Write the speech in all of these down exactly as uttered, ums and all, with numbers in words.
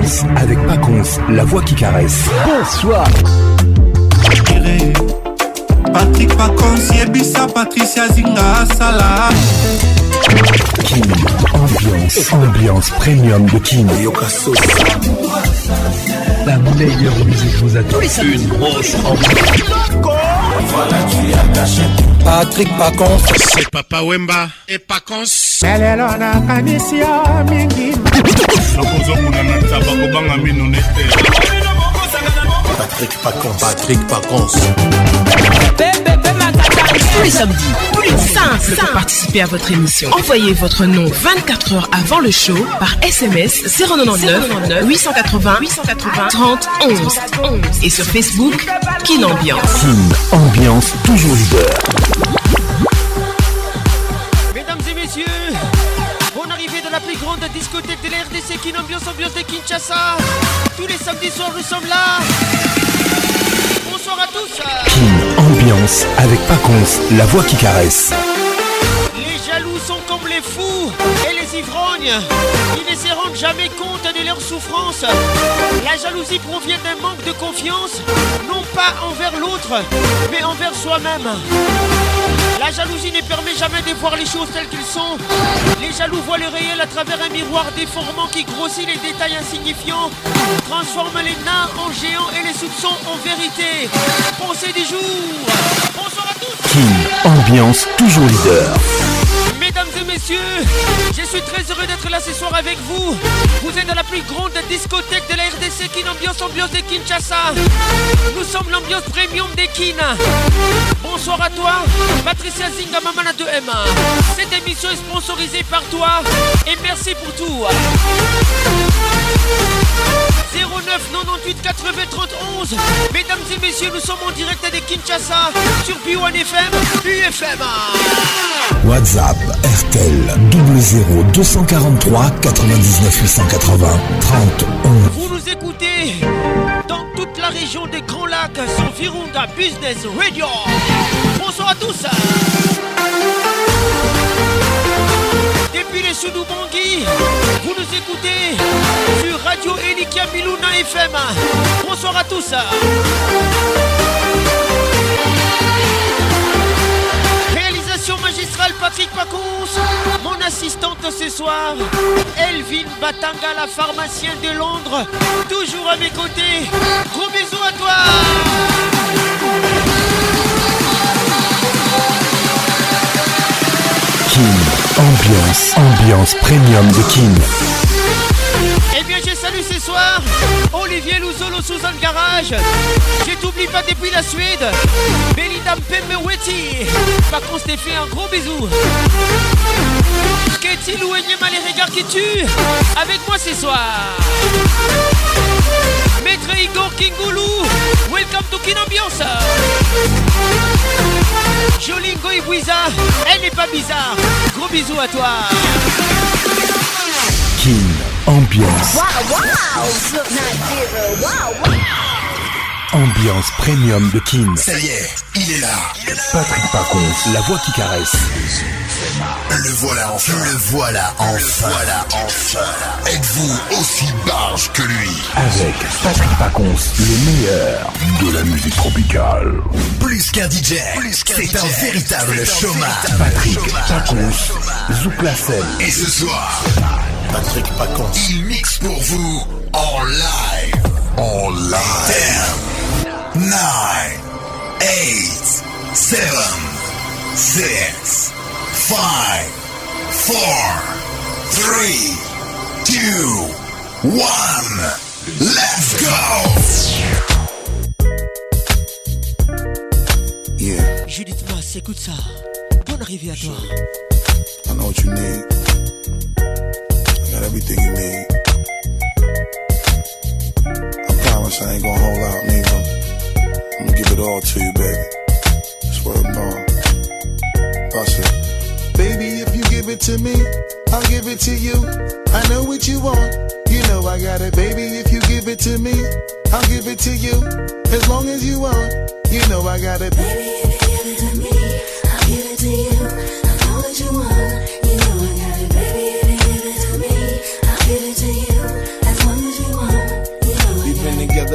Ambiance avec Paconce, la voix qui caresse. Bonsoir. Patrick Paconce, Yebisa, Patricia Zinga, Salah. Kin, ambiance, ambiance premium de Kin. La meilleure musique vous attend. Une grosse ambiance. Voilà, tu as caché. Patrick Paconce, c'est Papa Wemba et Paconce. Elelo na kanisia mingi. Patrick Paconce, Patrick Paconce. Tous les samedis, tous les dimanches, pour participer à votre émission. Envoyez votre nom vingt-quatre heures avant le show par S M S zéro neuf huit cent quatre-vingts huit cent quatre-vingts trente onze et sur Facebook Kin Ambiance. Kin Ambiance, toujours leader. Mesdames et messieurs, bon arrivée de la plus grande discothèque de la R D C, Kin Ambiance, ambiance de Kinshasa. Tous les samedis soirs, nous sommes là. Bonsoir à tous. Kin Ambiance avec Paconce, la voix qui caresse. Les jaloux sont comme les fous et les ivrognes. Ils ne se rendent jamais compte de leur souffrance. La jalousie provient d'un manque de confiance, non pas envers l'autre, mais envers soi-même. La jalousie ne permet jamais de voir les choses telles qu'elles sont. Les jaloux voient le réel à travers un miroir déformant qui grossit les détails insignifiants, transforme les nains en géants et les soupçons en vérité. Pensée du jour. Bonsoir à tous. Kin Ambiance, toujours leader. Mesdames et messieurs, je suis très heureux d'être là ce soir avec vous. Vous êtes dans la plus grande discothèque de la R D C, Kin Ambiance, ambiance de Kinshasa. Nous sommes l'ambiance premium des Kin. Bonsoir à toi, Patricia Zinga, Mamana deux M. Cette émission est sponsorisée par toi et merci pour tout. zéro neuf quatre-vingt-huit quatre-vingts trente onze. Mesdames et messieurs, nous sommes en direct de Kinshasa sur B un F M, U F M. WhatsApp R T L double zéro deux cent quarante-trois quatre-vingt-dix-neuf huit cent quatre-vingts trente onze. Vous nous écoutez dans toute la région des Grands Lacs sur Virunga Business Radio. Bonsoir à tous. Depuis les Soudou-Bangui, vous nous écoutez sur Radio Elikia Miluna F M. Bonsoir à tous. Réalisation magistrale Patrick Paconce. Mon assistante ce soir, Elvin Batanga, la pharmacienne de Londres, toujours à mes côtés. Gros bisous à toi. Kin Ambiance, ambiance premium de Kin. Eh bien, je salue ce soir Olivier Louzolo sous un garage. Je t'oublie pas depuis la Suède. Belinda Mpemeweti. Par contre, je t'ai fait un gros bisou. Qu'est-il ou Enyema les regards qui tuent avec moi ce soir. Maître Igor Kingoulou. Welcome to Kin Ambiance. Jolingo Ibouiza. Elle n'est pas bizarre. Gros bisous à toi. Kin Ambiance. Wow, wow, Slip Nigeria, wow, wow. Ambiance premium de Kin. Ça y est, il est là. Patrick Paconce, la voix qui caresse. Le voilà enfin. Le voilà enfin. Le voilà enfin. Êtes-vous aussi barge que lui? Avec Patrick Paconce, le meilleur de la musique tropicale. Plus qu'un D J, c'est un véritable showman. Patrick Paconce, Zouk la scène. Et ce soir, Patrick Paconce, il mixe pour vous en live. En live. ten, nine, eight, seven, six, five, four, three, two, one. Let's go. Yeah. Judith Mass, écoute ça. Bonne arrivée à toi. I know what you need. I got everything you need. I promise I ain't gonna hold out neither. I'm gonna give it all to you, baby. Swear to God. Bust it. Baby, if you give it to me, I'll give it to you. I know what you want. You know I got it, baby. If you give it to me, I'll give it to you. As long as you want, you know I got it. Baby, if you give it to me, I'll give it to you. I know what you want. You know I got it, baby. If you give it to me, I'll give it to you. As long as you want.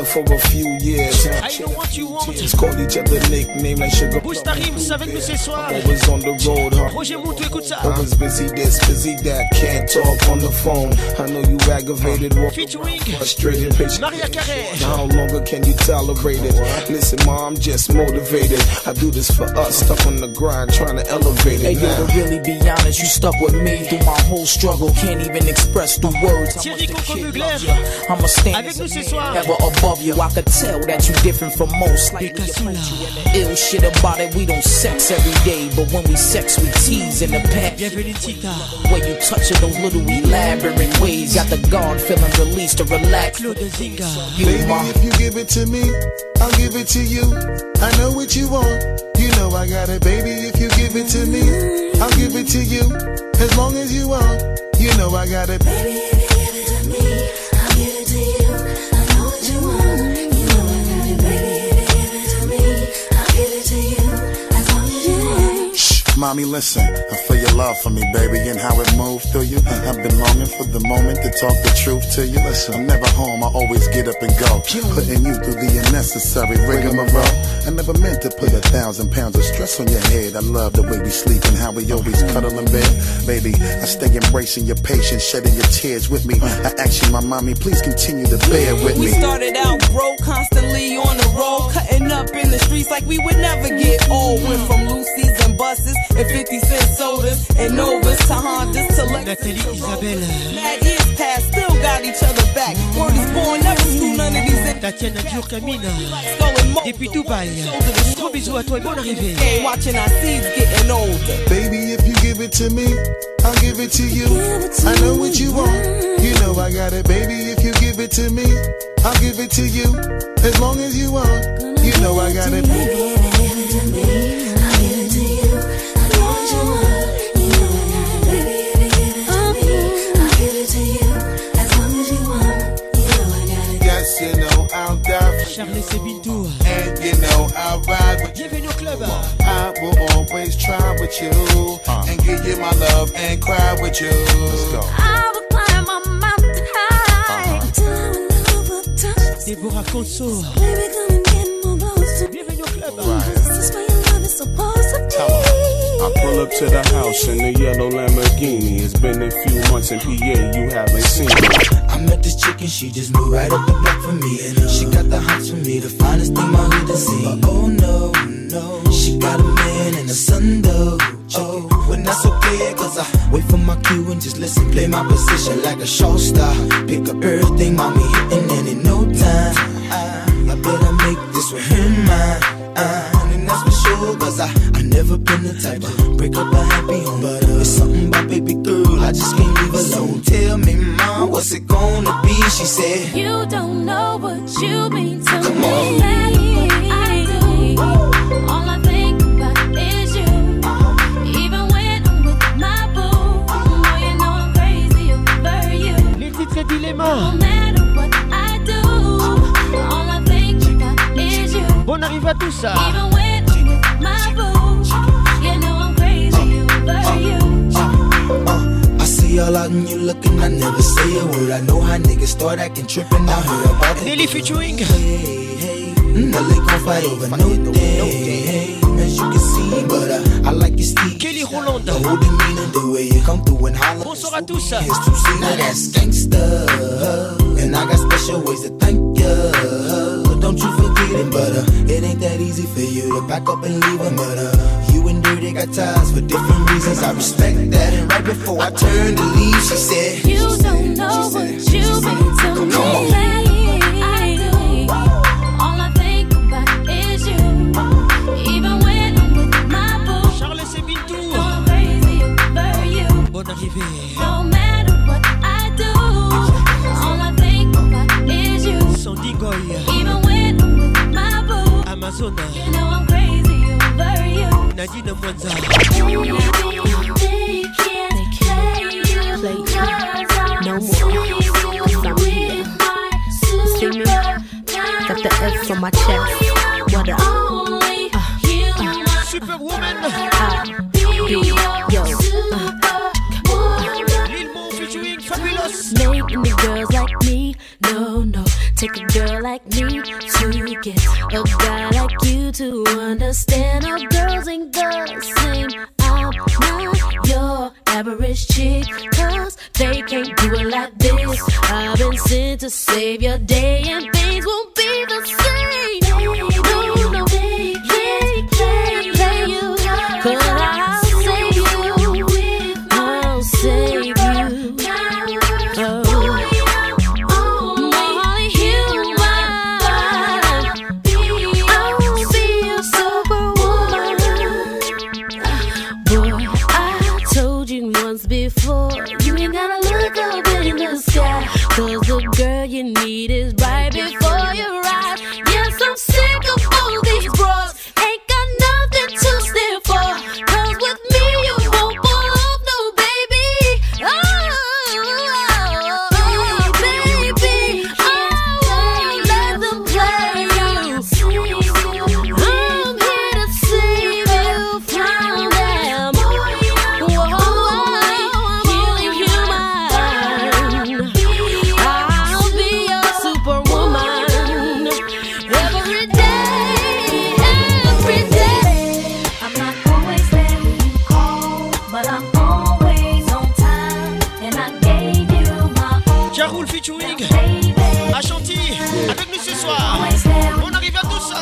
for a few years. I know what you want. Called each other nickname like Sugar. Boost ta rims avec nous ce soir. Always on the road, huh? Roger Moutou, écoute ça. Always busy this, busy that. Can't talk on the phone. I know you aggravated. Featuring frustrated, patient. Maria Carré. How longer can you tolerate it? Listen, ma, I'm just motivated. I do this for us, stuck on the grind, trying to elevate it. Hey, yo, to really be honest, you stuck with me through my whole struggle. Can't even express through words. Thierry Coco Mugler. I'm a stand avec nous ce soir. Ever above you. I could tell that you different from most. Like ill shit about it, we don't sex every day, but when we sex, we tease in the past. Bienvenue Tita. When you touch it, those little elaborate ways, got the guard feeling released to relax. Claude Zinga. Baby, if you give it to me, I'll give it to you. I know what you want, you know I got it. Baby, if you give it to me, I'll give it to you. As long as you want, you know I got it. Baby, if you give it to me, I'll give it to you. I know what you want, you know I got it. Baby, if you give it to me, I'll give it to you. As long as you want. Shh, mommy, listen. I feel your love for me, baby, and how it moved through you. I've been longing for the moment to talk the truth to you. Listen, I'm never home, I always get up and go. Putting you through the unnecessary rigmarole. I never meant to put a thousand pounds of stress on your head. I love the way we sleep and how we always cuddle in bed. Baby, I stay embracing your patience, shedding your tears with me. I ask you, my mommy, please continue to bear with me. We started out broke, constantly on the road, cutting up in the streets like we would never get old. Went from Lucy's and buses and fifty cent sodas and Novas to Hondas to Lexus. Nathalie Isabelle. Mad years past, still got each other back. Word is born, never screw none of these. Tatiana Diourkamina. Depuis Dubaï. Gros bisous à toi et bonne arrivée. Watching our seeds getting older. Baby, if you give it to me, I'll give it to you. I know what you want, you know I got it. Baby, if you give it to me, I'll give it to you. As long as you want, you know I got it. Baby, if you give it to me, I'll give it to you. I know what you want, you know I got it. Baby, if you give it to me, I'll give it to you. As long as you want, you know I got it. Yes, you know I'll die for Charles Sebintou. and you know I'll ride with you. Bienvenue au club. I will always try with you and give you my love and cry with you. Let's go. I will climb a mountain high until our love will touch. Deborah Conso. Baby, come and get more close to me. Bienvenue au club. This is where your love is supposed to be. I pull up to the house in the yellow Lamborghini. It's been a few months in P A, you haven't seen me. I met this chick and she just moved right up the block for me. And uh, she got the hots for me, the finest thing my hood has seen. But oh no, no, she got a man and a son though. Oh, but that's okay, cause I wait for my cue and just listen, play my position like a show star. Pick up everything, mommy hitting, and in no time I, I better make this with him mine. Uh, and that's for sure, cause I, I never been the type to break up a happy home. But uh, it's something about baby girl, I just can't leave alone. Tell me, mom, what's it gonna be? She said, you don't know what you mean to Come me. on. I do. All I think about is you. Even when I'm with my boo, boy, you know I'm crazy over you. Les titres dilemma. No matter what I do, all I think about is you. Bonne arrivée à tous ça. Even when I'm with my boo, you know I'm crazy over you. uh, I see all out and you looking, I never say a word. I know how niggas start acting tripping. I heard about Nelly it. featuring. Hey, hey, now they gon' fight over no day. As you can see, but uh, I like your steez. Kelly Roland. The whole demeanor, the way you come through and holler. Bonsoir à tous. Here's to see, now that's gangsta. And I got special ways to thank ya. Don't you forget it, but uh, it ain't that easy for you to back up and leave him. But uh, you and Dirty got ties for different reasons. I respect that. And right before I turned to leave, she said, you don't know what you mean to me. Come on. I do. All I think about is you. Even when I'm with my boo, Charles Sebintou. I'm crazy over you. Bonne arrivée. No matter what I do, all I think about is you. Sandy Goy. Even when I'm with my boo, Amazon. you know I'm crazy over you. Nadine Mwanza. They can't play you no more. I'm here. See me? Got the F on my chest. What up? Uh, uh, Superwoman. I be yo. Uh, Lil Mo featuring Fabulous. Making the girls like me, no, no. Take a girl like me to get a guy like you to understand how girls ain't the same. I'm not your average chick, cause they can't do it like this. I've been sent to save your day and things won't be the same. No, no, play, play, play, play you, cause I'll save you, I'll save you. Oh. Before you ain't gotta look up in the sky, cause the girl you need is right before your eyes. Yes, I'm sick of all these bras, ain't got nothing to stand for, cause with me you won't fall off, no baby. Oh, oh baby, I won't let them play you. I'm here to save you from them. Whoa. Jaroul featuring Ashanti avec nous ce soir. On arrive à tout ça.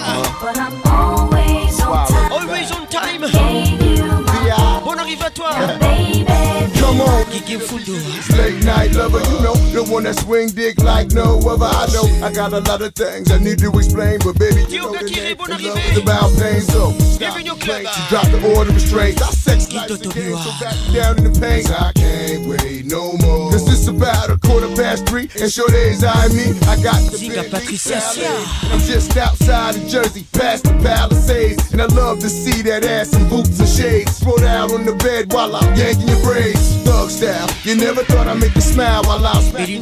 Always on time. On arrive à toi. Come on, late night lover, you know, the one that swing dick like no other. I know I got a lot of things I need to explain, but baby, you know the name of love is about pain. So stop playing, you drop the order of restraints. I sex like the game, so back down in the pain. I can't wait no more, cause it's about a quarter past three, and sure days I me, I got the big I'm just outside of Jersey, past the Palisades, and I love to see that ass in boots and shades. Throw out on the bed while I'm yanking your braids. Thug style, you never thought I'd make you smile while I was smacking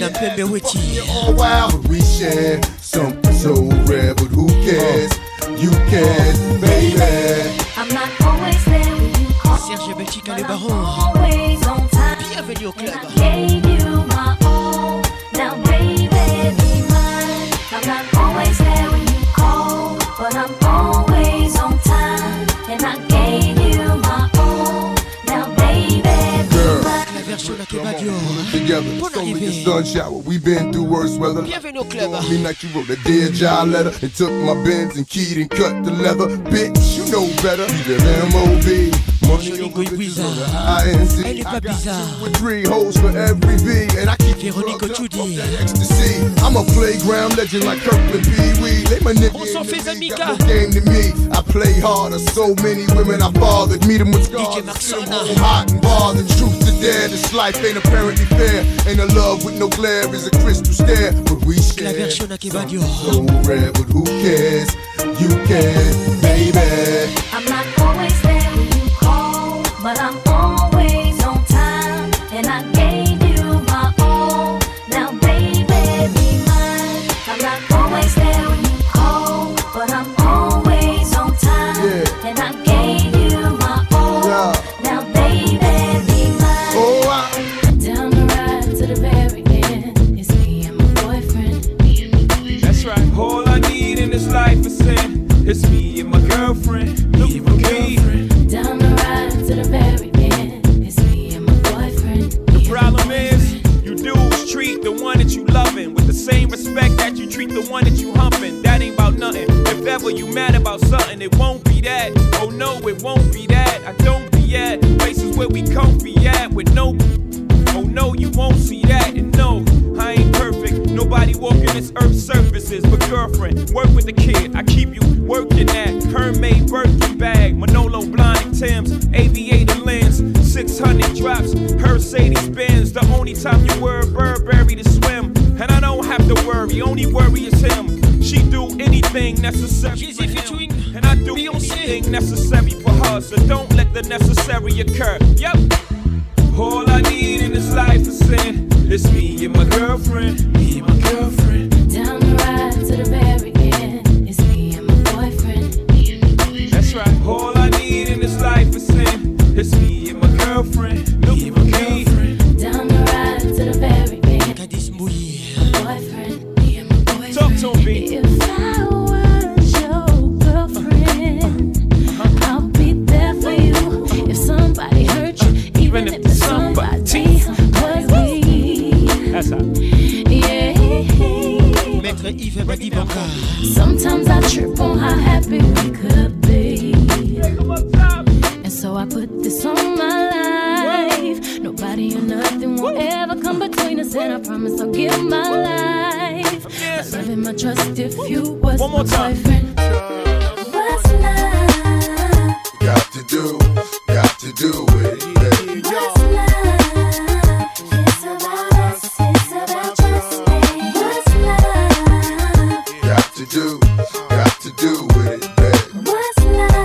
you all wild. But we share something so rare, but who cares? You can, baby. I'm not always there when you call. Serge Belchica les Barons. Always on time. Bienvenue au club. I gave you my all. Now baby, be mine. I'm not always there when you call, but I'm always on time. And I gave you my all. Now baby, be mine. La version la Kebadio. Together, it's only a sun shower. We've been through worse weather. Bienvenue au club. Me like you wrote a dear job letter and took my Benz and keyed and cut the leather. Bitch, you know better. You live M O B. Money over the I N C. Elle est pas bizarre. With three hoes for every V, and I keep Véronique Ochudi. Ecstasy. I'm a playground legend like Kirkland Pee Wee. They my nigga. On s'en fait Zamika. Game to me. I play harder. So many women I fathered. Meet them with scars. D J Marcel. Hot and bothered. Truth to dare. This life ain't apparently fair. Ain't a love with no glare is a crystal stare. But we share. La version la Kebadio. So rare, but who cares? You can, baby. I'm not always there when you call, but I'm always on time. And I gave you my all. Now baby, be mine. I'm not always there when you call, but I'm always on time. Yeah. And I gave you my all. Yeah. Now baby, be mine. Oh, I down the ride to the very end. It's me and my boyfriend. That's right. All I need in this life is sin. It's me and my girlfriend. Me and my girlfriend. Down the ride to the very end. It's me and my boyfriend. The problem is, you dudes treat the one that you loving with the same respect that you treat the one that you humping. That ain't about nothing. If ever you mad about something, it won't be that. Oh no, it won't be that. I don't be at places where we comfy at with no. Oh no, you won't see that. And no, I ain't perfect. Nobody walking this earth's surfaces. But girlfriend, work with the kid. I keep you working at Hermès Birkin bag, Manolo Blahnik Tim's, aviator lens, six hundred drops, Mercedes Benz. The only time you wear Burberry to swim, and I don't have to worry. Only worry is him. She do anything necessary for him, and I do anything necessary for her. So don't let the necessary occur. Yep. All I need in this life is sin. It's me and my girlfriend. Me and my girlfriend. Down the ride to the very end. It's me and my boyfriend. That's right. All I need in this life is sin. It's me and my girlfriend. Me and my girlfriend. Down the ride to the very end. Cadis Mouillé. Boyfriend. Me and my boyfriend. Talk Talk to him, B. If I was your girlfriend, uh-huh. I'll be there for you. If somebody hurt you, even, even if, if somebody, somebody was me. That's how. Yeah. Maître Yves Badibanka. Sometimes I trip on how happy we could be. And so I put this on my life. Nobody or nothing will ever come between us, and I promise I'll give my life. My love and my trust if you was One more my time. boyfriend. What's love? Got to do, got to do it. Yeah. What's love? It's about us, it's about trust. What's love? Got to do, got to do with it. Baby. What's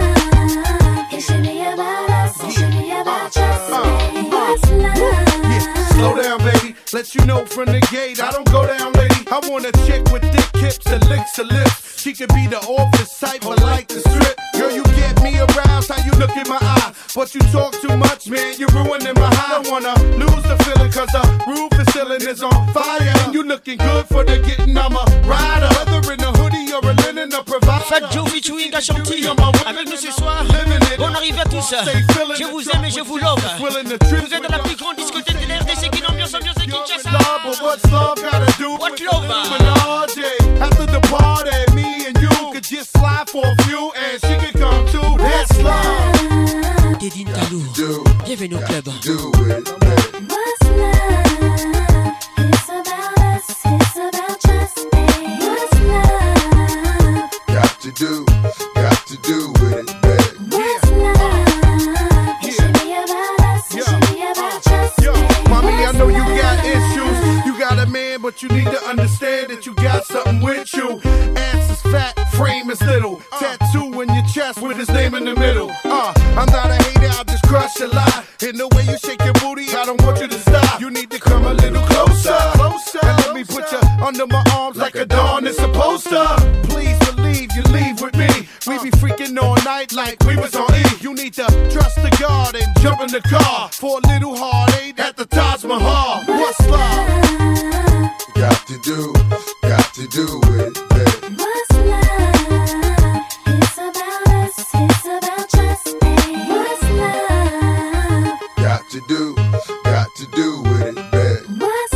love? It should be about us, it should be about trust. What's love? Yeah, slow down, baby. Let you know from the gate, I don't go down, lady. I want a chick with thick hips and licks her lips. She could be the office type, but like the strip. Girl, you get me aroused, how you look in my eye. But you talk too much, man, you're ruining my high. I don't wanna lose the feeling, cause the roof is ceiling is on fire. And you looking good for the getting, I'm a rider. Whether in a hoodie or a linen, a provider. Fat Joe featuring Ashanti avec nous ce soir. Bonne arrivée à tous. Je vous aime et je vous love. Vous êtes dans la plus grande discothèque de l'R D C qui ambiance, ambiance et Kinshasa. What's love gotta do What love? After the party, me and you could just slide for a few, and she could come too. That's love. Dédine Talou, bienvenue au club. What's love? It's about us, it's about trust. What's love? Got to do, got to do with it, baby. What's love? It should be about us, it should be about trust. Yo, mommy, I know you got issues. You got a man, but you need to understand that you got something with you. Ass is fat, frame is little. Tattoo in your chest with his name in the middle. Uh, I'm not a hater, I'll just crush a lie. In the way you shake your booty, I don't want you to stop. You need to come a little closer, closer. And let me put you under my arms like a dawn is supposed to. Please believe you leave with me. We be freaking all night like we was on E. You need to trust the God and jump in the car for a little heartache at the Taj Mahal. What's love? Got to do, got to do with it, baby. What's love? It's about us, it's about trust. What's love? Got to do, got to do with it, baby. What's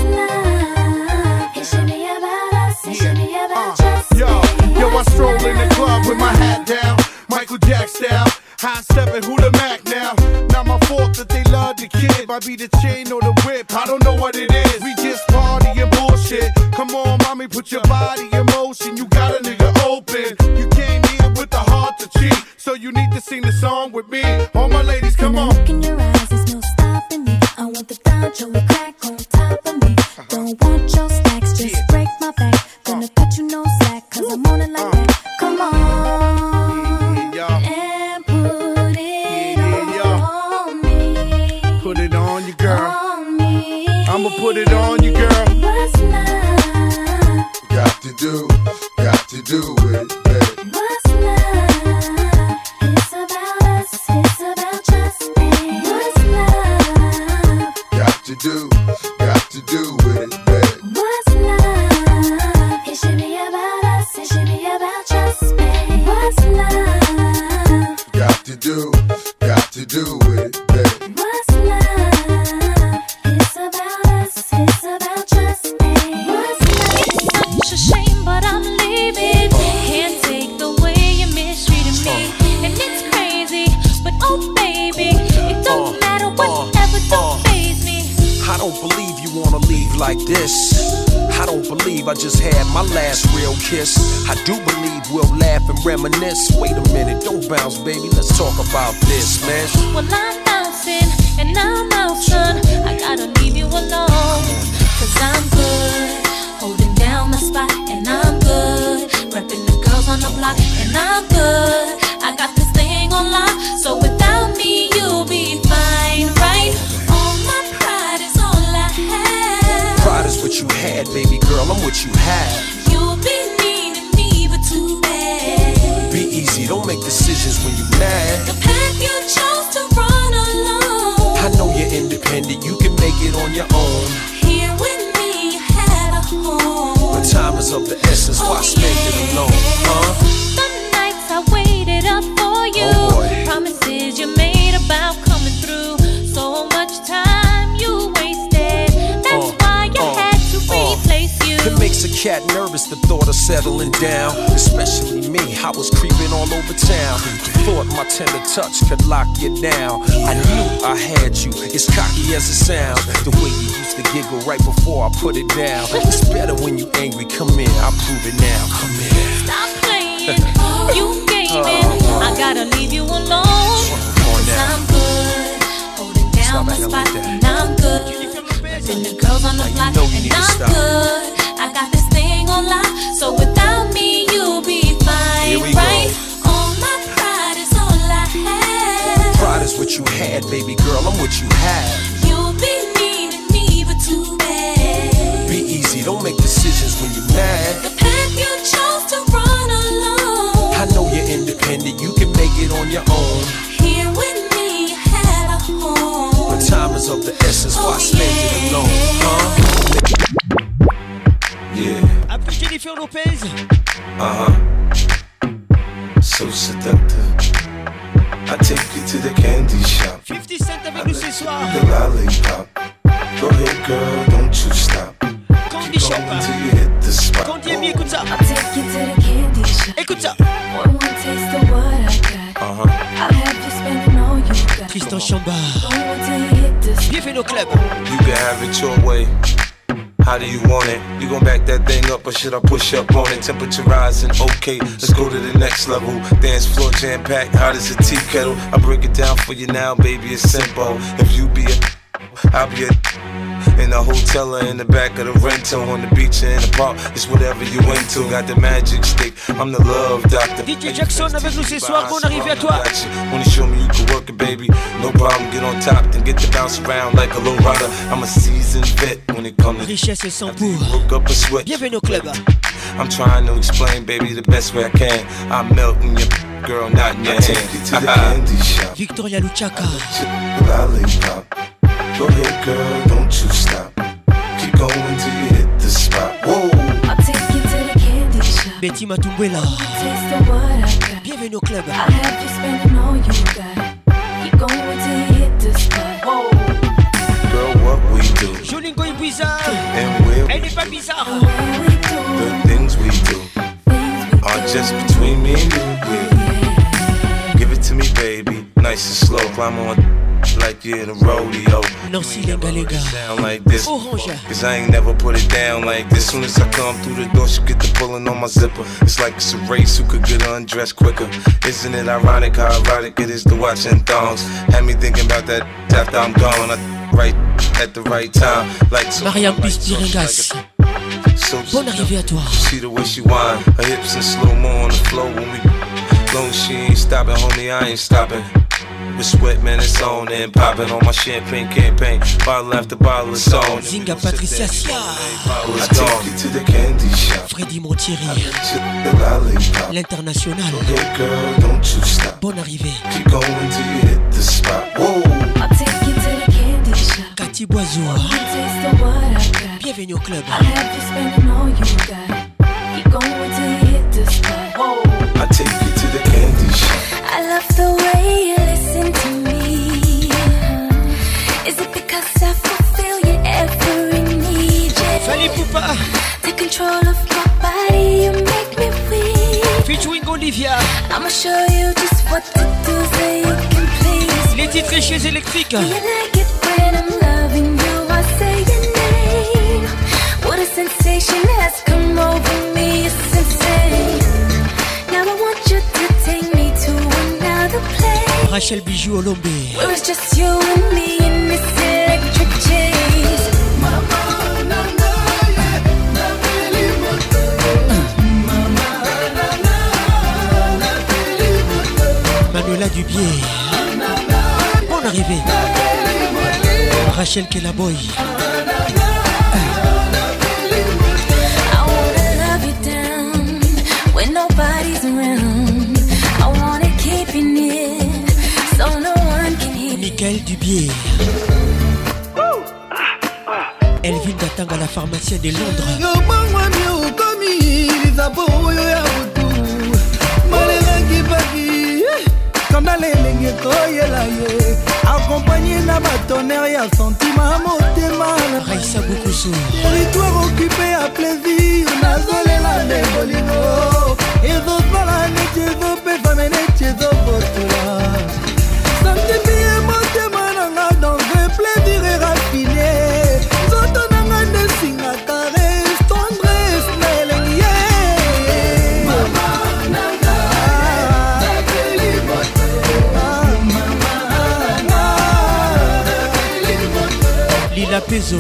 love? It should be about us, it should be about trust. Yo, yo, I stroll in the club with my hat down, Michael Jack style. High stepping, who the Mac now? Not my fault that they love the kid. Might be the chain or the whip, I don't know what it is. We just party and bullshit. Come on, mommy, put your body in motion. You got a nigga open. You came here with the heart to cheat, so you need to sing the song with me. All my ladies, come on. Look in your eyes, there's no stopping me. I want the Don and crack on top of me. Don't want your stacks, just break my back. Gonna cut you no slack, cause I'm on it like that. Come on. Put it on you, girl. I'ma put it on you, girl. What's love? Got to do, got to do with it, baby. What's love? It's about us, it's about trust. What's love? Got to do, got to do with it, baby. What's love? It should be about us, it should be about trust. What's love? Got to do, got to do with it, baby. What's love? It's about us, it's about trust. What's love? Such a shame, but I'm leaving. Can't take the way you mistreated me. And it's crazy, but oh baby, it don't matter whatever, don't faze me. I don't believe you wanna leave like this. I don't believe I just had my last real kiss. I do believe we'll laugh and reminisce. Wait a minute, don't bounce, baby, let's talk about this, man. Well, I'm bouncing and I'm out, son. I gotta leave you alone, cause I'm good, holding down my spot, and I'm good, repping the girls on the block, and I'm good. I got this thing on lock, so without me you'll be fine, right? All my pride is all I have. Pride is what you had, baby girl, I'm what you have. You'll be needing me, but too bad. Be easy, don't make decisions when you're mad. The path you chose to run alone, I know you're independent, you can make it on your own. here with me you had a home. When time is is of the essence, why spend it alone, huh? The nights I waited up for you, oh promises you made about coming through. So much time you wasted, that's uh, why I uh, had to uh, replace you. It makes a cat nervous, the thought of settling down. Especially me, I was creeping all over town. Thought my tender touch could lock you down. I knew I had you, as cocky as it sounds. The way you used to giggle right before I put it down. It's better when you angry, come in, I'll prove it now. Come in. Stop playing, you gaming. uh, I gotta leave you alone, cause I'm good. Holding down my spot, and I'm good. And the girls on the block, and I'm good. I got this thing on lock, so without me you'll be fine, right? Go. All my pride is all I have. Pride is what you had, baby girl, I'm what you have. You'll be needing me, but too bad. Be easy, don't make decisions when you're mad. The path you chose to run alone. I know you're independent, you can make it on your own. Here with me, you had a home. But time is of the essence, why oh, spend yeah. it alone, huh? Yeah. Après Jennifer Lopez. Uh-huh. So seductive. I take you to the candy shop. fifty Cent avec nous ce soir. The lollipop. Go ahead girl, don't you stop. Candy shop. Till you hit the spot. Candy Amy, écoute ça. I'll take you to the candy shop. Écoute ça. One more taste of what I got. Uh-huh. I'll have you spending all you got. Tristan Chambard. Bienvenue au club. You can have it your way. How do you want it? You gon' back that thing up or should I push up on it? Temperature rising, okay, let's go to the next level. Dance floor jam packed, hot as a tea kettle. I break it down for you now, baby, it's simple. If you be a, I'll be a in the hotel or in the back of the rental, on the beach or in the park, it's whatever you into. Got the magic stick, I'm the love doctor. D J Jackson avec nous ce soir, bon arrivé à toi. Wanna show me you can work it, baby? No problem, get on top, then get to bounce around like a low rider. I'm a seasoned vet when it comes to richesse et sans pour. Woke up a sweat. Bienvenue au club. I'm trying to explain, baby, the best way I can. I'm melting your girl, not in your hand. Take you to the candy shop. Victoria Luchaka. Lollipop. Go ahead, girl, don't you stop. Keep going till you hit the spot. Whoa. I'll take you to the candy shop. Betty Matumbela. Taste of what I got. Bienvenue au club. I'll have you spending all you got. Keep going till you hit the spot. Whoa. Girl, what we do. Jolingo est bizarre. And where Elle n'est pas bizarre. the things we do are just between me and you. Yeah. Give it to me, baby. Nice and slow. Climb on like you're in a rodeo. Nancy Lenga Lenga. Sound like this. Orange. Cause I ain't never put it down like this. Soon as I come through the door, she get the pulling on my zipper. It's like it's a race who could get undressed quicker. Isn't it ironic how erotic it is to watching thongs? Had me thinking about that after I'm gone. I right at the right time. Like so Mariam Pistirengas. So bonne arrivée à toi. See the way she whine, her hips in slow mo on the floor when we. Long as she ain't stopping, homie, I ain't stopping. With sweat, man, it's on and popping on my champagne campaign. Bottle after bottle, it's on. Zinga Patricia Sia. I take you to the candy shop. Freddy Montieri. L'international. Okay, girl, don't you stop. Bonne arrivée. Keep going till you hit the spot. Whoa. I'll take you to the candy shop. Cathy Boisour. Taste of what I got. Bienvenue au club. I'll have you spending all you got. Keep going till you hit the spot. Whoa. I take you to the candy shop. I love the way you listen to me. Is it because I fulfill your every need? Yeah. Fallait Poupa. Take control of my body, you make me weak. Featuring Olivia. I'ma show you just what to do so you can please. Les titres chez électriques. You like it when I'm loving you, I say your name. What a sensation has come over me, it's insane. Now I want you to take me to another place. Rachel Bijou Olombe. Where it's just you and me in this electric chase. Manuela Dubier. Bonne arrivée. Rachel Kellaboy. Nobody's around. I wanna keep you near, so no one can hear. Michael Dubier. Elvin Datang à la pharmacienne de Londres. na batonnerre ya sentiment motema Raissa Boukoussou territoire occupé à plaisir nazolela nde bolingo ezosala neti ezopesa me neti ezobotula santimie motema nanga dans un plaisir raffiné nzoto nanga nde singa caresse tendresse na elengi ye Lila Pezo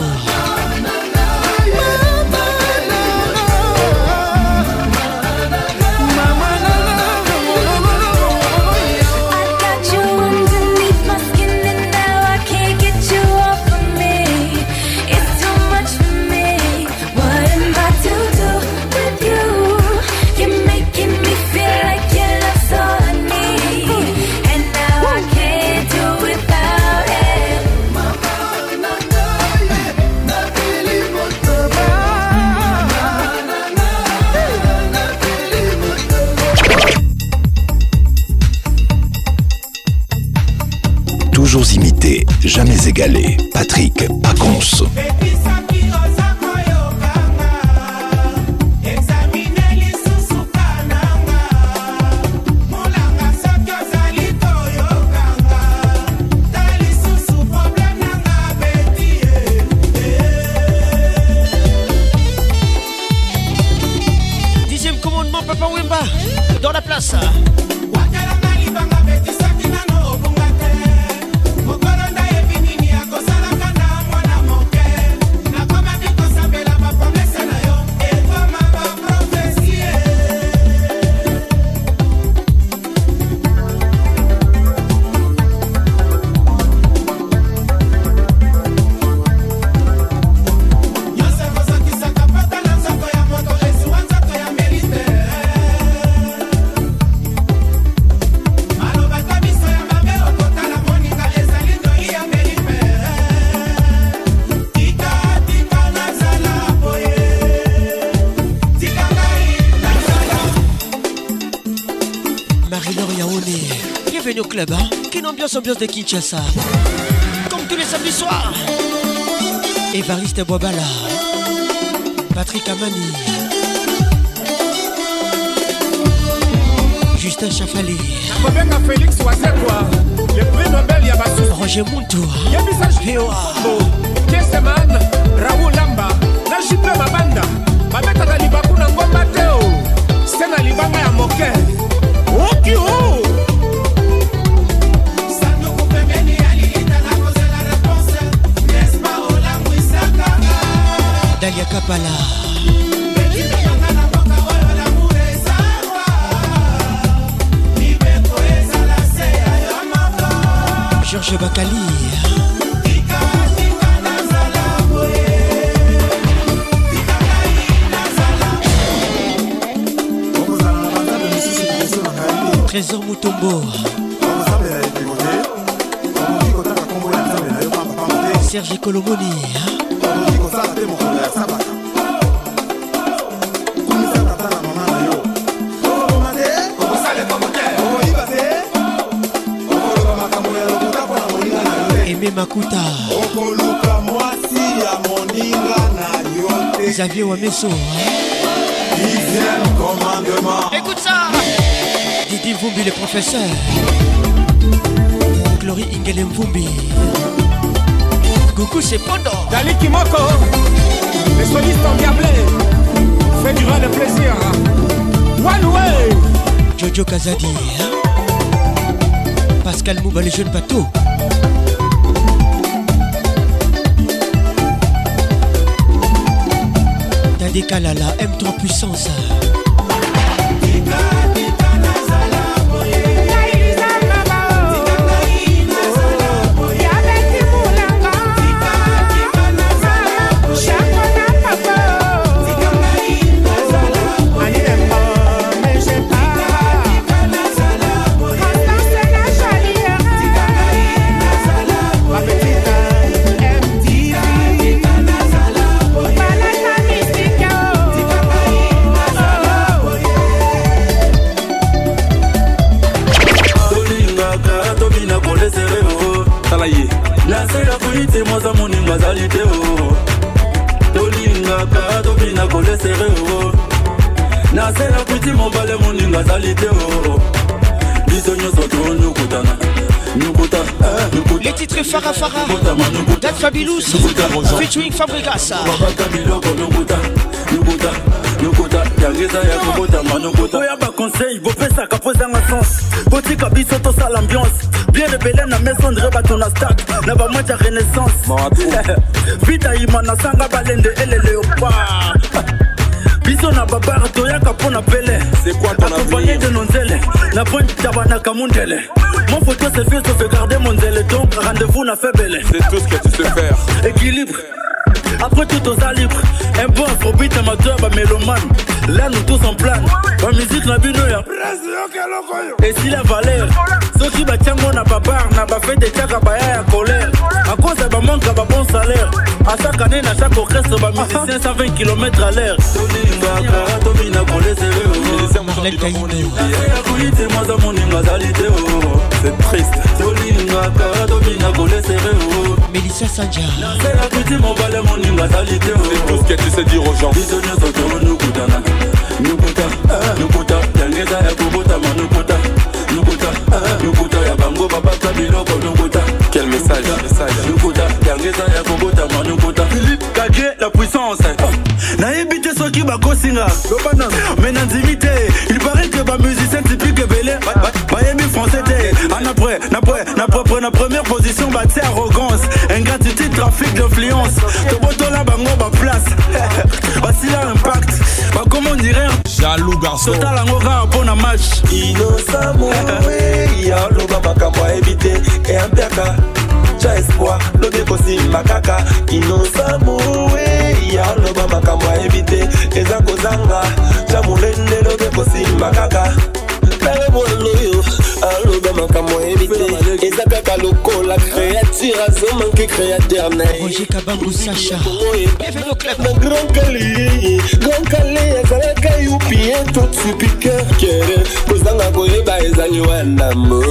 Toujours imité, jamais égalé. Patrick Pacons. Dixième commandement, Papa Wemba, dans la place. Bienvenue au club, hein? Quelle ambiance, ambiance de Kinshasa. Comme tous les samedis soirs. Évariste Boabala, Patrick Amani, Justin Chafali, Félix Ouazekwa, le prix Nobel Yabassou, Roger Mountou, Veoa, Keseman, Raoul Lamba, Najipe Mabanda, Babeta na Libaku na Ngomba Teo, Sena Libanga ya Moke, Okio. Dalia Kapala, Georges Bakali, Trésor Moutombo, Serge Colomoni, Aimé Makuta, Xavier Wameso, écoute ça, Didi Mvumbi le professeur, Glory Ingele Mvumbi, Coucou c'est Pondo, Dali Kimoko, les solistes endiablés, fait durer le plaisir. One way, Jojo Kazadi, Pascal Mouba, les jeunes bateaux. Tadé Kalala, M trois puissance. collé serré oh. Nase la kuti mobale moninga salite oh. Biso nyoso to nyukutana. Nyukuta, nyukuta. Les titres Farah Farah, Dan Fabilous, featuring Fabregas. Babaka biloko nyukuta, nyukuta, nyukuta. Yangeza ya kukuta manukuta. Oya ba conseil, vous faites ça capoza nga sens. Boti kabiso to sa l'ambiance. Bien rebelle na maison de reba ton stack. Na ba moitié renaissance. Vita imana sanga balende ele léopard. Biso na babara toyaka pona pele. C'est quoi ton accompagné de nonzele. Na pointe tabana kamundele. Mon photo c'est fait sauf garder mon zèle. Donc rendez-vous na fait belle. C'est tout ce que tu sais faire. Équilibre. Après tout aux a libre. Un bon afrobeat amateur bah mélomane. Là nous tous en plan. Ma musique na bino ya. Et si la valeur. Ceux qui batiango na babar na ba fait des tchaka ba ya colère. À cause de ba manque ba bon salaire. À chaque année na chaque orchestre ba musicien cent vingt kilomètres à l'heure. C'est triste. Mélissa Sandja. C'est tout ce que tu sais dire aux gens. Quel message, message. Philippe Kagé, la puissance. Naïbité ce qui va kosinga. Mais n'intimité. Il paraît que ma musicien typique belé. Miami français t'es. En après, n'après, n'après, na première position, bah t'es arrogance. Ingratitude, trafic d'influence. Te boto là, bah moi, bah place. Bah si là, impact. Bah comment on dirait. Jaloux garçon. Total en aura un bon match. Innocent, oui. Y'a l'eau, bah, bah, moi, éviter. Et un piaka. Cha espoir, le décosi makaka. Innocent, oui. Y'a l'eau, bah, bah, moi, éviter. Et zako zanga. Cha moulende, le décosi makaka. Allo bama kamo éviter. Et ça piaka loco, la créature a zo manqué créateur. Roger Kabangou Sacha. Bienvenue au club. Grand Calais, Grand Calais, Zalaka youpi, tout super cœur. Kozanga goyeba ezali wana mo.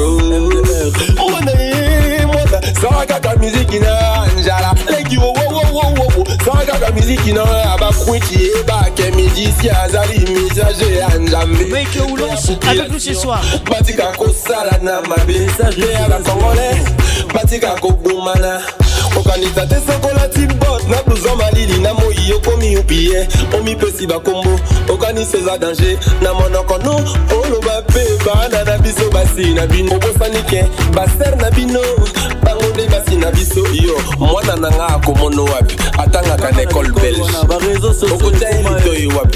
Mwana ye, mwana. Saraka musique na njala. Leki wo wo wo wo wo. Saraka musique na abakwiti eba ke musicien azali messager anjambe. Mike Oulos avec nous ce soir. Batika kosala na mabe messager à la congolais. Batika kobumana. Okanisa te sokola timbot na blouson malili na moyi okomi upie omi pesi bakombo okanisa za danger na monoko no oloba pe bana na biso basi na bino obosanike baser na bino bango nde basi na biso yo mwana nanga akomono wapi atangaka na école belge okotia elito ye wapi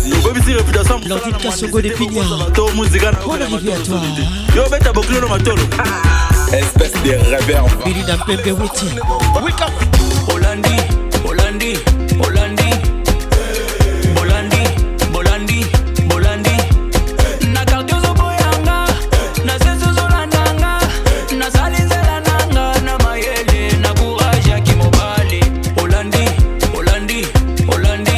vas-y L'ordine Kassongo de Pigna. Bonne arrivée à toi. Yo beta boklo no matolo. Espèce de réverbe. Billy Dampembe Witi. Wake up. Holandi, Holandi, Holandi, Holandi, Holandi, Holandi. Na kartiozo boyanga, na sezo zolandanga, na salinzela nanga, na mayele, na courage ya kimobali. Holandi, Holandi, Holandi,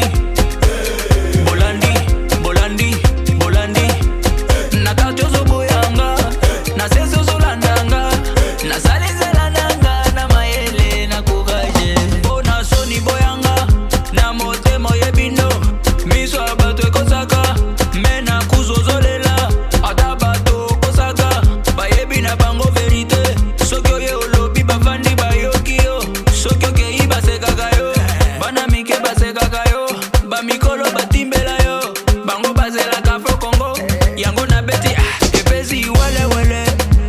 Holandi, Holandi, Holandi. Na kartiozo boyanga, na sezo zolandanga, na salinzela nanga, na mayele, na courage. Bona soni boyanga, na motemo yebino, miso abato ekosaka, mena kuzozolela, ata bato kosaka, bayebi na bango verite, soki oye olobi bafandi bayoki yo, soki okei basekaka yo, bana mike basekaka yo, bamikolo batimbela yo, bango bazelaka fo Kongo, yango na beti epesi wele wele,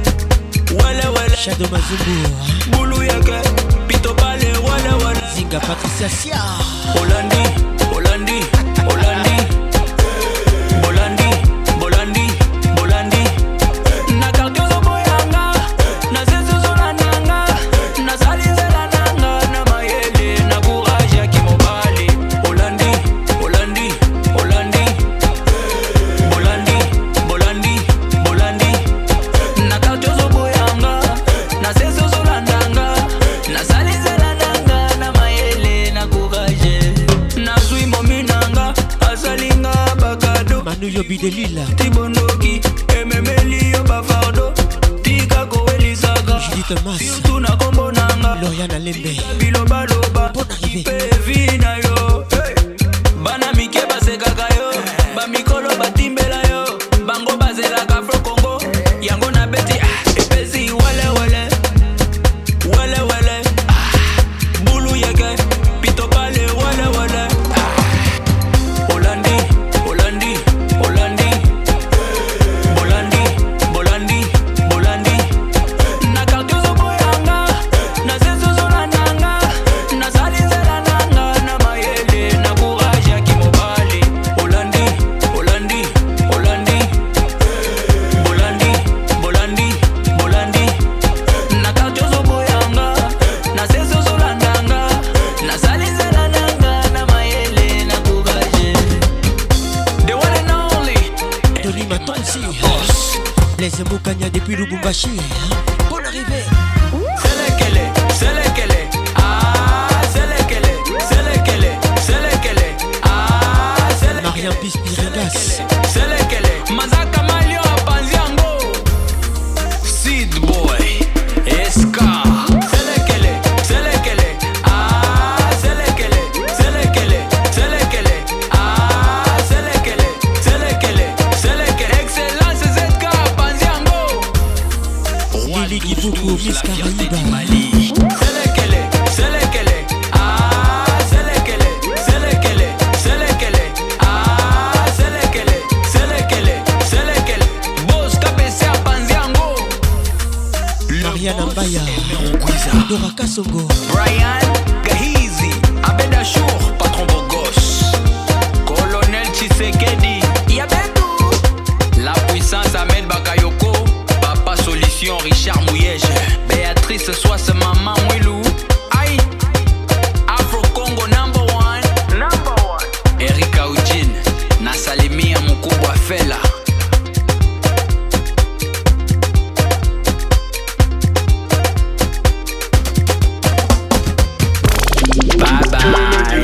wele wele. Shadow Mazumbu. Bulu yake, pito pale wele wele. Zinga Patricia Sia. Holandi, Holandi, Holandi, Holandi, Holandi, Holandi. Na kartiozo boyanga, na sezo zolandanga, na salinzela nanga, na mayele, na courage ya kimobali. Holandi, Holandi, Holandi, Holandi, Holandi, Holandi. Na kartiozo boyanga, na sezo zolandanga, na salinzela nanga, na mayele, na courage. Na zui mominanga, asalinga bakado. Manu Yobi de Lille. Tibondoki, ememeli yo bafardo. Tika koweli saga. Judith Mas. Surtout na kombo nanga. Loriana Lembe. Biloba loba. Bonne arrivée. Pevi na yo. bana mike basekaka yo bamikolo batimbela yo bango bazelaka Afro Congo yango na beti epesi wele wele wele wele bulu yeke pito pale wele wele Holandi Holandi Holandi Bolandi Bolandi Bolandi na kartuzo boyanga na zezo zolananga na salizela nanga na mayele na courage ya kimobali Holandi Holandi Holandi Bolandi Bolandi Bolandi na kartuzo boyanga na zezo zolananga na salizela nanga na mayele na courage the one and only Tony Matonsi Boss Les Moukanya depuis Lubumbashi Bonne arrivée Selekele, selekele, ah, selekele, selekele, selekele, ah, selekele. Mariam Pispirigas Selekele, Mazaka Malio Panziango, Seed Boy, Eska. Selekele, selekele, ah, selekele, selekele, selekele, ah, selekele, selekele, selekele. Excellence Z K Panziango. Lili Kivuku Miss Caraïba Selekele, selekele, ah, selekele, selekele, selekele, ah, selekele, selekele, selekele. Boss Kapese a Panziango. Mariana Mbaya Dora Kasongo Brian Gahizi, Abeda Chour, patron Bogos. Colonel Tshisekedi, Yabetou. La puissance Ahmed Bakayoko. Papa Solution Richard Mouyège. Béatrice Soisse Maman Mwilou. Aïe. Afro Congo number one. Number one. Erika Eugene. Nasalimia Mukubwa Fela. Bye bye.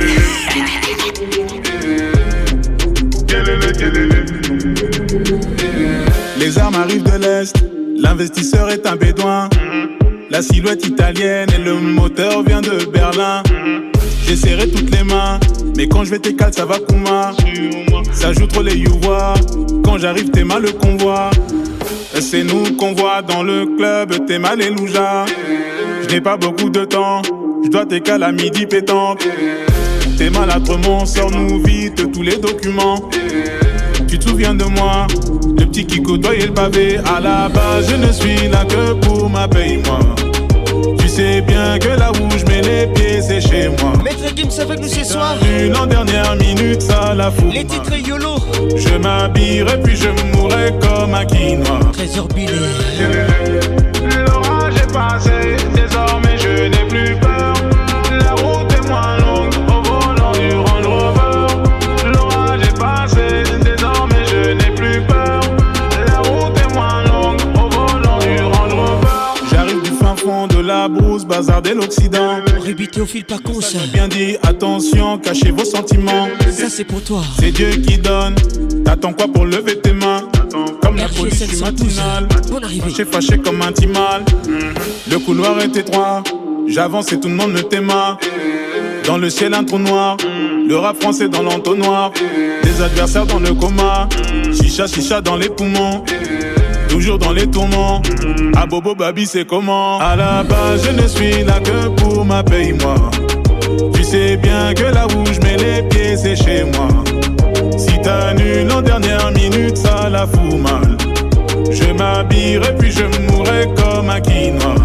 Les armes arrivent de l'Est, l'investisseur est un bédouin. La silhouette italienne et le moteur vient de Berlin. J'ai serré toutes les mains, mais quand je vais t'écaler ça va Kuma. Ça joue trop les youvois, quand j'arrive t'es mal le convoi. C'est nous qu'on voit dans le club, t'es mal et louja. Je n'ai pas beaucoup de temps, je dois t'écaler à midi pétanque. T'es maladrement, sors-nous vite tous les documents. Tu te souviens de moi, le petit qui côtoyait le pavé. À la base, je ne suis là que pour ma paye-moi. Tu sais bien que là où je mets les pieds, c'est chez moi. Maître Gims avec nous ce soir. En dernière minute, ça la fout. Les titres YOLO. Je m'habillerai puis je mourrai comme un quinoa. Trésor Billy. L'orage est passé, désormais je n'ai plus peur. La route est moins longue au volant du Range Rover. L'orage est passé, désormais je n'ai plus peur. La route est moins longue au volant du Range Rover. J'arrive du fin fond de la brousse, bazar de l'Occident. Rébité au fil pas con ça. Bien dit, attention, cachez vos sentiments. Ça c'est pour toi. C'est Dieu qui donne. T'attends quoi pour lever tes mains? Comme la police du matinal. Fâché, fâché comme un timal. Le couloir est étroit. J'avance et tout le monde me t'aima. Dans le ciel un trou noir. Le rap français dans l'entonnoir. Des adversaires dans le coma. Chicha, chicha dans les poumons. Toujours dans les tourments. À Bobo Babi c'est comment? À la base je ne suis là que pour ma paye-moi. Tu sais bien que là où je mets les pieds c'est chez moi. Si t'annules en dernière minute ça la fout mal. Je m'habillerai puis je mourrai comme un quinoa.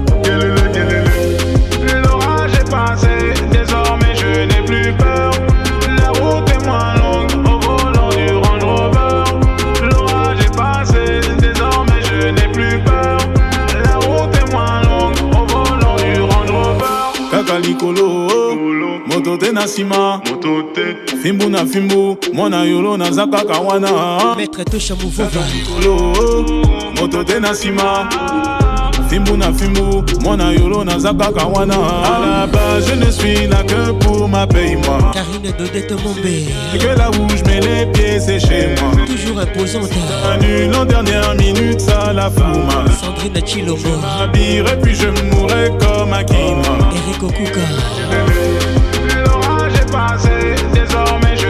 L'orage est passé, désormais je n'ai plus peur. La route est moins longue au volant du Range Rover. L'orage est passé, désormais je n'ai plus peur. La route est moins longue au volant du Range Rover. Kakalikolo, moto te nasima, fimbu na fimbu, mwana yolo na zaka kawana. Maître Tosha Mouvova. Moto te nasima, fimbu na fimbu, mwana yolo na zaka kawana. À la base je ne suis là que pour ma paye-moi. Karine Dodette Mombé. Que là où je mets les pieds c'est chez moi. Toujours imposante. Annule en dernière minute ça la fout mal. Sandrine Chilombo. Je m'habillerai puis je mourrai comme un quinoa. Eric Okuka. L'orage est passé, désormais je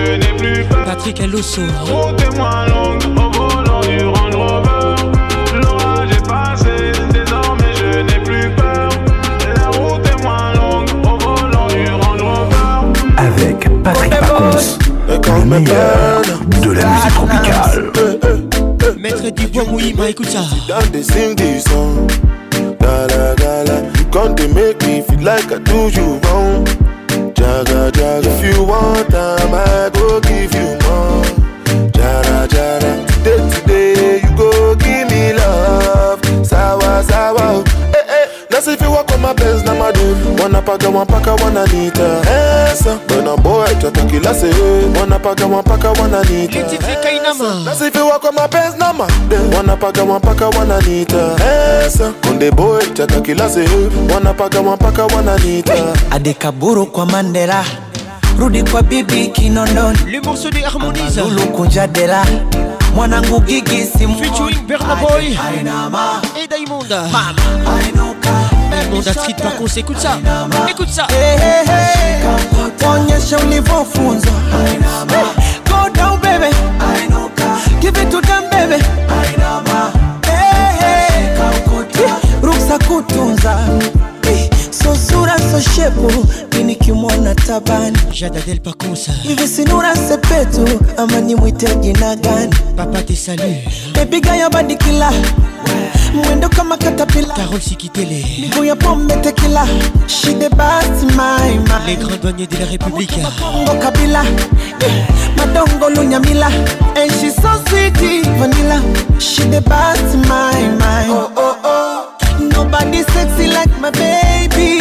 plus peur. Patrick Elosso. La route est moins longue au volant du Range Rover. L'orage est passé, désormais je n'ai plus peur. La route est moins longue au volant du Range Rover. Avec Patrick Pacons, le meilleur de la musique tropicale. Maître du bois Mouima, écoute ça. Don't they sing this song? Gala gala, you can't make me feel like I do you wrong. Jaga jaga, if you want time, I go give you more. Jara jara, today today you go give me love. Sawa sawa, eh eh. Now if you walk on my Benz, na my dude. Wanna paka, wanna paka, wanna nita. Esa, when a boy try to kill us, wanna paka, wanna paka, wanna nita. Now if you walk on my Benz, na my dude. Wanna paka, wanna paka, wanna nita. Esa, when the boy try to kill us, wanna paka, wanna paka, wanna nita. Adekaburu kwa Mandela, rudi kwa bibi Kinondoni. Le morceau de Harmonise. Lulu kunjadela, mwanangu Gigi simu. Featuring Burna Boy et Diamonda. Diamonda Street par contre, écoute ça. Écoute ça. Hey, hey, hey. Onyesha ulivyofunzwa. Go down baby, give it to them baby. Hey, hey. Ruksa kutunza. So sura so shepu, mini kimona tabani. Jada Del Pacosa. Hivi sinura sepetu, ama ni mwite jina gani? Papa te salue. Baby gaya badi kila, mwendo kama katapila. Carole Sikitele. Miguu ya pombe tequila. She the best my my. Les grands douaniers de la République. Kongo Kabila, Madongo Lunyamila. And she's so sweet, vanilla. She the best my my. Oh oh oh. Nobody sexy like my baby.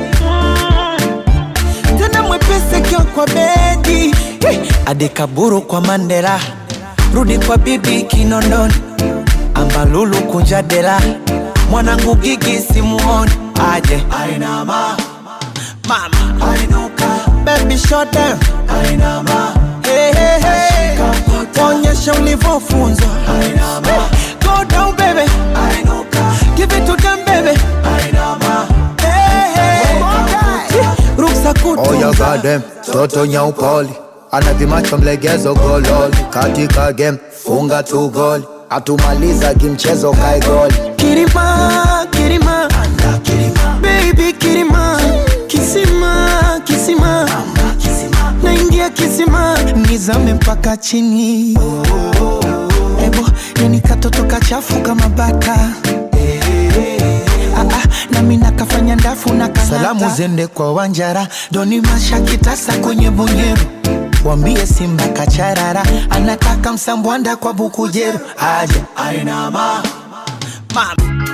Tena mwepese kio kwa bedi. Adekaburu kwa Mandela, rudi kwa bibi Kinondoni. Ambalulu kunjadela, mwanangu Gigi simuoni. Aje Ainama, mama Ainuka, baby shut down. Ainama, hey hey hey. Onyesha ulivyofunzwa. Ainama, go down baby. Ainuka, give it to them baby. Ainama, hey hey. Ruksa kutunza. Oh ya gadem, toto nyaupoli. Anavimacho mlegezo gololi. Katika game, funga tu goli. Atumaliza kimchezo kai goli. Kirima, Kirima, anda Kirima. Baby Kirima, Kisima, Kisima, anda Kisima. Naingia Kisima, nizame mpaka chini. Oh, oh, oh. Ebo, yani katoto kachafu kama baka. Hey, hey, hey. Ah, ah, na mina kafanya ndafu na kanata. Salamu zende kwa Wanjara, doni masha kitasa kwenye bunyeru. Wambie Simba kacharara, anataka msambwanda kwa Bukujeru. Aje Ainama, mama.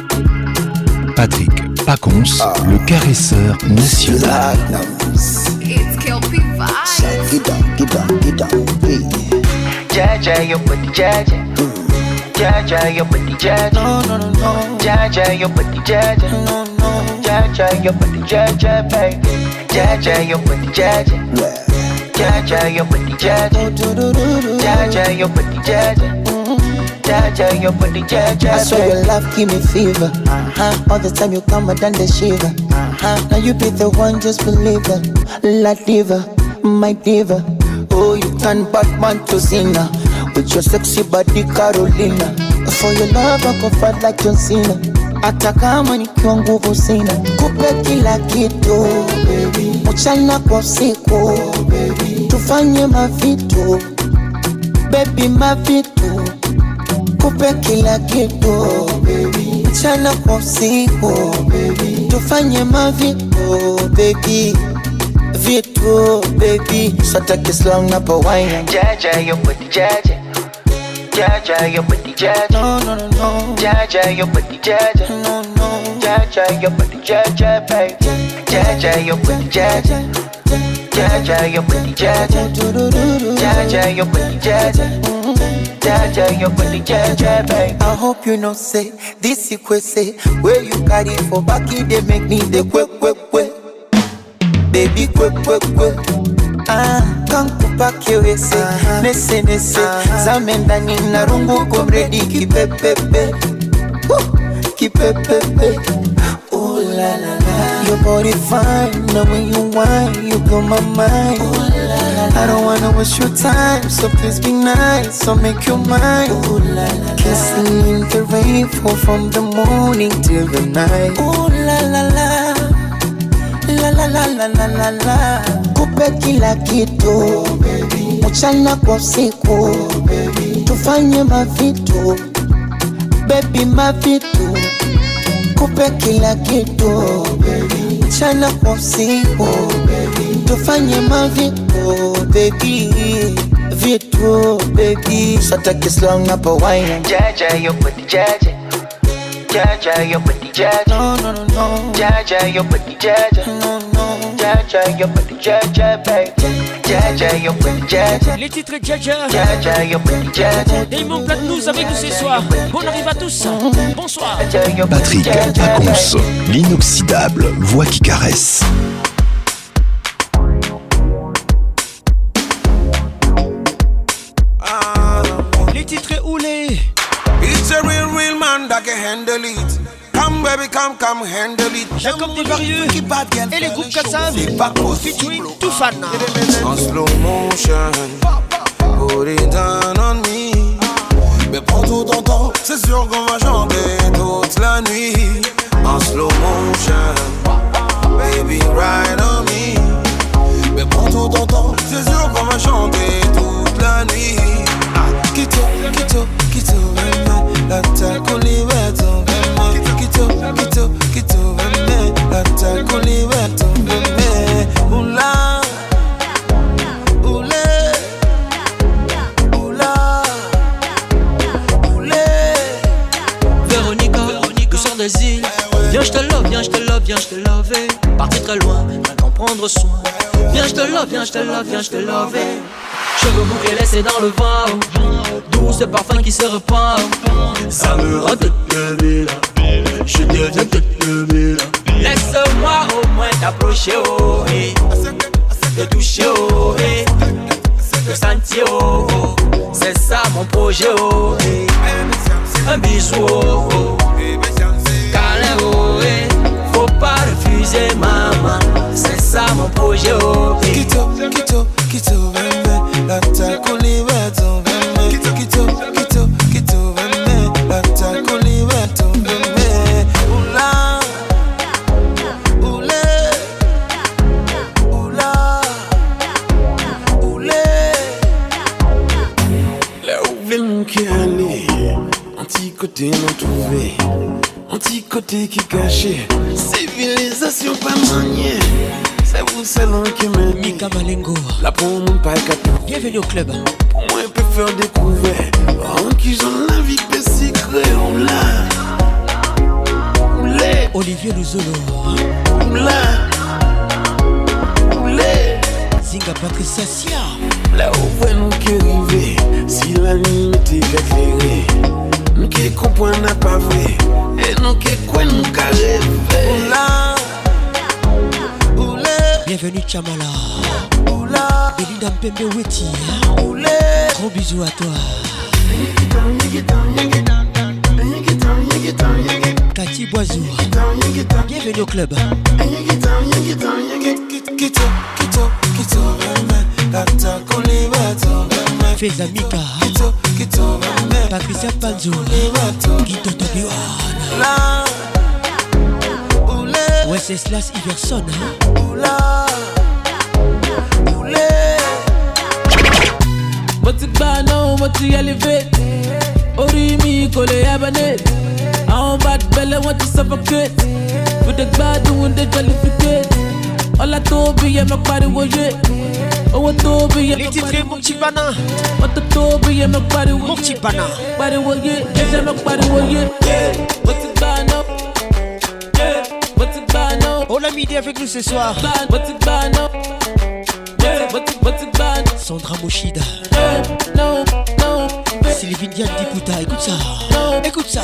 Patrick Pacons, ah. le caresseur national. It's Kelpie Vibes. Get down, get down, get down, hey. Jaja, your body, Jaja. Jaja, your body, Jaja. No, no, no, no. Jaja, your body, Jaja. No, no. Jaja, your body, Jaja, baby. Jaja, your body, Jaja. Yeah. Jaja, your body, Jaja. Jaja, your body, Jaja. Jaja, your body, Jaja. I swear your love give me fever. Uh-huh. All the time you come and then the shiver. Uh-huh. Now you be the one, just believe it. La diva, my diva. Oh, you turn Batman to Cena with your sexy body, Carolina. For your love, I go fight like John Cena. Hata kama nikiwa nguvu sina, kupe kila kitu baby. Mchana kwa usiku baby. Tufanye mavitu baby, mavitu. Kupe kila kitu baby. Mchana kwa usiku baby. Tufanye mavitu baby, vitu baby. So take it slow na pa wine. Jaja, your body, Jaja. Jaja, your body, Jaja. No, no, no, no. Jaja, your body, Jaja. No, no. Jaja, your body, Jaja, baby. Jaja, your body, Jaja. Jaja, your body, Jaja. Jaja, your body, Jaja. Jaja, your body, Jaja, baby. I hope you know say this you could say where you carry for back it they make me the quick quick quick baby quick quick quick. Ah, kankupa kiwese uh-huh. Nese nese uh-huh. Zamendani na rungu komredi kipepepe uh, kipepepe. Ooh la la la. Your body fine, now when you whine, you blow my mind. Ooh la la I don't wanna waste your time, so please be nice, so make your mind. Ooh la la, kissing in the rain, fall from the morning till the night. Ooh la la la, la la la la la la la. Kupe kila kitu, mchana kwa usiku, tufanye mavitu, baby mavitu. Kupe kila kitu, mchana kwa usiku, tufanye mavitu, baby vitu, baby. So take it slow up a wine. Jaja, you put the jaja. Jaja, you put the jaja. No, no, no, no. Jaja, you put the jaja. No, no. Jaja, you put the jaja, baby. Jaja, you put the jaja. Les titres Jaja. Jaja, you put the jaja. Damon Platnumz avec nous ce soir. Bon arrive à tous. Bonsoir. Patrick Pacons, l'inoxydable voix qui caresse. Les titres Oulé. It's a real, real man that can handle it. Come baby, come, come handle it. Jacob Desvarieux et les groupes Kassav featuring Toufan. En slow motion, put it down on me. Mais prends tout ton temps, c'est sûr qu'on va chanter toute la nuit. En slow motion, baby ride on me. Mais prends tout ton temps, c'est sûr qu'on va chanter toute la nuit. Kito, kito, kito, la taco liberto. Kito, kito, kito, la taco liberto. Oula, oulé, oula, oulé. Véronica, Véronica, sors des îles. Viens, je te love, viens, je te love, viens, je te love. Parti très loin, rien qu'en prendre soin. Viens, je te love, viens, je te love, viens, je te love. Cheveux bouclés laissés dans le vent, douce parfum qui se repart. Ça me rend toute bébé là, je deviens toute bébé là. Laisse-moi au moins t'approcher, oh, eh. Te toucher, oh, eh. Te sentir, oh, oh. C'est ça mon projet, oh, eh. Un bisou, oh, oh. Câlin, oh, eh. Faut pas refuser, maman. C'est ça mon projet, oh, eh. Kito, kito, kito, la taco liberto, kito, kito, kito, kito, la taco liberto, oula, oulé, oula, oulé. Là où veut mon qui aller, anti-côté non trouvé, anti-côté qui caché, civilisation pas maniée. C'est vous selon qui me Mika Malengo. La pour mon pas catou. Bienvenue au club. Pour moi, je peux faire découvrir. En qui j'en la vie peut s'y créer. Oula. Oulé. Olivier Luzolo. Oula. Oulé. Zinga Patricia Sia. Là où voit nous qui arriver. Si la nuit était éclairée. Nous qui comprenons n'a pas vrai. Et nous qui quoi nous qui rêver. Oula. Bienvenue Chamala. Oula. Belinda Mpembe Weti. Oulé. Gros bisous à toi. Cathy Boisou. Bienvenue au club. Kito, kito, kito, la taco liberto. Feza Mika. Kito, kito, Patricia Panzo. Guido Tobiwana. Wenceslas Iverson. Oula, oulé. What's it by now? What's the elevate? Orimi, Kole Abanet. I don't bad belly, want to suffocate. With the bad doing the jollificate. All I told me, yeah, my body was it. Oh, I told me, yeah, les titres Mon Petit Bana. What the told me, yeah, my body was it. Mon Petit Bana. Body was it. Yeah, my body was it. What's it by now? On l'a midi avec nous ce soir. Sandra Moshida. Sylvie Diane Dikuta. Écoute ça. Écoute ça.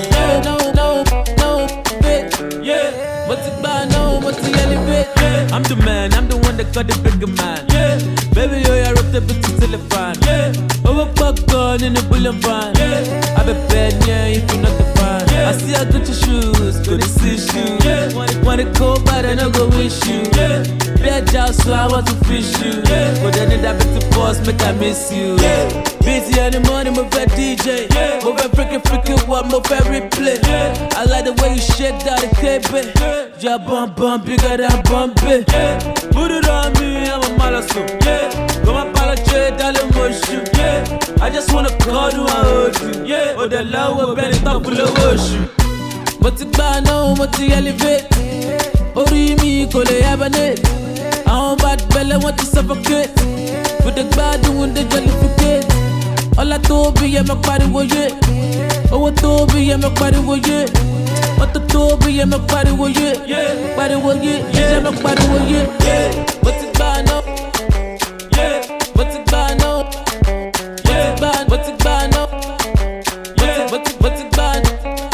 I'm the man, I'm the one that got the bigger man. Yeah. Baby, yo, I rip the bitch till the fan. Yeah. Over popcorn in the bullion van. Yeah. I be bad, yeah, if you're not the fan. Yeah. I see I got your shoes, go to see you. Yeah. Wanna, wanna go, but I no go wish you. Yeah. Bad job, so I want to fish you. Yeah. But then it happen to boss, make I miss you. Yeah. Busy in the morning, move that D J. Yeah. Move that freaking freaking what, move that replay. Yeah. I like the way you shake down the cape. Yeah. Your bum bum bigger than Bombay. Yeah. Put it on me, I'm a malasso. Yeah. Go my apologize, darling, motion. Yeah. I just wanna call you, I hold you. Yeah. Oh, the love will bend it up, will wash you. But it's bad now, but you elevate. Oh, me, call it abandoned. I'm bad belly, want to suffocate. With the bad, doing the jellificate. All I told me, yeah, my body was it. Oh, I told me, yeah, my body was it. What the told me, yeah, my body was it. Yeah, body was it. Yeah, my body was it. Yeah, but it's bad now. Yeah, but it's bad now. Yeah, bad, but it's bad now. Yeah, but it's but it's bad.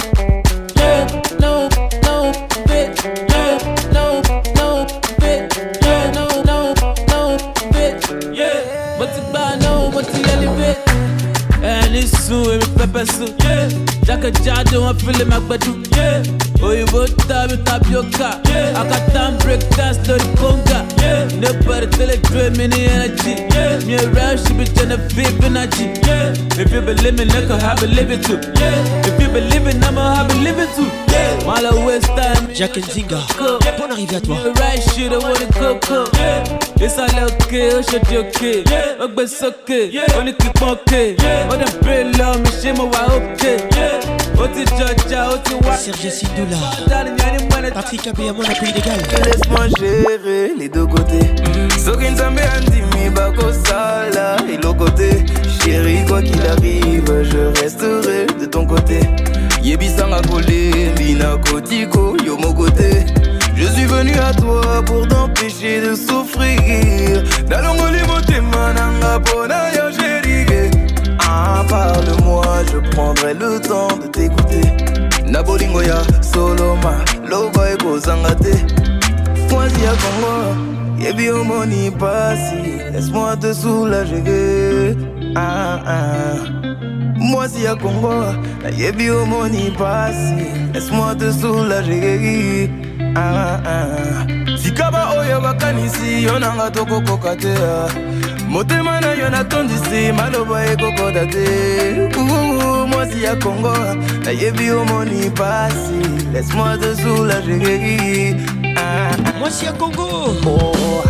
Yeah, no, no, fit. Yeah, no, no, fit. Yeah, no, no, no, fit. Yeah, but it's bad now. But it's elevate. And it's soon, it's pepper soup. Yeah, Jack a jar, don't feel it, my bedroom. Yeah, oh, you both time, you tap your car. Yeah, I got time, break dance, dirty conga. Yeah, nobody tell it, dream in the energy. Yeah, me around, she be trying to flip energy. Yeah, if you believe in it, I believe it too. Yeah, if you believe in I'm a believe it too. Yeah, while I waste time. Jack and Zinga, bonne arrivée à toi. Right shit, I wanna coco. Yeah, it's all okay, oh shit, okay. Yeah, oh, but it's okay. Yeah, only keep okay. Yeah, oh, the brain love me, she my okay. Yeah, oh, the judge, oh, the what? Serge Sindoula, Patrick Abéamon, la pays d'égal. Laisse-moi gérer les deux côtés. Sokin Zambé Andimi Bako Sala et l'autre côté. Chérie, quoi qu'il arrive, je resterai de ton côté. Yebisanga Kolé, Mina Kotiko, yo mon côté. Je suis venu à toi pour t'empêcher de souffrir. Dalongoli motema nanga pona yo chérie. Ah, parle-moi, je prendrai le temps de t'écouter. Nabolingoya, Soloma, Loba et Kozangate. Moi si à Congo, yebi omoni passi. Laisse-moi te soulager. Ah ah. Moi si à Congo, yebi omoni passi. Laisse-moi te soulager. Ah ah. Sikaba oyo bakanisi, yonanga toko kokatea. Motema na yo natondisi, maloba ekoko date. Moi si à Congo, na yebi omoni passi. Laisse-moi te soulager. Ah, ah. Moi si à Congo, oh.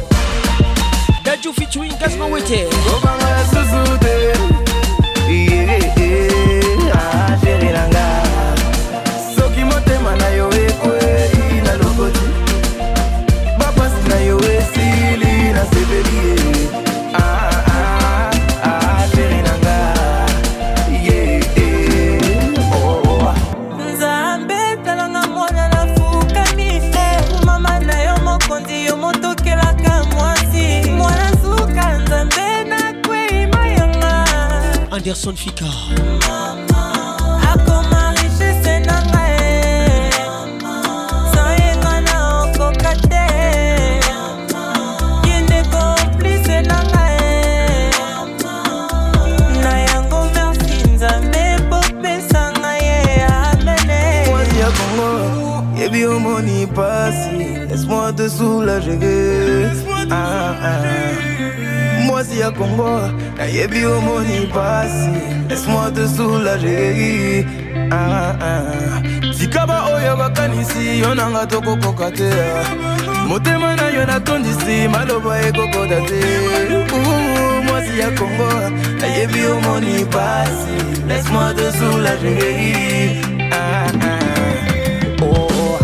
Dadju featuring Gasma Wete. Obama Suzude. Yeah, yeah, ah, chérie nanga. Soki motema na yo ekwe na lokoti. Bapasi na yo esili na sebeli. Ah ah ah, chérie nanga. Yeah, yeah, oh. Nzambe talanga mwana na fukani. Mama na yo mokondi yo motokela ka mwasi. Mwana suka nzambe na kwe mayanga. Anderson Fika. Akoma richesse nanga e. Soyenga na okokate. Yende complice nanga e. Na yango merci nzambe popesa nga ye amene. Moi si à Congo, yebi omoni passi. Laisse-moi te soulager. Ah ah. Moi si à Congo, na yebi omoni passi. Laisse-moi te soulager. Ah ah. Sikaba oyo bakanisi, yonanga toko kokatea. Motema na yo natondisi, maloba ekoko date. Moi si à Congo, na yebi omoni passi. Laisse-moi te soulager. Ah ah. Oh.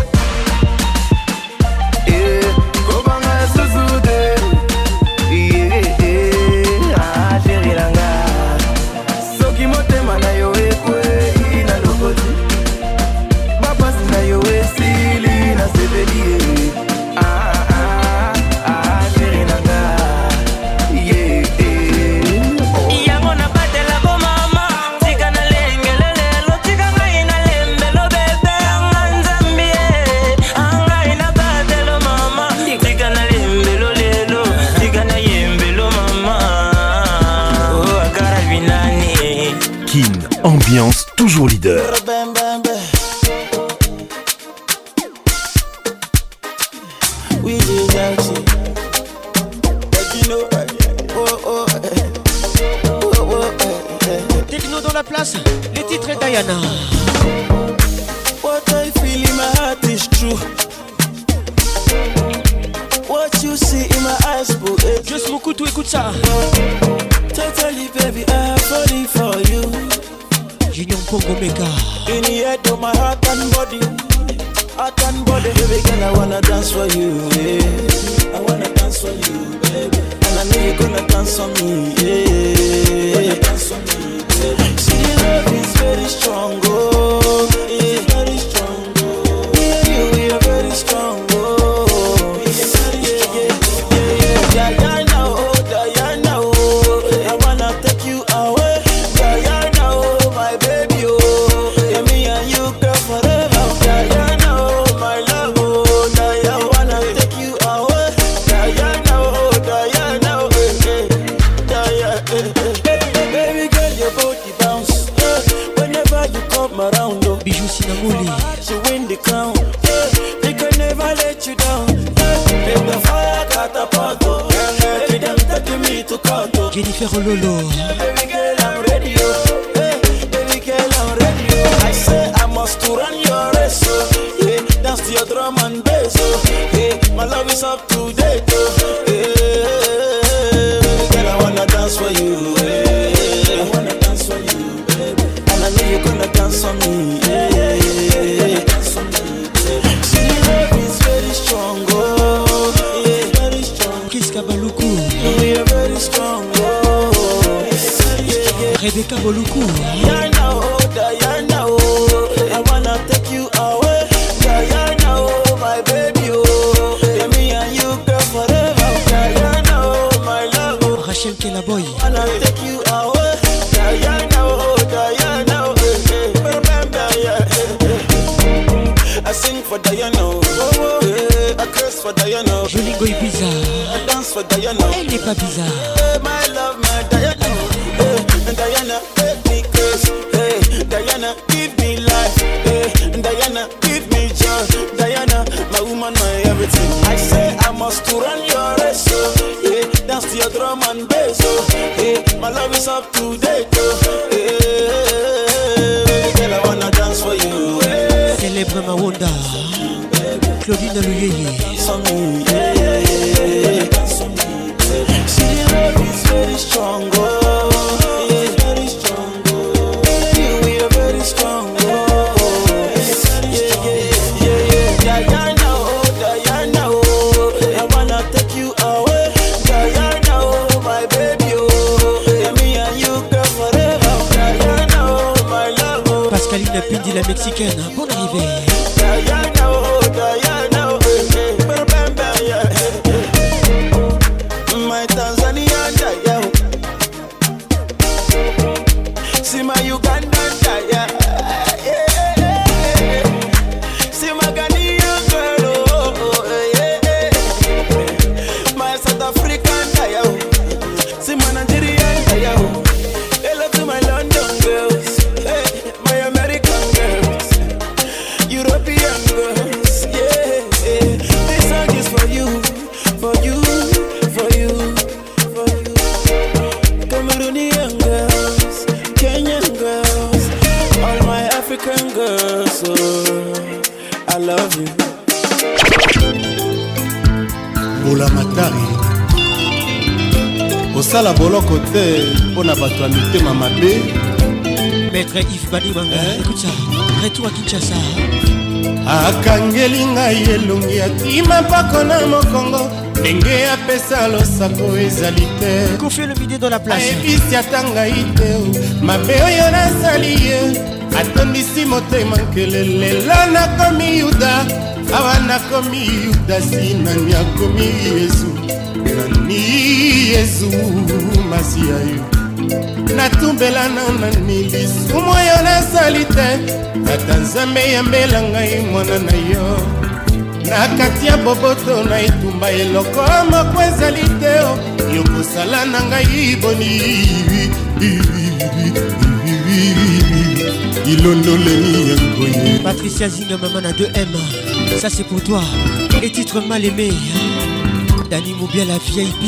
Eh, Kobanga Suzude. Yeah, yeah, ah, chérie nanga. Soki motema na yo ekwe na lokoti. Bapasi na yo esili na sebeli. Ah ah ah, chérie nanga. Yeah, yeah, oh. Yango na batela ko mama. Tika na lengelele lo tika ngai na lembelo bebe. Nzambi anga ina batelo mama. Tika na lembelo lelo. Tika na yembelo mama. Oh agara binani. Kin, ambiance toujours leader. without you. But you know, oh, oh, oh, oh, oh. Techno dans la place, les titres et Diana. What I feel in my heart is true. What you see in my eyes, boo. Just mon couteau, écoute ça. Totally, baby, I'm falling for you. Junior Pongo Mega. In the head of my heart and body, heart and body. Baby girl, I wanna dance for you, yeah. I wanna dance for you, baby. And I know you're gonna dance for me, yeah. Wanna dance for me, baby. See, the love is very strong, oh, yeah. Very strong, oh. Me and you, we are very strong, oh. Yeah, yeah, yeah, yeah, yeah. Diana, oh, Diana, oh. I wanna take you away, Diana, oh, my baby, oh. Yeah, me and you, girl, forever. Diana, oh, my love, oh. Diana, I wanna take you away, Diana, oh, Diana, oh, eh, eh. Diana, eh, eh. Baby girl, your body bounce, eh. Whenever you come around, oh. Bijou Sinamoli. You win the crown, eh. They can never let you down, eh. Make the fire catapult, oh. Make them take me to court, oh. Jennifer Lolo. Baby girl, I'm ready, oh. Hey, baby girl, I'm ready, oh. I say I must to run your race, oh. Yeah, dance to your drum and bass, oh. Yeah, my love is up to date, oh. Yeah, baby girl, I wanna dance for you, yeah. I wanna dance for you, baby. And I know you're gonna dance for me, yeah, yeah, yeah, yeah. Dance for me, baby. See, the love is very strong, oh. Yeah, very strong. Kiss Kabaluku. We are very strong, oh. Rebecca Boluku. Diana, oh, Diana, oh. I wanna take you away, Diana, oh, my baby, oh. Yeah, me and you, girl, forever. Diana, oh, my love, oh. Rachel Kelaboy. I wanna take you away, Diana, oh, Diana, oh. Eh, eh. Remember, yeah, eh, eh. I sing for Diana, oh, oh, eh. I curse for Diana, oh. Jolingo Ibiza. I dance for Diana. Elle n'est pas bizarre. Hey, my love, my Diana. Hey, Diana, make me curse. Hey, Diana, give me life. Hey, Diana, give me joy. Diana, my woman, my everything. I say I must to run your race. Oh, yeah, dance to your drum and bass. Oh, hey, my love is up to date. Oh, hey, girl, I wanna dance for you. Hey. Célèbre Mawanda. Claudine Luyeye. Yeah, yeah, yeah, yeah. See, the love is very strong, oh. Yeah, very strong, oh. Yeah, we are very strong, oh. Yeah, yeah, yeah, yeah. Diana, oh, Diana, oh. I wanna take you away, Diana, oh, my baby, oh. Yeah, me and you, girl, forever. Diana, oh, my love, oh. Pascaline Pindi, la mexicaine. Bonne arrivée. Diana, oh, Diana, oh. Remember, yeah. My Tanzanian Diana. See my Ugandan Diana. Yeah, yeah. See my Ghanaian girl, oh, oh, yeah. My South African Diana. See my Nigerian Diana. Hello to my London girls, hey, my American girls, European girls, yeah, yeah. This song is for you, for you, for you, for you. Cameroonian girls, Kenyan girls, all my African girls, oh, I love you. Bola Matari osala boloko te mpona bato ya mitema mabe. Maître Yves Banimanga, écoute ça. Retour à Kinshasa. Akangeli ngai elongi atima mpako na mokongo ndenge apesa losako ezali te. Confie le vidéo dans la place. ayebisi ata ngai te mabe oyo nasali ye atondisi motema nkele lelo nakomi yuda awa nakomi yuda sinani akomi yesu nani yesu masiya yo natumbela nani lisumu oyo nasali te ata nzambe yambela ngai mwana na yo na kati ya boboto na etumba eloko moko ezali te yokosala na ngai boni ilondoleni ya Patricia Zinga, maman à deux M. Ça c'est pour toi. Et titre mal aimé. Dani Moubia la V I P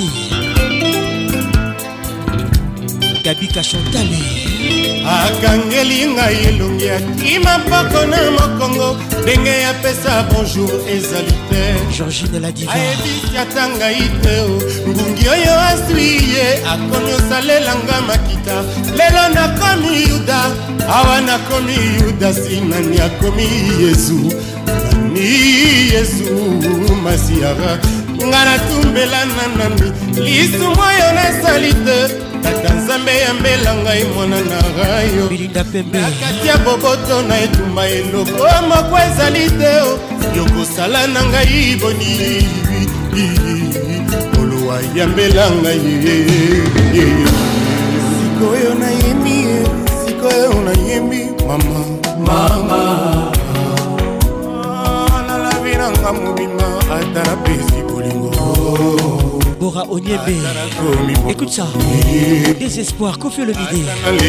Gabi Kachantale akangeli ngai elongi akima mpoko na mokongo ndenge ya pesa bonjour ezali te Georgine la diva ayebisi ata ngai te ngungi oyo aswi ye akomi osalelanga makita lelo nakomi yuda awa nakomi yuda sinani akomi yesu nani yesu masiara nga natumbela nanami lisumu oyo nasali te tata nzambe yambela ngai mwana na rayo nakati ya boboto na etumba eloko moko ezali te yokosala na ngai boni olowa yambela ngai sikoyo nayembi sikoyo nayembi mama mama nalavinanga mobima ata na pesi bolingo Bora Onyebe, écoute ça. Désespoir, Kofi Olomide.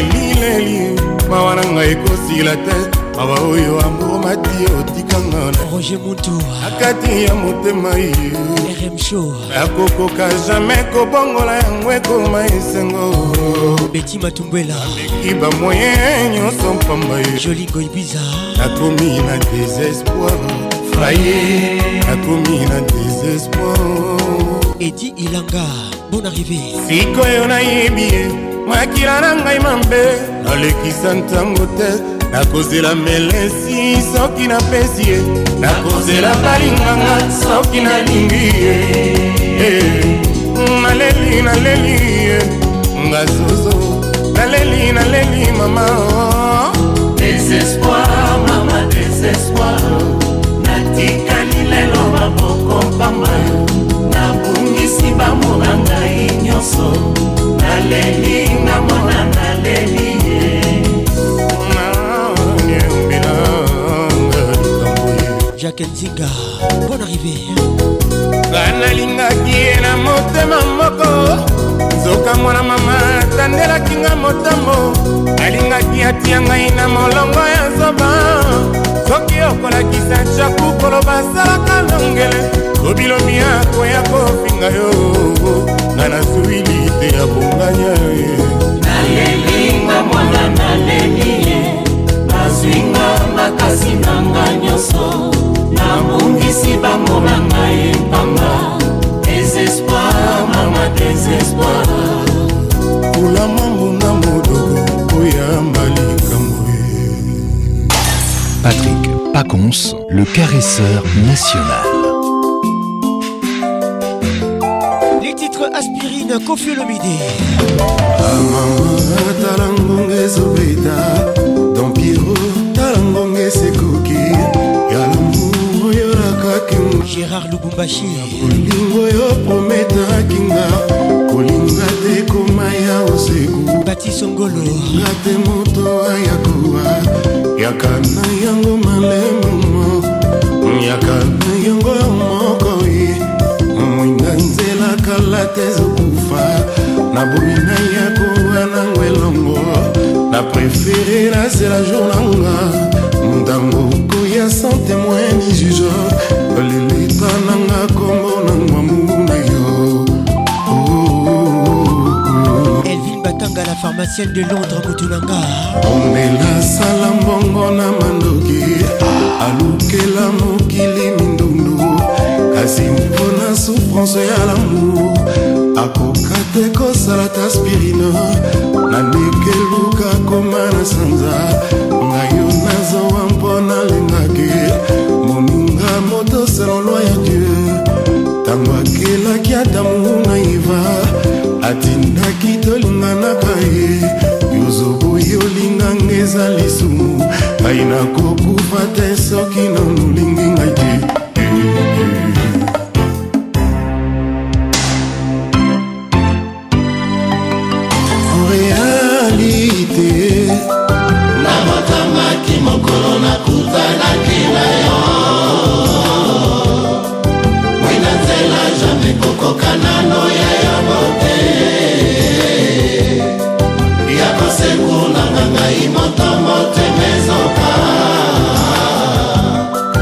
Roger Moutou, akati ya motema ye R M Show, akokoka jamais kobongola yango ekoma esengo Betty Matumbela, kiba moyen nyonso mpamba ye Jolingo Ibiza, nakomi na désespoir fraye, nakomi na désespoir. Eddie Ilanga, bonne arrivée. Sikoyo nayebi ye makila na ngai mambe nalekisa ntango te nakozela melesi soki napesi ye nakozela balinganga soki nalingi ye naleli naleli ye ngazozo naleli naleli mama désespoir mama désespoir natikali lelo maboko pamba nabungisi bamona ngai nyonso naleli namona naleli Jacques Nzinga, bonne arrivée. Banalingaki ye na motema moko nzoka mwana mama tandelaki nga motambo alingaki atia ngai na molongo ya zoba soki okolakisa chaku koloba salaka longele kobilomi yako ya kofinga yo nga nasuwili te ya bonganya ye nalelinga mwana naleli ye nazwinga makasi nanga nyonso nabungisi bamona ngai mpanga désespoir mama désespoir kula mambunga modogo oyamba likambo ye. Patrick Pacons, le caresseur national. Les titres Aspirine, Kofi Olomide. Amama talangonge zobeta Don Piero talangonge sekoki Yalambu yoraka kinga Gérard Lubumbashi Kolingo yo prometa kinga Kolinga te komaya oseku Bati Songolo Kolinga te moto ayakuwa Yakana yango malemu Yakana yango moko ye Mwinga nzela kala tezokufa na boina yako wana welongo na préféré na c'est la journanga ndango koya sans témoin ni juge lelita nanga kombo na mwamu na yo Elvin Batanga, la pharmacienne de Londres, Moutoulanga. Omela sala mbongo na mandoki alukela mokili mindundu kasi mpona souffrance ya l'amour akoka te kosala ta aspirine nandeke luka koma na sanza ngai yo nazowa mpona lengaki moninga moto selon loi ya dieu ntango akelaki adamu na iva atindaki tolinganaka ye yozoboyi olinganga eza lisumu ngai nakokufa te soki nonolingi ngai te. namotamaki mokolo nakutanaki na yo mwina nzela jamai kokokanano ya yango te ya kosekunanga ngai moto motemezoka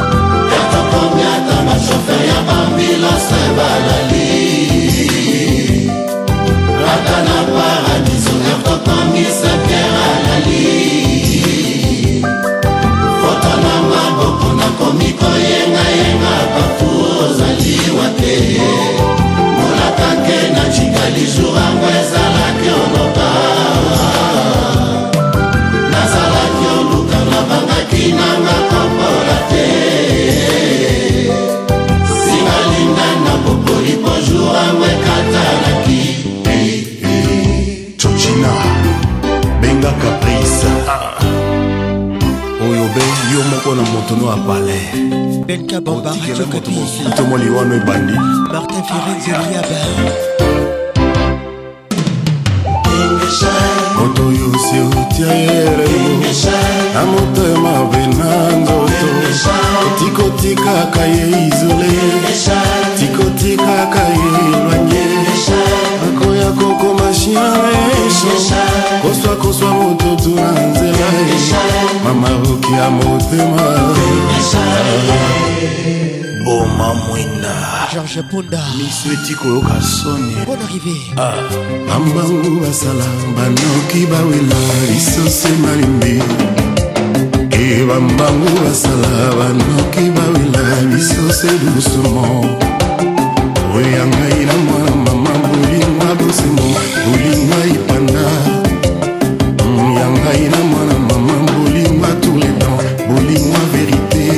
yo moko na moto no apale Benka Bamba Radio Kapi tomoni wano ebandi Martin Firenze Liaba moto yo si otia yere na motema bena nzoto tikotika kaye isole tikotika kaye loanye akoya koko machien koswa koswa moto tunanzela mama roki ya motema Boma mwina Georges Punda Misweti koyoka soni Bonne arrivée ah. Ambangu basala banoki bawela isose malimbi E bambangu basala banoki bawela isose doucement Oyanga ina mwana mama bulingwa bosemo bulingwa ipanda Yanga ina mwana mama bulingwa tous les temps bulingwa vérité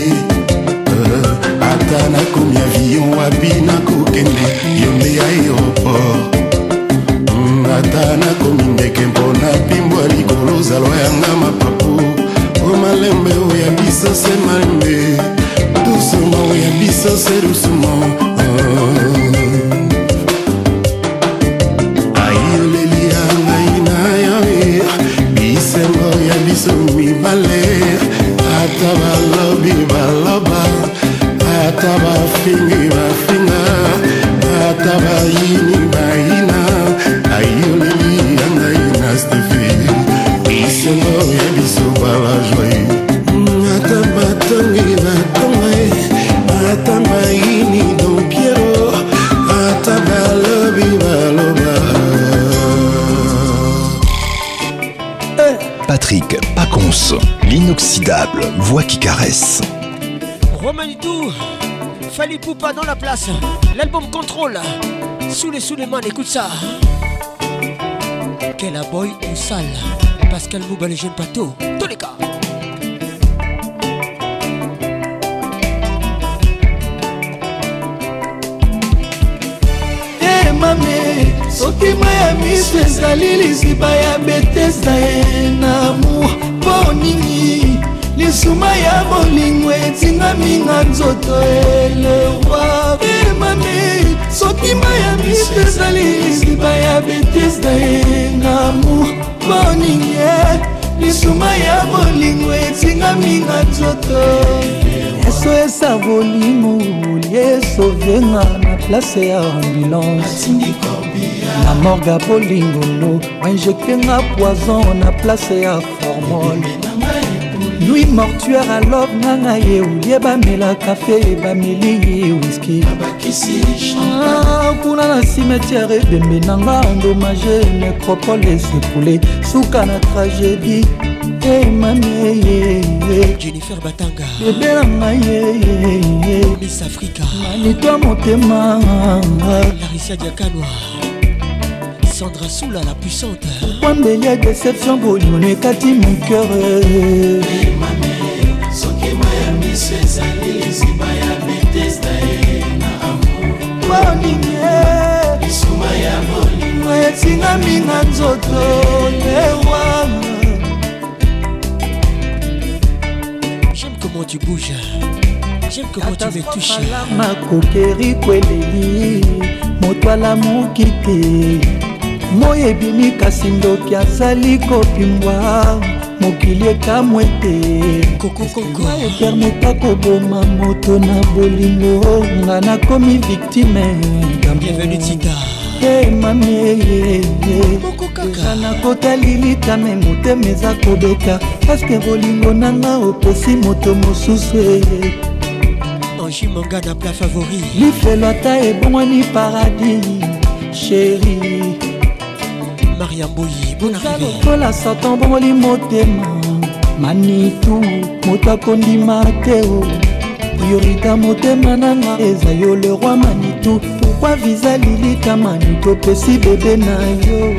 Atana komi avion wabina kokende yonde ya aéroport Atana komi ndeke mpona pimbwa likolo zalwa yanga mapapu O malembe oya biso se malembe Doucement oya biso se doucement Ayoleli yanga ina yawe Bisembo oya biso mibale Ata balobi baloba Ata ba fingi ba finga Ata ba yini ba ina Ayoleli yanga ina stefi Bisengo ya biso ba la joye Ata ba tongi ba tonga Ata ba yini don piero Ata ba lobi ba loba Patrick Pacons, l'inoxydable voix qui caresse. Romanitou, Fali Poupa dans la place. L'album Contrôle. Sous les sous les mains, écoute ça. Quel aboy ou sale. Pascal Mouba, les jeunes patos. Tous les cas. Eh mamé, soki maya miso ezali liziba ya betesda ye na amour mpo nini lisuma ya bolingo etingami na nzoto elewa emami soki maya miso ezali liziba ya betesda ye na amour mpo nini lisuma ya bolingo etingami na nzoto eso esa bolingo liesovenga na place ya ambulance na morga bolingolo wainjectenga poison na place ya formol nuit mortuaire alove nanga ye olie bamela kafe bameli ye wiski kuna na cimetière ebembe nanga endommage nécropole esepoule suka na tragédie Hey mami, Jennifer Batanga, bébé nanga ye Miss Africa, manitwa motema, Larissa Diakanwa, Sandra Soula la puissante. Pourquoi il y a déception bolingo ekati mon cœur. Hey mami, soki maya miso ezali liziba ya betesda ye na amour. Bolingo, lisuma ya bolingo etingami na nzoto lewa. Comment tu bouges, j'aime comment tu me touches. Makokeri kweleli moto alamuki te moyo ebimi kasi ndoki azali kopimbwa mokili ekamwe te epermeta koboma moto na bolingo nga nakomi victime. Bienvenue Tita. Hey mami, nakota lilitame motema eza kobeka paske bolingo nanga opesi moto mosusu. Angie Manga na plat favori lifelo ata ebongwani paradis chéri Maria Mboyi, bon arrivée. lokola satan bongoli motema manitu moto akondima te o priorité motema nanga eza yo le roi manitu. Pourquoi visa lilita manitu opesi bebe na yo.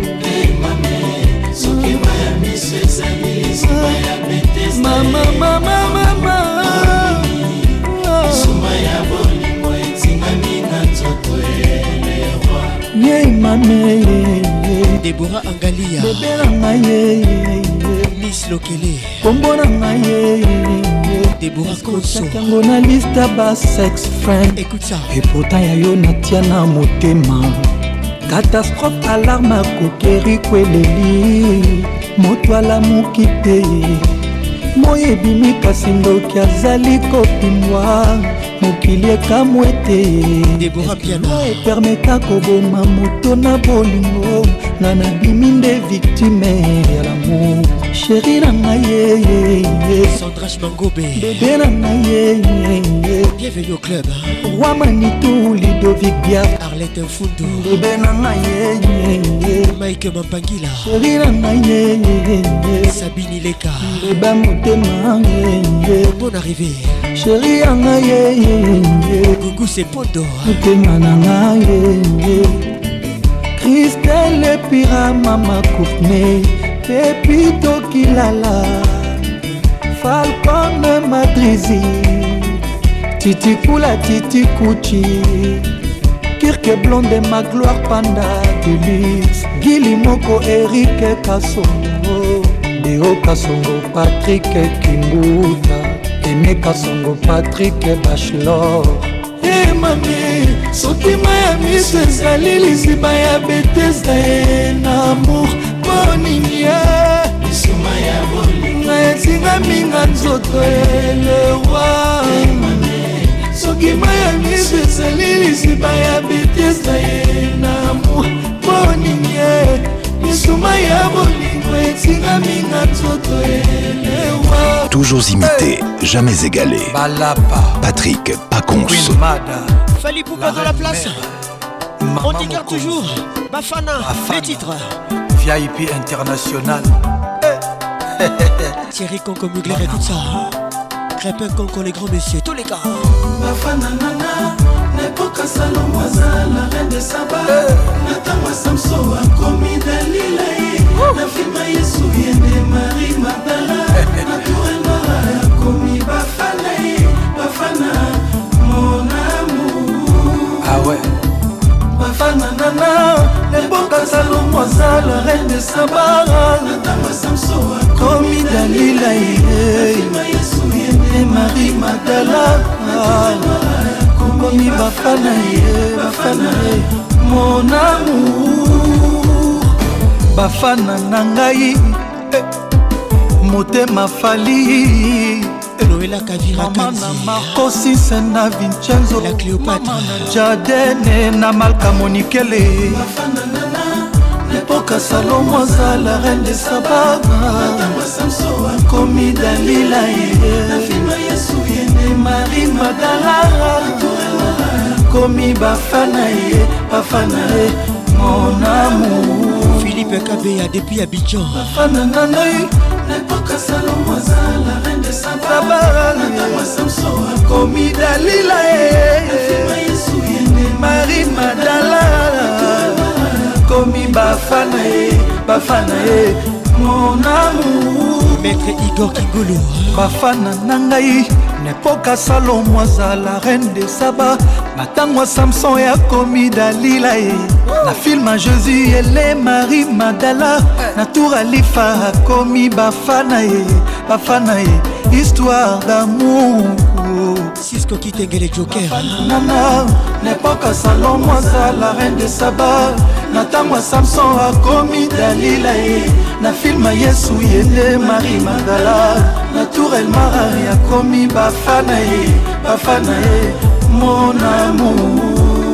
Mama, mama, mama, lisuma ya bolingo etingami na nzoto elewa. Ye mame Deborah Angalia, bebe nanga ye Miss Lokele kombo na ngai Deborah Konso yango na liste ba sex friend. Écoute ça. Et pourtant ya yo natia na motema. Catastrophe alarme akokeri kweleli. Moto alamuki te. Moyebimi kasi ndoki azali kopimwa. Mokili ekamwe te. Deborah Piana epermeta koboma moto na bolingo. Nga nabimi nde victime ya l'amour. Chéri na ngai Sandra Mangobe bébé na ngai bienvenue au club Roi Manitou Ludovic Bia Arlette Mfundo bébé na ngai Mike Mampangila chéri na ngai Sabine Leka bébé motema bonne arrivée chéri na ngai Gugu Sepondo motema na ngai Christelle Pira Mama Koufne Pepito Kilala Falcon Madrizi Titi Kula Titi Kuchi Kirke Blonde ma gloire Panda Deluxe Gili Moko Eric Kasongo Deo Kasongo Patrick Kimbuta Aimé Kasongo Patrick Bachelor Hey mami, soki Miami sezali liziba ya Bethesda en amour Bonini ya Bisuma ya bolinga etinga minga nzoto elewa soki Miami sezali liziba ya Bethesda en amour Bonini ya Bisuma ya bolinga etinga minga nzoto elewa. Toujours imité, jamais égalé. Balapa Patrick Pacons. Fali Poupa dans la place. On t'écarte toujours. Bafana, les titres. V I P international. Thierry Conco Mugler et tout ça. Crépin Conco, les grands messieurs, tous les gars. Bafana nana, n'époque Salomoisa, la reine de Saba. Natama Samso a commis Dalila. La fille Yesu vient de Marie Magdala. Naturel Mara a commis Bafana. Bafana, mon amour. Ah ouais. Bafana nana, l'époque Salomoisa, la reine de Saba. Natama Samso a commis Dalila. La fille Yesu vient de Marie Magdala. Commis Bafana, Bafana, mon amour. Bafana nangai, motema fali. Noëlla Kavira Kanzi Marco Sisena Vincenzo La Cléopâtre Jadene na Malka Monikele Bafana nana, l'époque Salomoisa, la reine de Saba. Commis Dalila, la fille Yesu vient de Marie Magdala. Commis Bafana, Bafana, mon amour. Philippe Kabea depuis Abidjan. Bafana nana, l'époque Salomoisa, la reine de Saba. Commis Dalila, la fille Yesu vient de Marie Magdala. Commis Bafana, Bafana, mon amour. Maître Igor Kingolo Bafana nangai, n'époque Salomoisa, la reine de Saba. Natangwa Samson ya commis Dalila. Na film à Jésus et les Marie Magdala. Na tour Alifa commis Bafana, Bafana, histoire d'amour. Cisco Kitengele Joker Nana, n'époque Salomoisa, la reine de Saba. Natangwa Samson a commis Dalila. Na film à Yesu et Marie Magdala. Na tour El Marari a commis Bafana, Bafana, mon amour.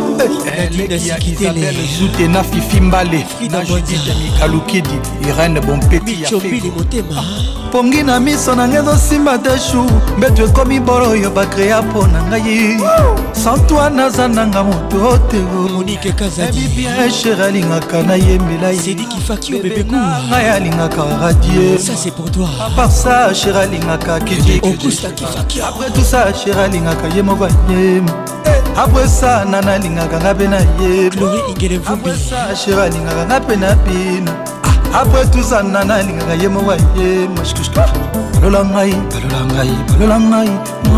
Isabelle Zoute na Fifi Mbale na Judith Mikalukidi Irene Bompeti ya Fego Pongi na miso na ngezo simba deshu Mbetu ekomi boro yo bakrea po na ngai Sans toi naza nanga moto otego Monique Kazadi Bibi Esher alingaka na yembela ye Sedi Kifaki au bébé goût Ngai alingaka radier Ça c'est pour toi À part ça Esher alingaka kiji Augusta Kifaki Après tout ça Esher alingaka ye moko yem Après ça nana alingaka ngabe na ye Chloé Ingele Vumbi Après ça Esher alingaka ngape na pina Après tout ça nana alingaka ye moko yem Mashkushka Balola ngai, balola ngai, balola ngai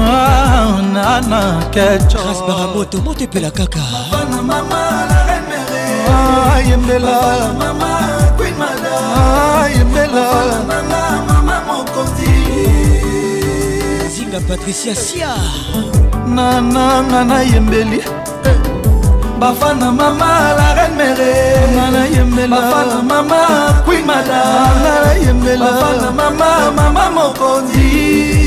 Nana kecho Ras Baramoto, monte pe la kaka Bafana mama la reine mère Yembela Mama queen mother Yembela Mama la Patricia Sia. Nana nana yembeli Bafana mama la reine mère Nana yembeli Bafana mama Queen Mada Nana yembeli Bafana mama mama mokondi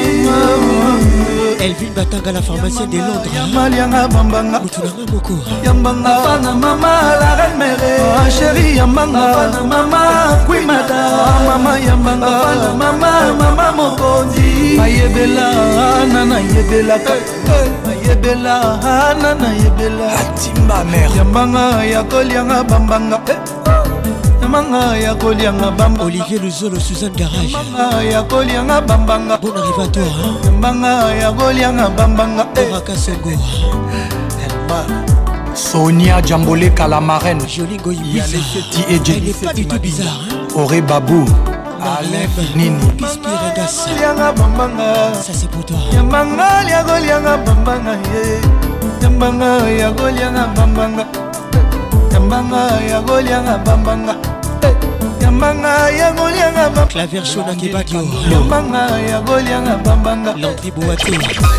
Elvin Batanga, la pharmacienne de Londres. Yamalianga bambanga Mutunanga moko Yambanga Bafana mama la reine mère Chérie Yambanga Bafana mama Queen Mada Mama Yambanga Bafana mama mama mokondi Ayebela nana yebela Ayebela nana yebela Atimba mère Yambanga ya kolianga bambanga Yambanga ya kolianga bamba Olivier Luzolo, Suzanne Garage. Yambanga ya kolianga bambanga Bon arrivée à toi hein? Yambanga ya kolianga bambanga Oraka Sengo. Sonia Djamboleka la marraine. Jolie Goïbiza. Et elle n'est pas du tout bizarre hein? Auré Babou Alain Nini Pispiregas. Yanga bambanga Ça c'est pour toi. Yambanga ya kolianga bambanga Yambanga ya kolianga bambanga Yambanga ya kolianga bambanga Yambanga ya kolianga bambanga Claver Shona Kebadio. Yambanga ya kolianga bambanga Landry Boaté.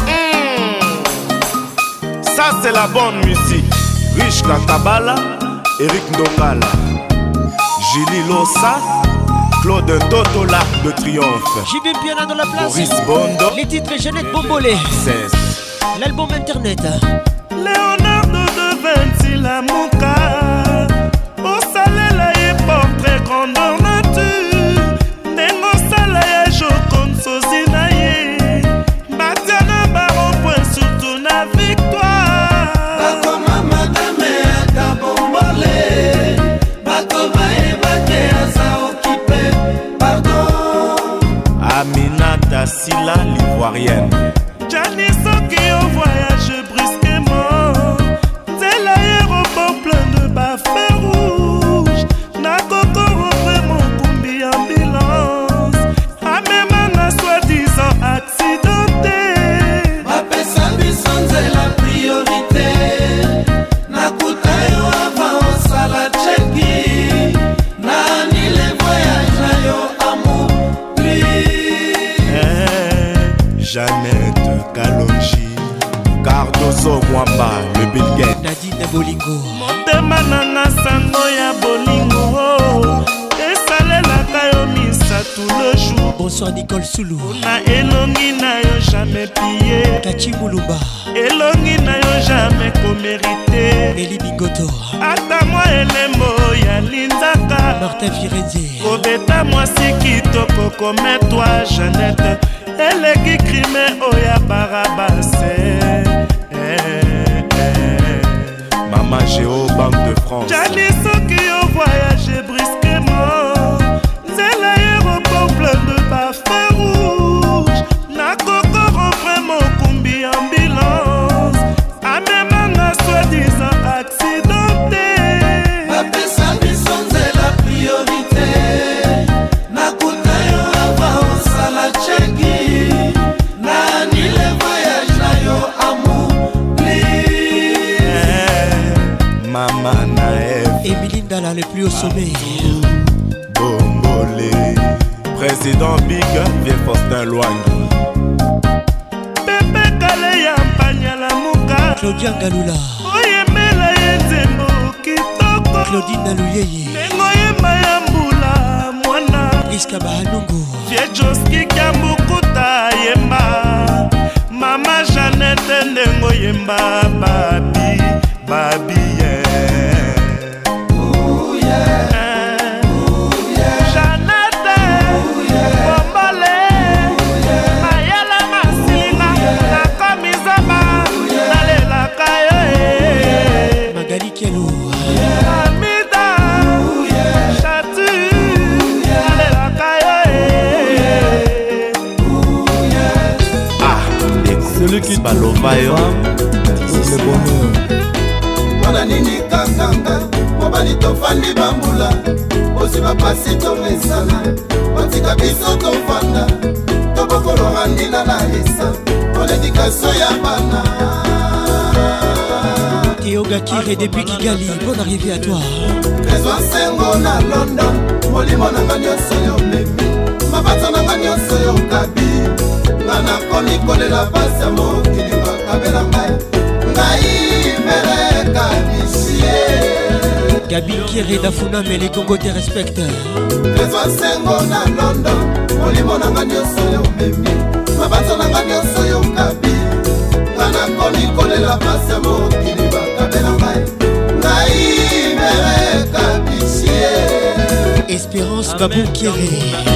Ça c'est la bonne musique. Rich Katabala, Eric Ndongala, Julie Lossa, Claude Toto, l'Arc de Triomphe. J B Piana dans la place. Boris Bondo. Les titres Jeannette Bombolé. Cesse. L'album internet. Leonardo de Vinci la Mouka. Au salela ye portrait grandeur nature. Nengo sala ye jokonde sozi na ye. Batiana baron point surtout na victoire. Bakoma madame ata bombolé. Bakoma ebake asa occupé. Pardon. Aminata Silla l'ivoirienne. Gianni Soki au voyage brusquement. C'est l'aéroport plein de bafés rouges. Nakoko vraiment kumbi ambulance. Amemana soi-disant accidenté. Bapesa bison c'est la priorité. Nakuta yo avant ça la cheki. Nani les voyages na yo amour Jeannette Kalonji, Cardozo Mwamba, le Bill Gates. Nadine Bolingo. Motema nanga sango ya bolingo. Esalelaka yo misa tout le jour. Bonsoir Nicole Soulou. Na elongi na yo jamais pillé. Kachi Moulumba. Elongi na yo jamais comérité. Eli Bingoto. Ata moi elembo ya linzaka. Martin Firenze. Kobeta moi sikitoko comme toi Jeannette. Eleki crime oya barabase. Eh, eh. Mama Géo, Banque de France. Gianni Soki au voyage brusquement. C'est l'aéroport plein de bafés rouges. Nakoko vraiment kumbi ambulance. Amemanga soi-disant accidenté. Bapesa bison c'est la priorité. Nakuta yo avant sala cheki. Nani le voyage na yo amour please. Mama Naëv. Emilie Ndala le plus au sommet. Bombolé. Président Big, vieux Faustin Loangi. Pepe Kale ya Mpanya la Muka. Claudia Galula. Oyemela yenzembo kitoko. Claudine Naluyeye. Nengo yemba ya mbula mwana. Priska Bahanungu. Fiejoski Kambukuta yemba. Mama Jeannette ndengo yemba babi. Babi yeah. Ooh yeah. Ooh yeah. Jeannette. Ooh yeah. Bombole. Ooh yeah. Mayala masilinga. Nako mizama. Nalela kayo eh. Magali Kielou. Amida. Ooh yeah. Chatu. Ooh yeah. Nalela kayo eh. Ooh yeah. Ah, celui qui balovayo. C'est le bonheur. Wana nini kakanga mobali tofandi bambula osi bapasi tomesana otika biso tofanda tobokologa ndina na esa oledikaso ya bana Théo Gakire depuis Kigali, bonne arrivée à toi. Trésor Sengo na London molimo nanga nyonso yo memi mabata nanga nyonso yo kabi nga nakomi Nabil Kieré Dafuna mais les Congo te respectent. Trésor Sengo na London, Olimo nanga nyonso yo memi, mabanzo nanga nyonso yo kabi, ngana koni kolela pase mokili bakabela ngai, ngai mere kabisie. Espérance Babou Kieré.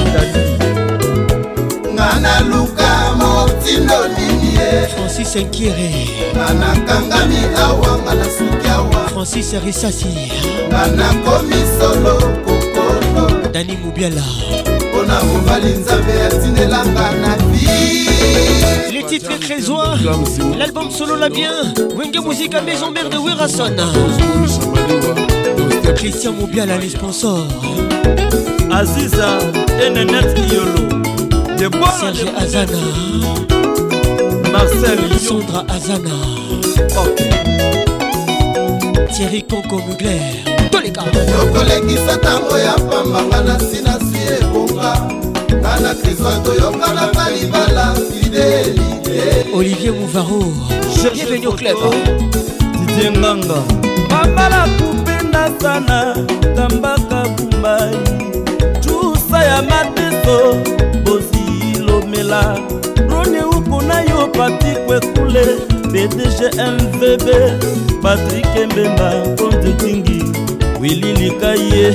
Ngana luka motindo ninie, Francis Nkieré. Ngana kangami awa ngana suki awa, Francis Rissassi. Ngana komi solo kokolo, Dani Moubiala. Ona mobali nzambe atindelanga na vie. Les titres et trésors. L'album solo la bien. Wenge Musique à Maison Mère de Wirason. Christian Moubiala les sponsors. Aziza Enenet Yolo. Serge Azana. Marcel Sandra Azana. Thierry Conco Mugler. Tous les gars. Tokolekisa tango ya pambanga na sina sie bonga. Nana Kristo toyoka na kalibala fidélité. Olivier Mouvaro. Bienvenue au club. Didier Nganga. Mambala kupenda sana kambaka bumbai. Chusa ya mateso bozi lomela. Rone uko na yo pati kwe kule. B D G M V B Patrick Mbemba Konte Tingi Willy Likaye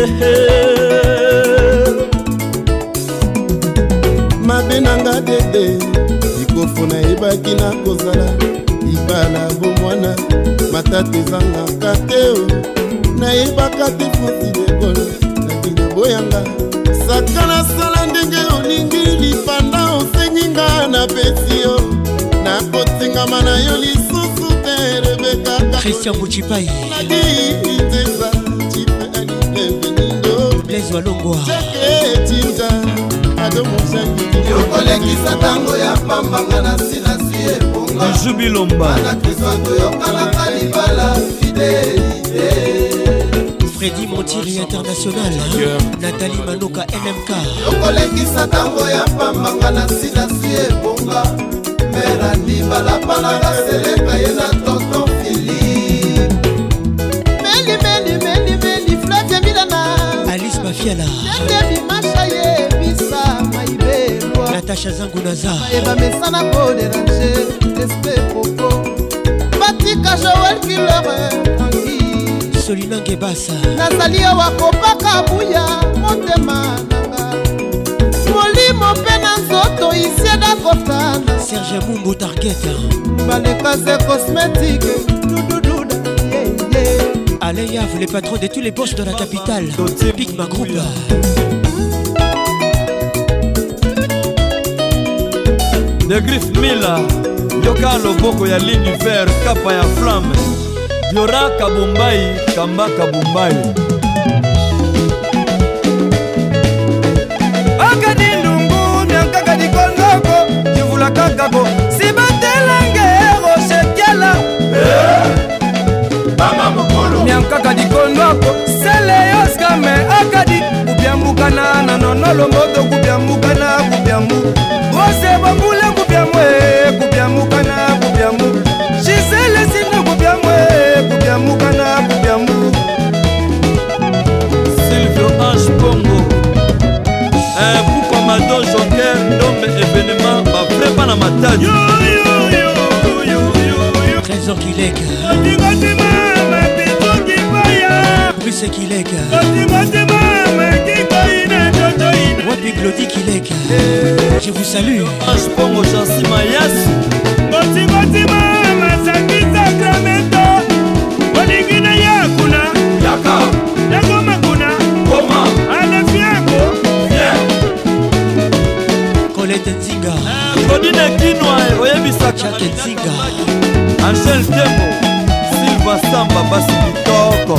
Mabenanga dede Ikofuna ibaki na kozala Ibala bomwana Matate zanga kateo Na ibaka te fonsi dekolo Na dine boyanga Sakana sala ndenge olingi Lipanda osenyinga na petio Na kotinga mana yo lisusu te Rebeka Christian Mouchipai Nagi iteza Chipe ani evenindo Blaise Walongwa Cheke tinja Ado mouchangi Yokolekisa tango ya pambanga na sina siye bonga Jubi Lomba Ana Kristo toyoka na kalibala fidélité Freddy Montieri International yeah. Nathalie Manoka M M K Yokolekisa tango ya pambanga na sina siye bonga Merandi balapalanga seleka ye na tonton Philippe Meli meli meli meli Flavia Milana Alice Mafiala Ndebi masha ye bisa maibelwa Natasha Zangunaza Eba mesana ko déranger Espé popo Batika Joël Killer Tangi Solina Ngebasa Nazali wakopaka buya motema nanga Molimo pena nzoto isieda kotana Serge Mumbo Target Balekase cosmétique Doudouda yeah yeah Alain Yav, les patrons de tous les boss de la capitale Big Ma Group De Griff Mila Yoka Loboko ya l'univers Kapa ya flamme Diora Kabumbai Kamba Kabumbai Akadi Ndungu Nyankaka di Kondoko Kivula Kakako Sibatelange Rochekiala Mama Mokolo Nyankaka di Kondoko Sele Yoskame Akadi Kubiambukana Nanonolo Moto Kubiambukana Kubiambu Rose Bambule Kubiamwe Kubiambukana Kubiambu Gisele Sino Kubiamwe Kubiambukana Kubiambu Silvio Ange Bongo Eh, Poupa Madon Joker Ndombe événement Ba prépa na matadi Yo yo yo yo yo yo Trésor Kilek Otingoti mama Pito Kipaya Bruce Kilek Otingoti mama Kikoine Totoine Wapi Glody Kilek Je vous salue Ange Bongo Jansi Mayas Otingoti mama Saki Sacramento Oligina Yakuna Yaka Yakoma Kuna Koma Alefiako Colette Nzinga Godine Kinwa Oyebisaka Jack Nzinga Angel Tembo Silva Samba Basi Kitoko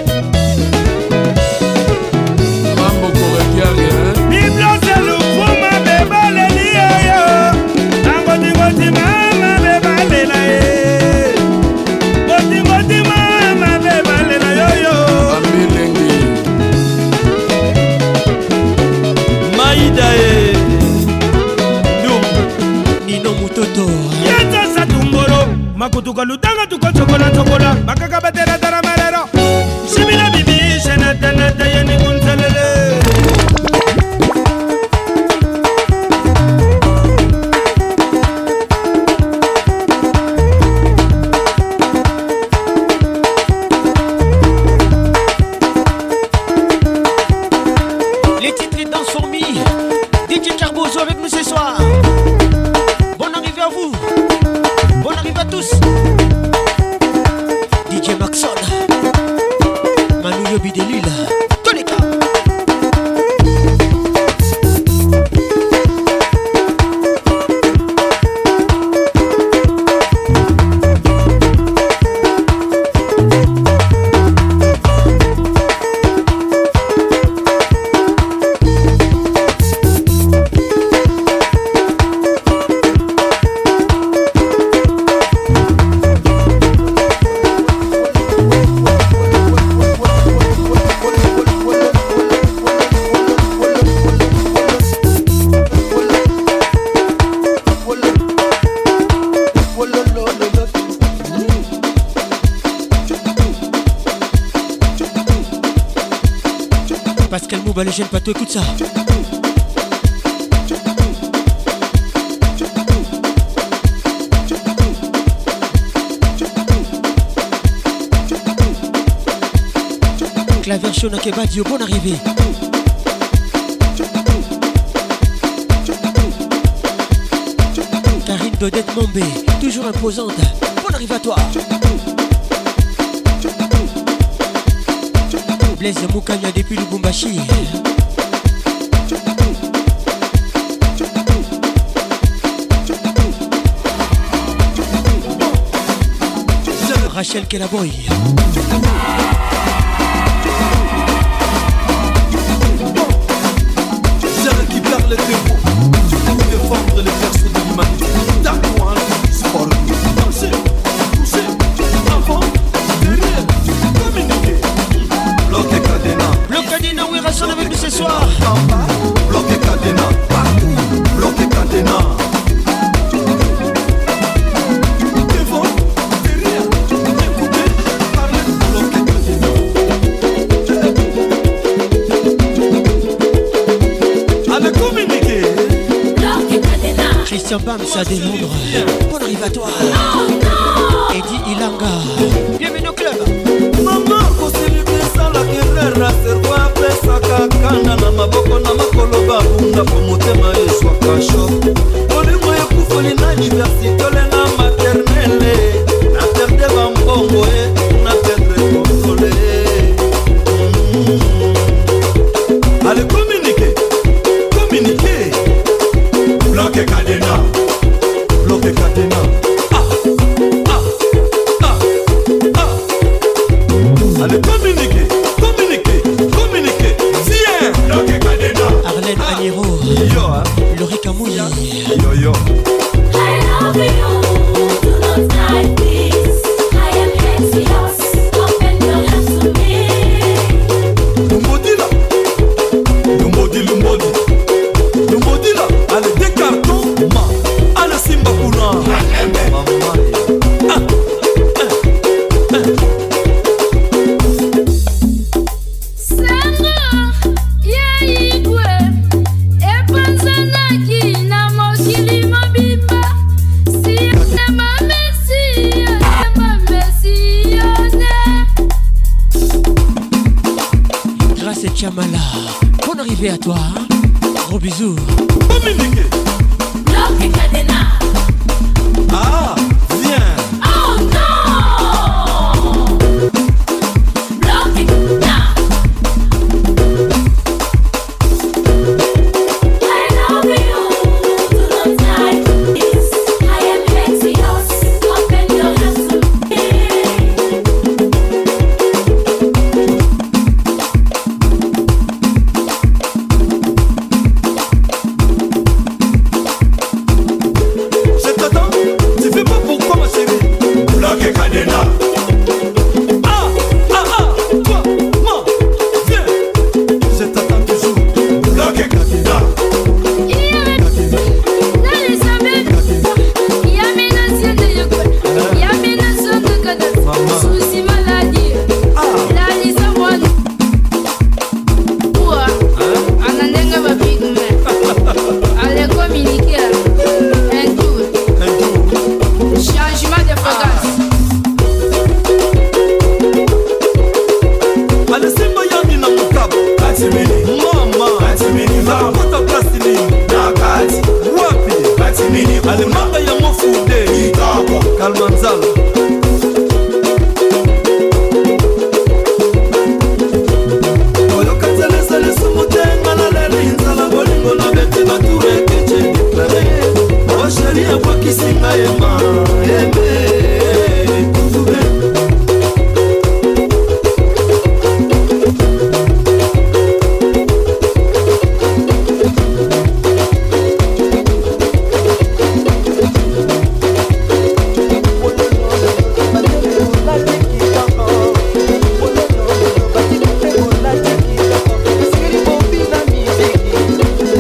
Mambo Korekiari Biblo Selu Fuma Beba Leli Yo Angoti Ngoti Mama Beba Lela Ye Ngoti Ngoti Mama Beba Lela Yo Yo Ambilengi Maida Ye Nino Mutoto Yeta Satumboro Makutuka Lutanga Tuko Chokola Chokola Makaka Batera Taramarero Shimina Bibi Bouba le jeune Pato, écoute ça. Claver Shona Kebadio, bonne arrivée. Karine Dodette Mombé, toujours imposante. Bonne arrivée à toi. Blaise Moukanya depuis Lubumbashi. Rachel Kelaboy. Celle qui perd les défauts pour défendre les persos de l'humanité. D'accord, sport, danser, pousser, avant, derrière, communiquer. Bloqué Cadena. Bloqué Cadena, oui, rassemble avec nous ce soir. Bloqué Cadena, partout. Bloqué Cadena. Devant, derrière, écoutez, parlez. Bloqué Cadena. Allez communiquer. Bloqué Cadena. Christian Bamsa de Londres. Bonne arrivée à toi. Oh non. Eddie Ilanga. Bienvenue au club. Mama kosilibisa la kerera servo apesaka kanda na maboko na makolo babunda po motema eswaka sho olingo ekufoli na université olenga maternele na perde bambongo e na perdre konsole. Allez communiquer, communiquer. Bloqué Cadena, bloqué Cadena. Allez, communiquer, communiquer, communiquer. Viens, bloqué Cadena. Arlène Agnero. Yo, hein. Laurie Kamouya. Yo, yo. I love you, do not like this. I am anxious, open your hands to me. Lumbodi là, Lumbodi, Lumbodi, Lumbodi là. Allez, des cartons, ma. Allez, Simba Kuna. Maman. Ah. Chamala, bonne arrivée à toi. Gros bisous. Communiquer. Bloqué Cadena. Ah, viens. Oh non. Bloqué Cadena. I love you, do not like this. I am anxious, open your hands to me.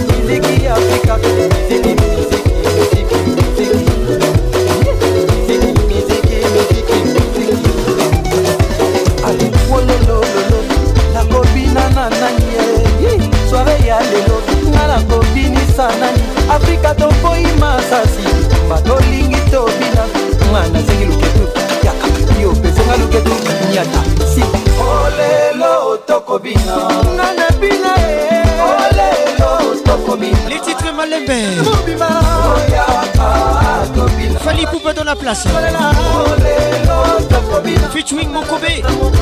Music, music, music, music, music, music. Afrika tomboi masasi batolingi tobina mwana zengi luketu yaka yo pesenga luketu nyata siba olelo tokobina ngana bina olelo tokobina. Les titres Malembe Fali Poupa dans la place featuring Mokobe.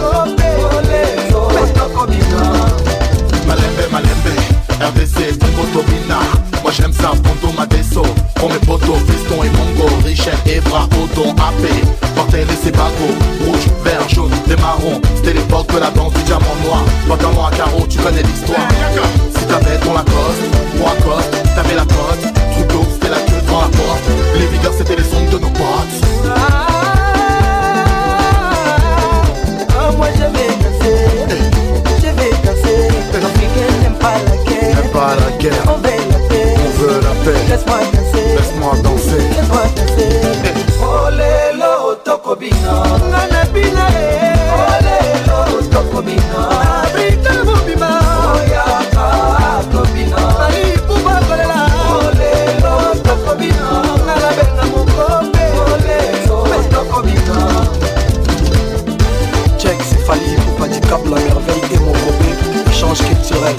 Malembe, Malembe, R D C, Tobina. Moi j'aime ça, Ponto Madeso. Pour mes potos, Fiston et Mongo, Richel, Ebra, Odon, A P. Portel et ses bagos, rouge, vert, jaune, des marrons. C'était l'époque de la danse du diamant noir. Pantalon à carreaux, tu connais l'histoire. Si t'avais ton Lacoste, ou Lacoste, t'avais la cote. Troupeau, c'était la queue devant la porte. Les videurs, c'était les sons de nos potes. Ah, moi je vais danser, je vais danser. L'Africain n'aime pas la guerre, n'aime pas la guerre. On veut la paix, on veut la paix. Laisse-moi danser, laisse-moi danser, laisse-moi danser. Olelo tokobina, ngana bina e. Olelo tokobina, Afrika mobima. Oyaka tokobina, ali puba kolela. Olelo tokobina, ngana benga mukombe. Olelo tokobina. Check, c'est Fali Poupa du Cap, la merveille et mon robé, échange culturel.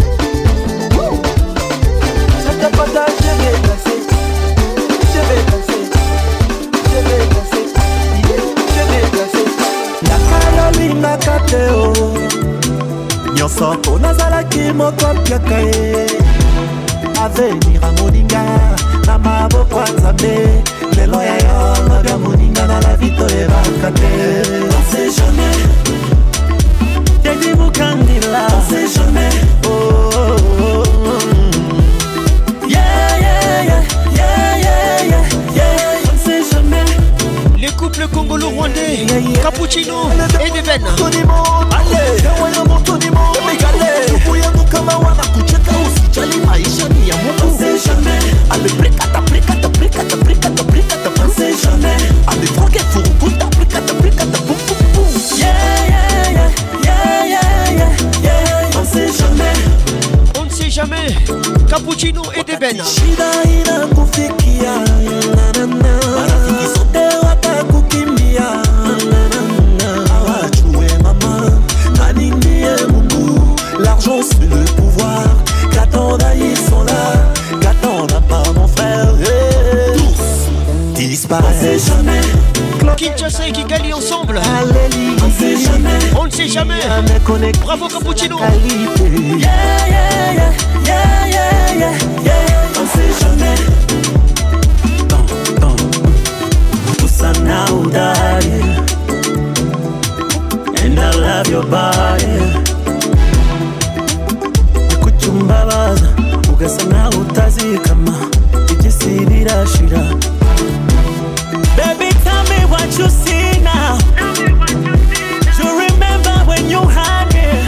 C'était pas ça, je vais danser, je vais danser, je vais danser, je vais danser. Nakalolinga kateo, nyonso po nazalaki moko piaka ye. Avenir a moninga, na maboko ya Nzambe. Lelo ya yo, nabia moninga na la vito ebaka te. On sait jamais. Teddy Mukandila, on sait jamais. Oh, oh, oh, oh. Yeah, yeah, yeah, yeah, yeah, yeah, yeah. On sait jamais. Les couples congolo-rwandais, yeah, yeah. Cappuccino et Deben. Allez, yawayamo tonimo, megale. Yubuyangu kama wana kucheka usijali maisha ni ya Mungu. On sait jamais. Allez, prekata, prekata, prekata, prekata, prekata. On sait jamais. Allez, drogue furukuta, prekata, prekata, boum, boum, boum. Yeah, yeah, yeah. Yeah, yeah, yeah, yeah. On ne sait jamais. On ne sait jamais. Cappuccino et Deben. Shida ina kufikia. Marafiki sote watakukimbia. Awachue mama. Nani ndiye Mungu. L'argent c'est le pouvoir. Qu'attendent ils sont là. Qu'attendent pas mon frère. Hey. Tous disparaissent. On ne sait jamais. Kinshasa et Kigali ensemble. On ne sait jamais. On ne sait jamais. Bravo Cappuccino. Yeah, yeah, yeah, yeah, yeah, yeah, yeah. On ne sait jamais. Usana udari, and I love your body. Kuchumbabaza, ugasana utazikama, ikisibira shira. Baby, tell me what you see now. You remember when you had me.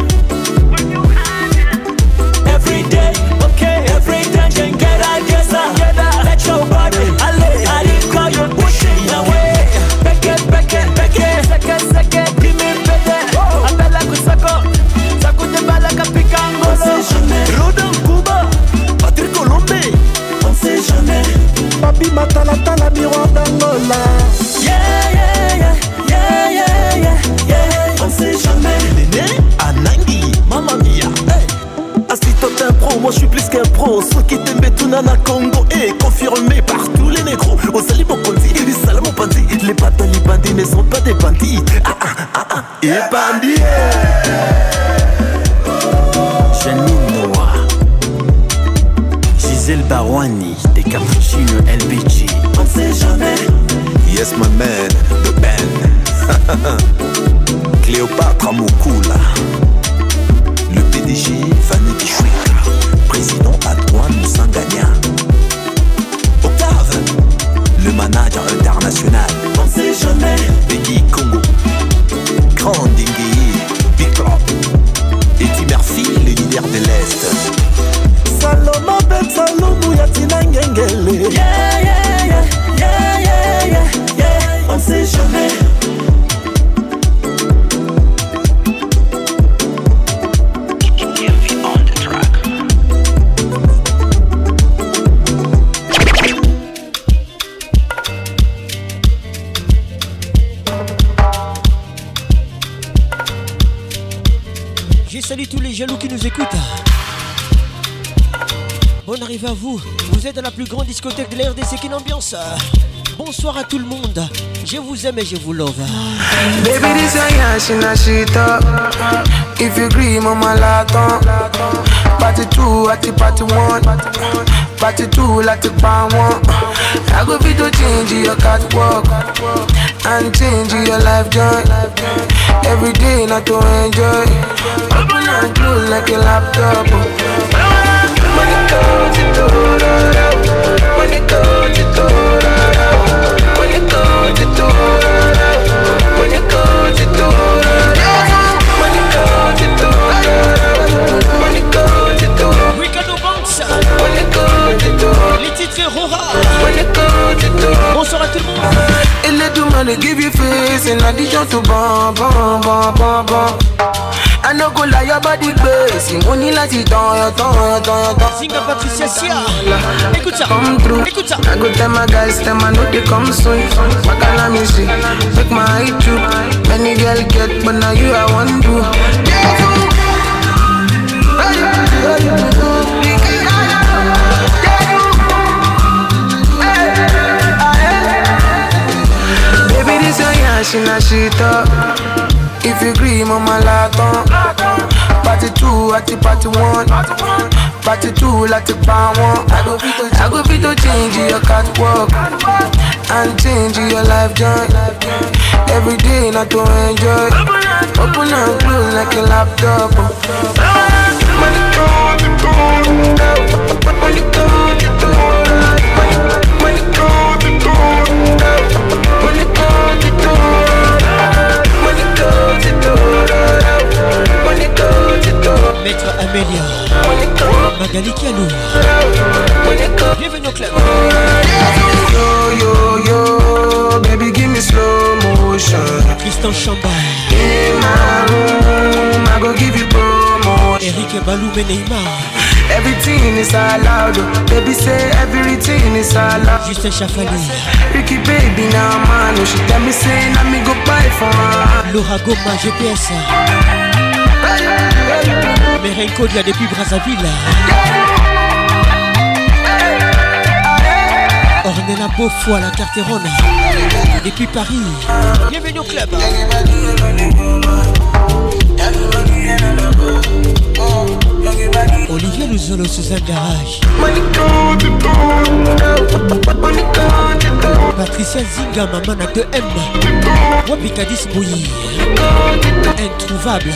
Every day, okay, every day can get together. Let your body, I didn't call you pushing away. Back it, back it, back it. Second, second, give me better. Abella Kusako, Sakute Balaka Picango. On sait jamais. Rodon Kuba, Patrick Colombe. On sait jamais. Papi Matalata, la miroir d'Angola. Yeah, yeah, yeah, yeah, yeah, yeah, yeah. On sait jamais. Néné, Anangi, Mamma Mia. Hey. Assistant un pro, moi je suis plus qu'un pro. Ceux qui t'aiment tout nana Congo est confirmé par tous les négros. Au Salimo Ponzi, les Salamo Ponzi. Les bâtons, les bandits ne sont pas des bandits. Ah ah ah ah, et bandits. Janine Noah, Gisèle Barouani, des Cappuccino L B G. On sait jamais. Yes my man, the band. Cléopâtre Mukula. Le P D G Fanny Kishwika. Président Antoine Moussangania. Octave, le manager international. On sait jamais. Peggy Congo. Grand Dingueye, Big Club. Eddie Murphy, le leader de l'Est. Saloma Ben Salomou Yatina Ngengele. Yeah, yeah, yeah, yeah, yeah, yeah, yeah. On sait jamais. salue tous les jaloux qui nous écoutent. Bonne arrivée à vous. Vous êtes dans la plus grande discothèque de la R D C qui ambiance. Bonsoir à tout le monde. Je vous aime et je vous love. Baby, this a yash in a shit up. If you agree, mama laton. Party two, at the party one. Party two, like the pan one. I go fit to change your catwalk and change your life joy. Every day, not to enjoy. Open and close like a laptop. Money comes to do. Money comes to do. Money comes to do. Money comes to do. Money comes to do. Money comes to do. Ricardo Banks. Money comes to do. Les titres Rora. Money comes to do. Bonsoir à tout le monde. Et let the money give you face in addition to bam bam bam bam bam. I no go lie, your body crazy. Money like it on your tongue, your tongue, your tongue. Zinga Patricia Sia. Écoute ça. Come through. Écoute ça. I go tell my guys, tell my know they come soon. What can I miss it? Make my eye true. Many girl get, but now you I want to. Baby, this your yash in a shit up. If you agree, mama laton. Party two, at the party one. Party two, like the pan one. I go fit to, I go fit to change your catwalk and change your life joy. Every day, not to enjoy. Open and close like a laptop. Money comes to do. Money comes to do. Money comes to do. Money comes to do. Maître Amélia Magali Kialou. Bienvenue au club. Yo yo yo, baby give me slow motion. Tristan Chamba. In my room, I go give you promotion. Eric Balou Meneima. Everything is allowed, baby say everything is allowed. Justin Chafali. Ricky baby now man, she tell me say na me go buy for her. Laura Goma G P S. Merenko de la depuis Brazzaville. Ornella Beaufoy la Carterone. Depuis Paris. Bienvenue au club. Olivier Luzolo sous un garage. Patricia Zinga, maman à deux M. Wapikadis Bouilly. Introuvable.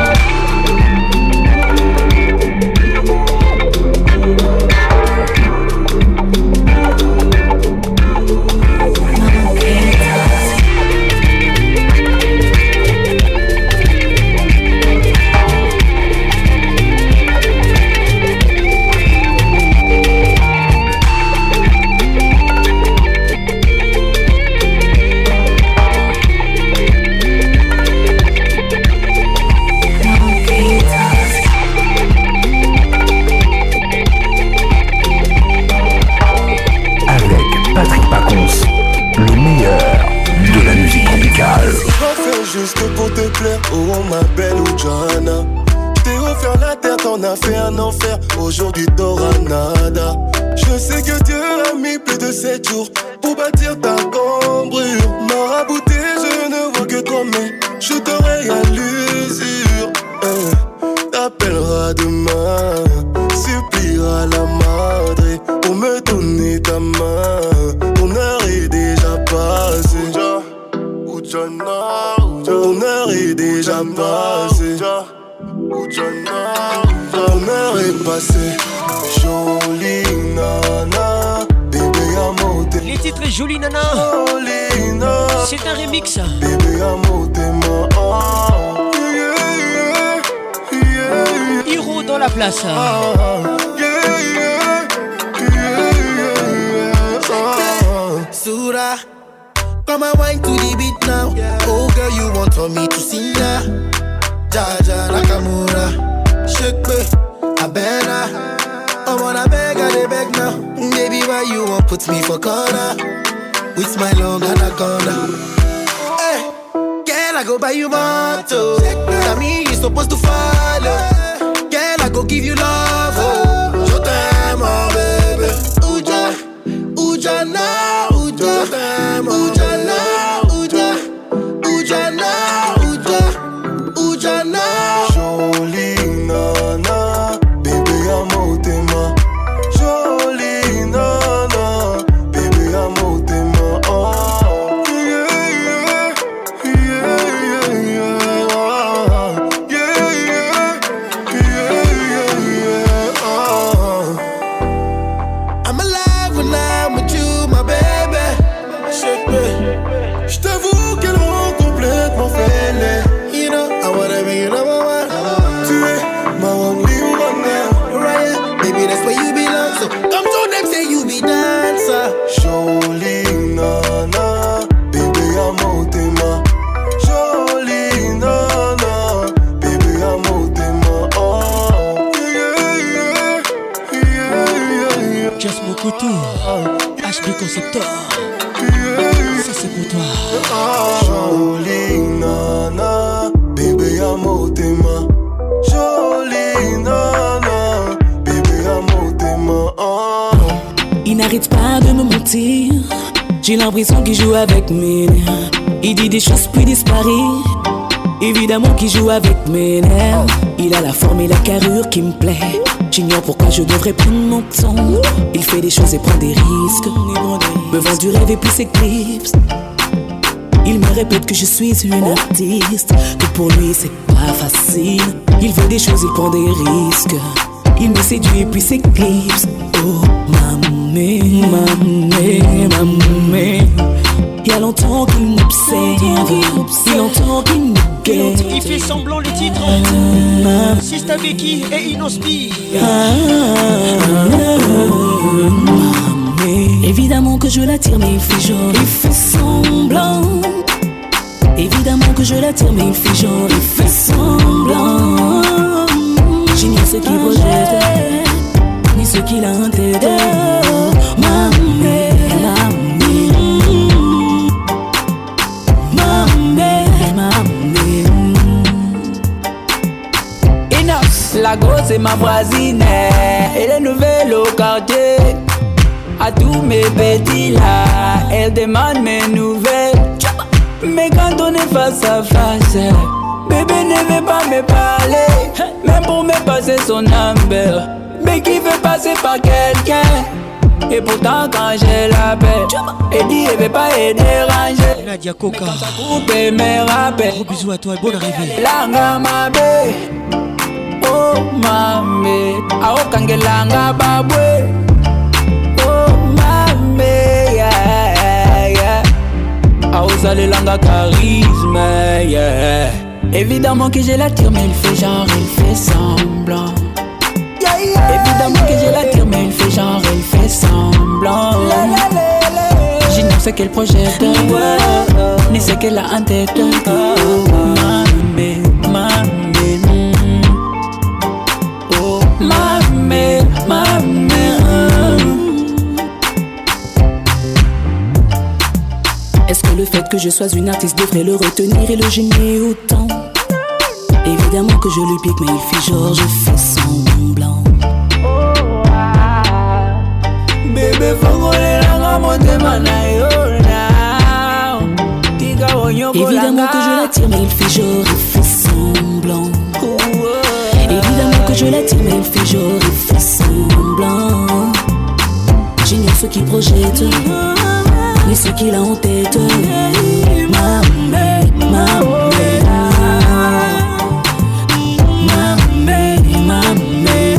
Juste pour te plaire, oh ma belle Johanna. T'es offert la terre, t'en as fait un enfer. Aujourd'hui t'auras nada. Je sais que Dieu a mis plus de sept jours pour bâtir ta cambrure. Marabouté, je ne vois que toi, mais je t'aurai à l'usure. Eh, t'appelleras demain, suppliera la madre pour me donner ta main. Ton heure est déjà passée. Ton heure est déjà passée. Ton heure est passée. Jolie nana, bébé à monter. Les titres Jolie nana. Jolie nana. C'est un remix. Bébé à monter ma. Hiro dans la place. Sura, come and wine to the beat now. Oh girl, you want for me to sing now. Jaja Nakamura, shake me, Abena. I wanna beg, I dey beg now. Baby, why you won't put me for corner? With my long anaconda. Hey, girl, I go buy you motto. Tell me you supposed to follow. Girl, I go give you love. Oh, je t'aime, oh baby. Uja, Uja na, Uja, je t'aime, Uja na, Uja, Uja na, Uja, Uja na. Jolie nana, bébé à motema. Jolie nana, bébé à motema. Oh, yeah, yeah, yeah, yeah, yeah, oh, yeah, yeah, yeah, yeah, oh. I'm alive when I'm with you, my baby. Je t'avoue qu'elle rend complètement fêlée. You know, I wanna be your number one. Tu es ma only one now. Right, baby, that's where you belong. So come to them, say you be dancer. Jolie nana, bébé à motema. Jolie nana, bébé à motema. Oh, yeah, yeah, yeah, yeah, yeah. Just Mokoto, H B Conceptor. Ça c'est pour toi. Jolie nana, bébé à motema. Jolie nana, bébé à motema. Oh. Il n'arrête pas de me mentir. J'ai l'impression qu'il joue avec mes nerfs. Il dit des choses puis disparaît. Évidemment qu'il joue avec mes nerfs. Il a la forme et la carrure qui me plaît. J'ignore pourquoi je devrais prendre mon temps. Il fait des choses et prend des risques. Me vend du rêve et puis s'éclipse. Il me répète que je suis une artiste, que pour lui c'est pas facile. Il veut des choses, il prend des risques. Il me séduit et puis s'éclipse. Oh mamé, mamé, mamé. Il y a longtemps qu'il m'observe. Il entend qu'il me guette. Il fait semblant les titres. Sista Becky et Inospi. Évidemment que je l'attire mais il fait genre, il fait semblant. Évidemment que je l'attire mais il fait genre, il fait semblant. J'ignore ce qu'il projette, ni ce qu'il a en tête. Mamé, mamé, mamé, mamé. Inox, la grosse c'est ma voisine. Elle est nouvelle au quartier. À tous mes petits là, elle demande mes nouvelles. Mais quand on est face à face, bébé ne veut pas me parler. Même pour me passer son number, mais qui veut passer par quelqu'un. Et pourtant quand je l'appelle, elle dit elle veut pas être dérangée. Nadia Coca, mais quand ça coupe, elle me rappelle. Gros bisous à toi et bonne arrivée. Langa ma bé, oh mamé, ao kangelanga babwe. Langa charisme, yeah. Évidemment que je l'attire mais il fait genre, il fait semblant. Yeah, yeah, évidemment yeah, que je l'attire mais il fait genre, il fait semblant. J'ignore ce qu'elle projette, ouais, ni ce qu'elle a en tête. Mamé, mamé, oh mamé, mamé. Est-ce que le fait que je sois une artiste devrait le retenir et le gêner autant? Évidemment que je lui pique mais il fait genre, je fais semblant. Bébé fongole langa motema na yo now. Évidemment que je l'attire mais il fait genre, il fait semblant. Évidemment que je l'attire mais il fait genre, il fait semblant. J'ignore ce qu'il projette, ni ce qu'il a en tête. Mamé, mamé, mamé, mamé.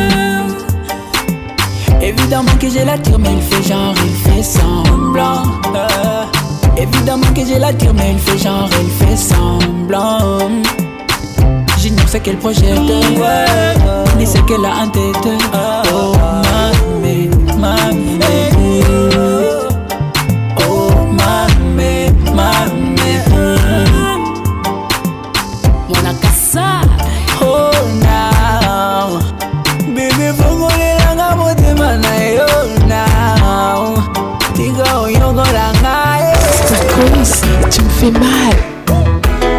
Évidemment que je l'attire mais il fait genre, il fait semblant. euh, Évidemment que je l'attire mais il fait genre, il fait semblant. J'ignore ce qu'elle projette, ouais, ni ce qu'elle a en tête. Oh mamé, mamé. Oh now, baby, fongole langa motema na yo now. Tiga oyongo langa. C'est comme si tu me fais mal.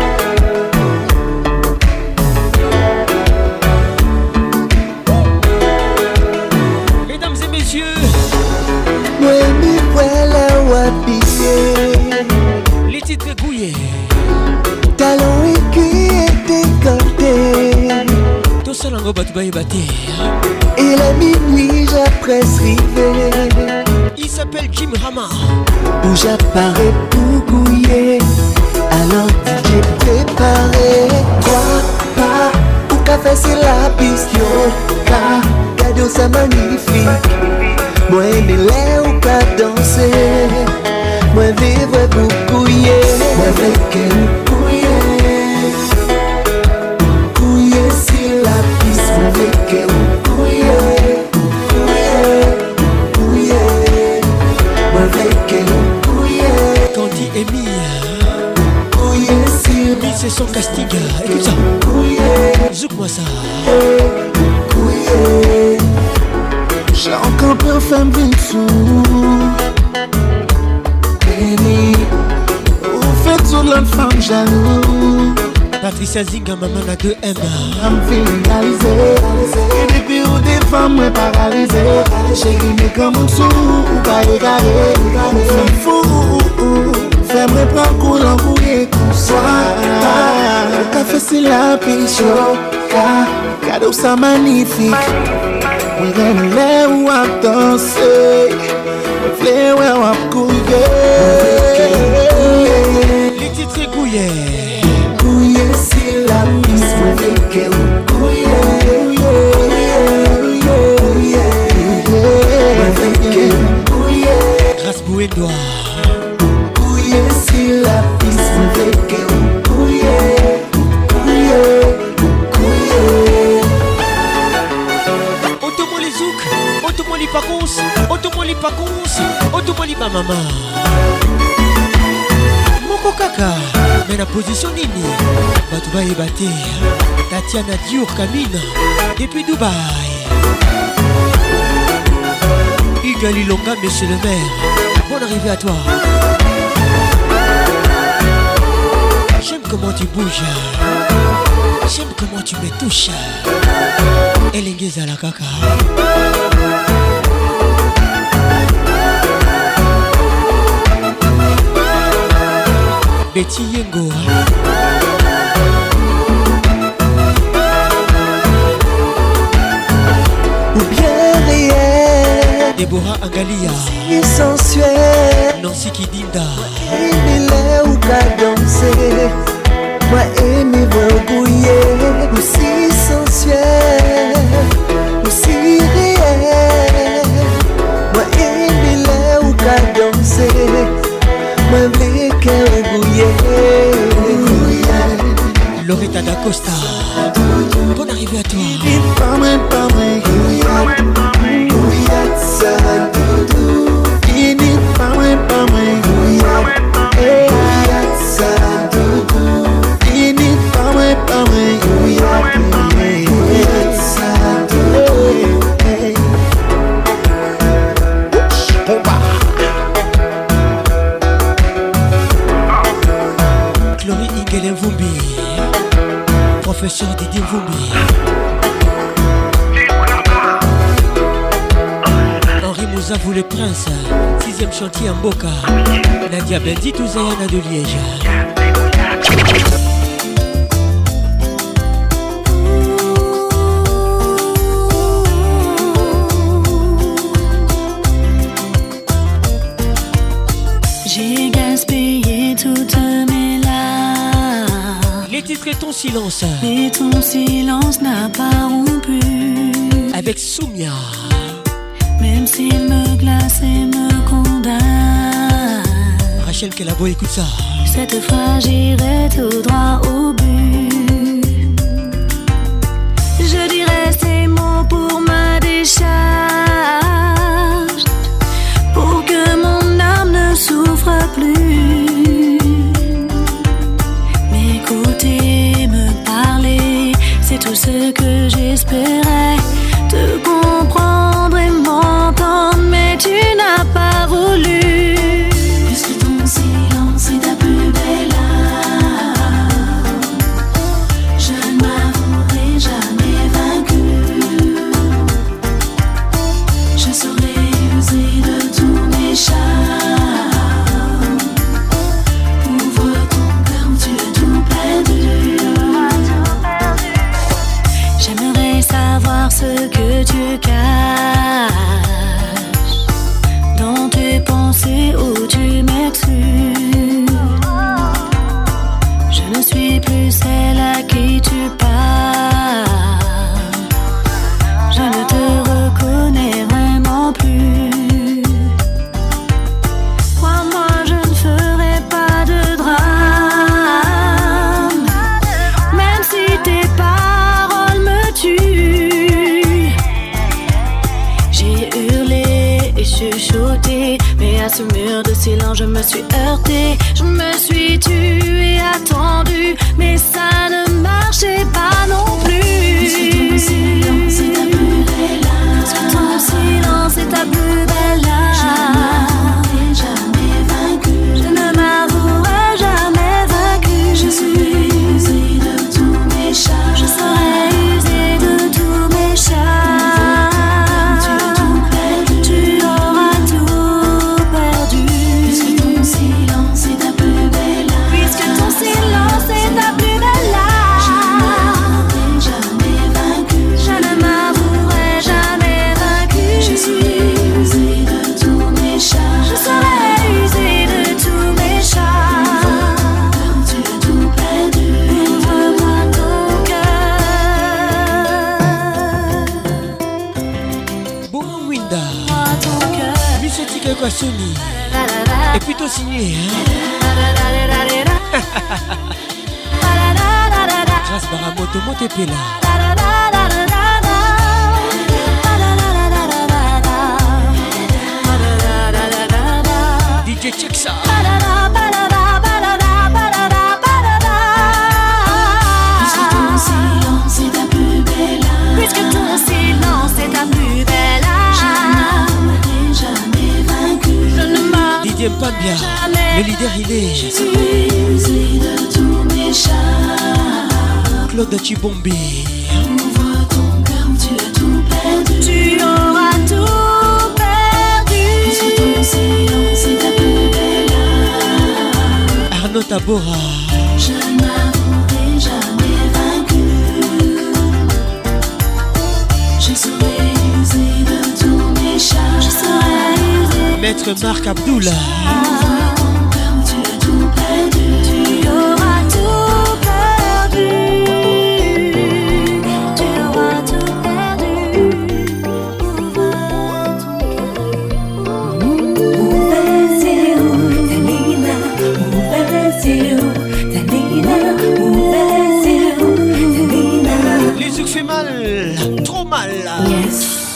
habillé. Les titres gouillés. Talons aiguilles et décolletés. Tout ça l'ango bat baye baté. Et la minuit j'appresse river. Il s'appelle Jim Rama. Où j'apparais pour gouiller. Alors D J préparé. Trois pas. Ou café c'est la piste. Yo, ka, cadeau ça magnifique. Moi aimer l'air ou pas danser. Moi vivre pour couiller. Moi avec elle couiller. Couiller sur la piste. Moi avec elle couiller. Couiller, couiller. Moi avec elle couiller. Candy et Mia. Couiller sur Mille c'est son casting. Écoute ça. Couiller. Zouk-moi ça. Couiller. J'ai encore peur femme sous. Béni. Vous faites sur l'autre femme jaloux. Patricia Zinga, maman à deux M. I'm feeling réalisé. Et depuis où des femmes m'ont paralysé. Chérie mais comme un sou. Ou pas égaré. Femme fou. Femme reprend cool en couille tout soir. Le café c'est la piche. Cadeau ça magnifique. We gonna let you up danser. We play where I'm couillé. Les titres gouillés. Couillé c'est la piste. We make it couillé. Grâce Bouédois. Couillé c'est la piste. We make it couillé. Automoli Pacons, Automoli Pacons, Automoli Mamama. Moko Kaka, mais la position nini. Batouba et Baté, Tatiana Diour Kamina, depuis Dubaï. Ugali Longa, monsieur le maire, bonne arrivée à toi. J'aime comment tu bouges, j'aime comment tu me touches. Elengeza la kaka. Betty Yengo. Ou bien réel. Déborah Angalia. Si sensuel. Nancy Kidinda. Il est ou qu'à danser. Moi aimer bouiller. Aussi sensuel. Aussi réel. Moi aimer est ou qu'à danser. Moi v'lais qu'elle bouiller. Loretta D'Acosta. Bonne arrivée à toi. Pas moi, pas moi. Bouillette ça doudou. Il n'est pas moi, pas moi. Bouillette ça doudou. Il n'est pas moi, pas moi. Bouillette ça doudou. Chloé Ingele Vumbi. Professeur Didier Vumbi. Henri Mouzavou le prince. Sixième chantier en Boca. Nadia Bendi Touzayana de Liège. J'ai gaspillé toutes mes larmes. Les titres et ton silence. Et ton silence n'a pas rompu. Avec Soumia. Même s'il me glace et me condamne. Rachel Kelabo, écoute ça. Cette fois j'irai tout droit au but. Je dirai ces mots pour ma décharge. Pour que mon âme ne souffre plus. M'écouter, me parler, c'est tout ce que j'espérais. Te comprendre et m'entendre, mais tu n'as pas voulu. Puisque ton silence est ta plus belle âme. Mais à ce mur de silence je me suis heurtée. Je me suis tue et attendue, mais ça ne marchait pas non plus. Puisque ton silence est ta plus belle âme. Puisque ton silence est ta plus belle âme. Je ne m'avouerai jamais vaincue. Je ne m'avouerai jamais vaincue. Je serai usée de tous mes charmes. Je serai usée de tous mes charmes. Tu auras tout perdu. Puisque ton silence est ta plus belle âme. Puisque ton silence est ta plus belle âme. Je ne m'avouerai jamais vaincue. Je suis usée de tous mes charmes. Je serai usée de tous mes charmes. Tu as tout perdu. Ouvre-moi ton cœur. Bon Winda. Monsieur Tika Kwasoni. Et plutôt signé, hein. Grâce Baramoto Motepela. D J check ça. Puisque ton silence est ta plus belle âme. Puisque ton silence est ta plus belle âme. Je ne m'avouerai jamais vaincue. Je ne m'avouerai D J Mpambia, le leader il est. Je suis usée de tous mes charmes. Claude Chibombi. Ouvre ton cœur, tu as tout perdu. Tu auras tout perdu. Puisque ton silence est ta plus belle âme. Arnaud Tabora. Je ne m'avouerai jamais vaincue. Je serai usée de tous mes charmes. Je serai usée. Maître Marc Abdoula. Ouvre ton cœur, tu as tout perdu. Tu auras tout perdu. Tu auras tout perdu. Ouvre ton cœur. Ouvre-les-yeux, Talina. Ouvre-les-yeux, Talina. Ouvre-les-yeux, Talina. Les yeux fait mal, trop mal. Yes.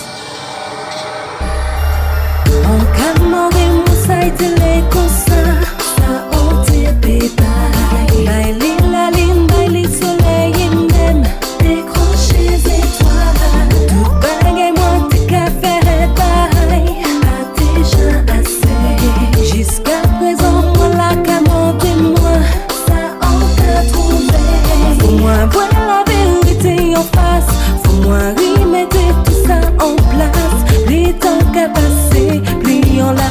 On qu'a demandé mon site les consins, ça on t'est pétaille. Bailey la ligne, bailey soleil et même décrocher étoiles. Tout bagaille moi t'es qu'à faire et pareil, pas déjà assez. Jusqu'à présent moi la camote et moi, ça on t'a trouvé. Faut-moi voir la vérité en face, faut-moi remettre tout ça en place. Les temps qu'à passer, pliant la.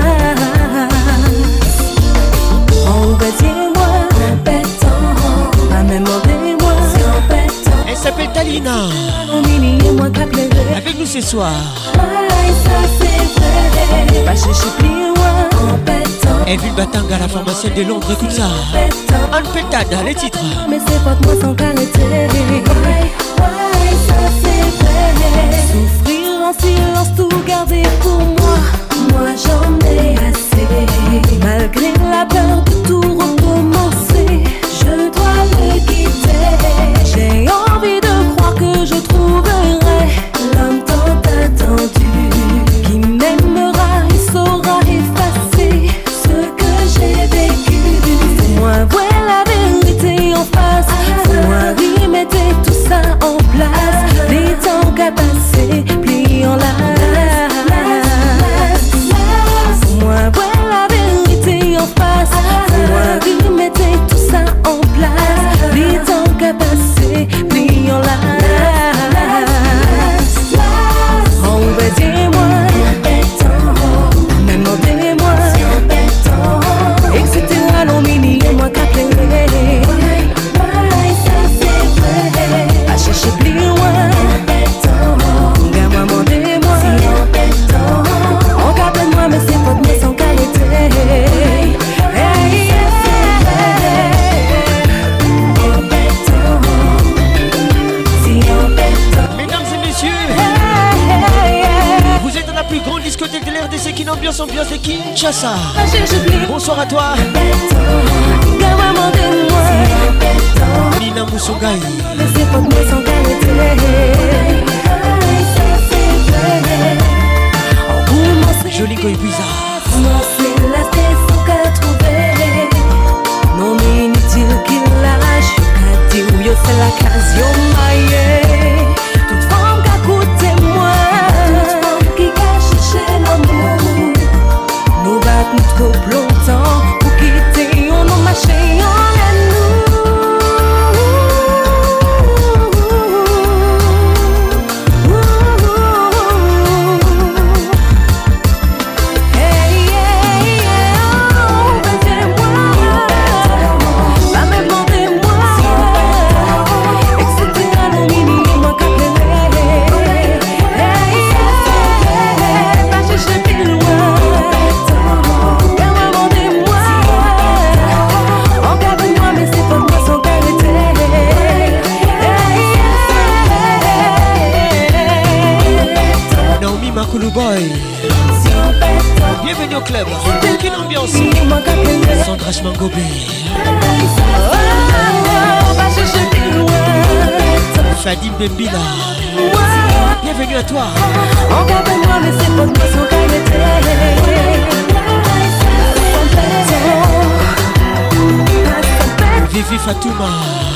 Embêtez-moi, embêtant, pas même embêtez-moi, c'est embêtant. Elle s'appelle Talina. Avec nous ce soir. Ouais, ça c'est vrai, pas chercher plus loin, embêtant. Evil Batanga, la pharmacienne de Londres, écoute ça. Anne Pétade, les titres. Mais c'est pas moi sans qualité. Ouais, ouais, ça c'est vrai. Souffrir en silence, tout garder pour moi. Moi j'en ai assez. Malgré la peur de tout recommencer, je dois le quitter. J'ai envie de croire que je trouverai l'homme tant attendu, qui m'aimera et saura effacer ce que j'ai vécu. Moi voir la vérité en face, moi remettre tout ça en place. Les temps qu'à passer, pliant la. Moi voir la vérité en face, moi remettre tout ça en place. Les temps qu'à passer, pliant la. Embêtez-moi, même embêtez-moi, et cetera. Non, mini et moi qu'à pleurer. Ça c'est vrai, à chercher plus loin. Gamin, demandez-moi, on capte moi, mais c'est pas de mes sans qualité. Mesdames et messieurs, vous êtes dans la plus grande discothèque de l'R D C qui ambiance ambiance de Kinshasa. Bonsoir à toi. Nina Moussoungaï. Jolie Goïbiza. club. Quelle ambiance. Sandra Mangobé. Fadim Bembila. Bienvenue à toi. Encadre-moi, mais c'est pas toi son qualité. Vivi Fatouma.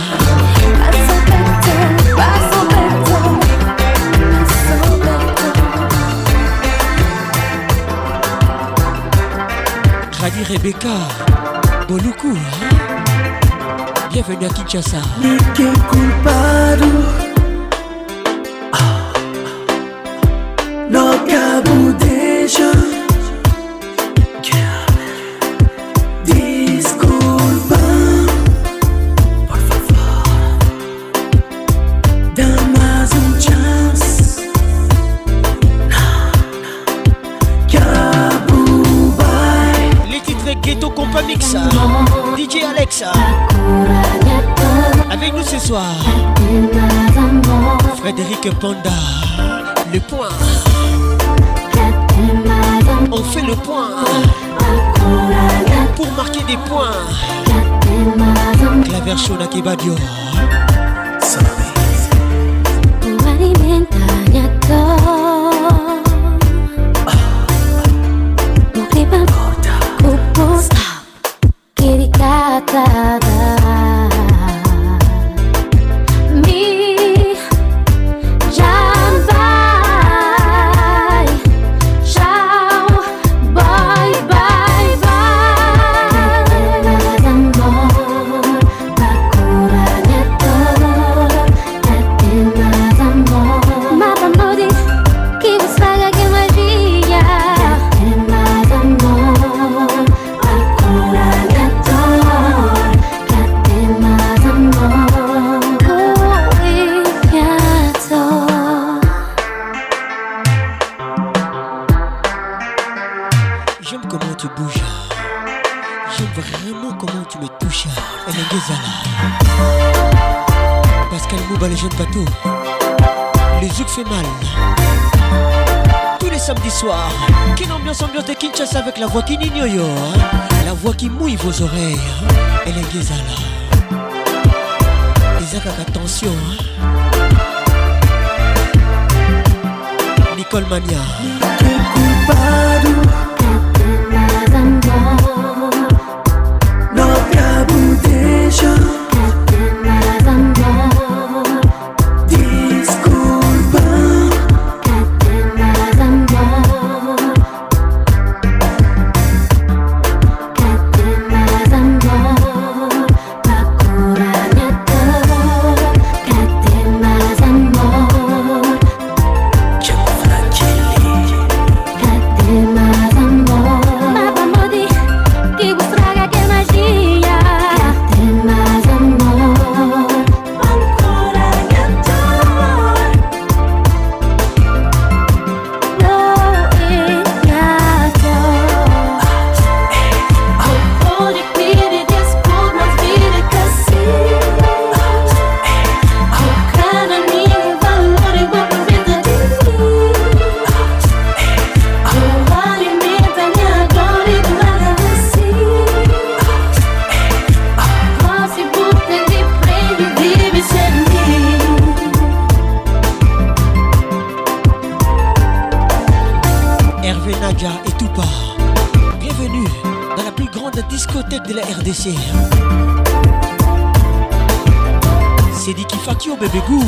Radi Rebecca Boluku, hein? Bienvenue à Kinshasa. Mais que culpado no cabo deixa. Desculpa, por favor, dá mais um chance. Cabo vai. Les titres Ghetto Compa Mixa. D J Alexa. Avec nous ce soir Frédéric Panda. Le point. On fait le point pour marquer des points. Claver Shona Kebadio. Avec la voix qui n'ignoyo, hein? La voix qui mouille vos oreilles, hein? Elle est Gezala. Isaac, attention, hein? Nicole Mania. No cabo deixa. De la R D C. C'est Diki Fakio bébé goût.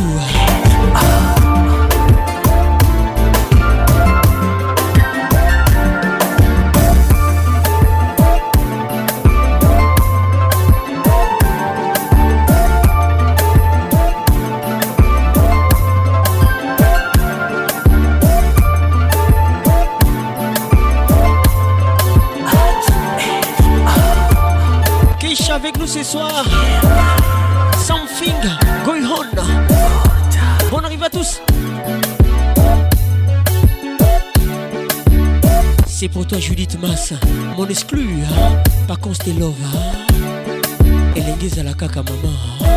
Avec nous ce soir, Something Going On. Bonne arrivée à tous. C'est pour toi Judith Massa, mon exclu, hein? Pas qu'on se love, hein? Elle est à la caca maman, hein?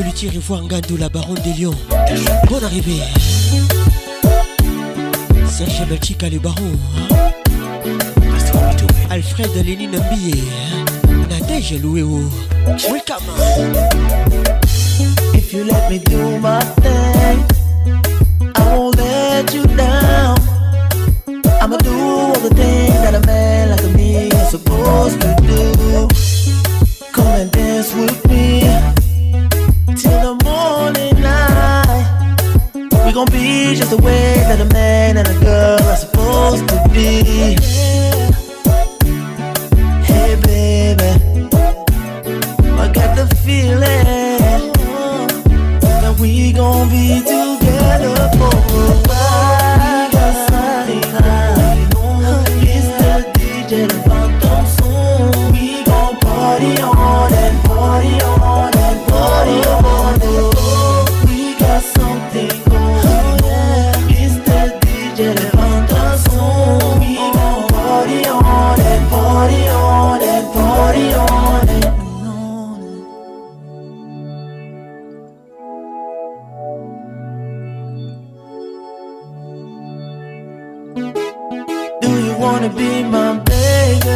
Clôture Ivoire Ngandou, la baronne des Lions. Bonne arrivée. Serge Belchika, le baron. Alfred Lénine Mbillé. Nadège Louéo. Welcome. If you let me do my thing, I won't let you down. I'ma do all the things that a man like me is supposed to do. Come and dance with me till the morning light. We gon' be just the way that a man and a girl are supposed to be. Hey baby, I got the feeling that we gon' be together for a while. We got something high, it's the D J that found ton son. We gon' party on and party on and party on and oh, we got something going, yeah. It's the D J that found ton son. We gon' party on and party on and party on and wanna be my baby.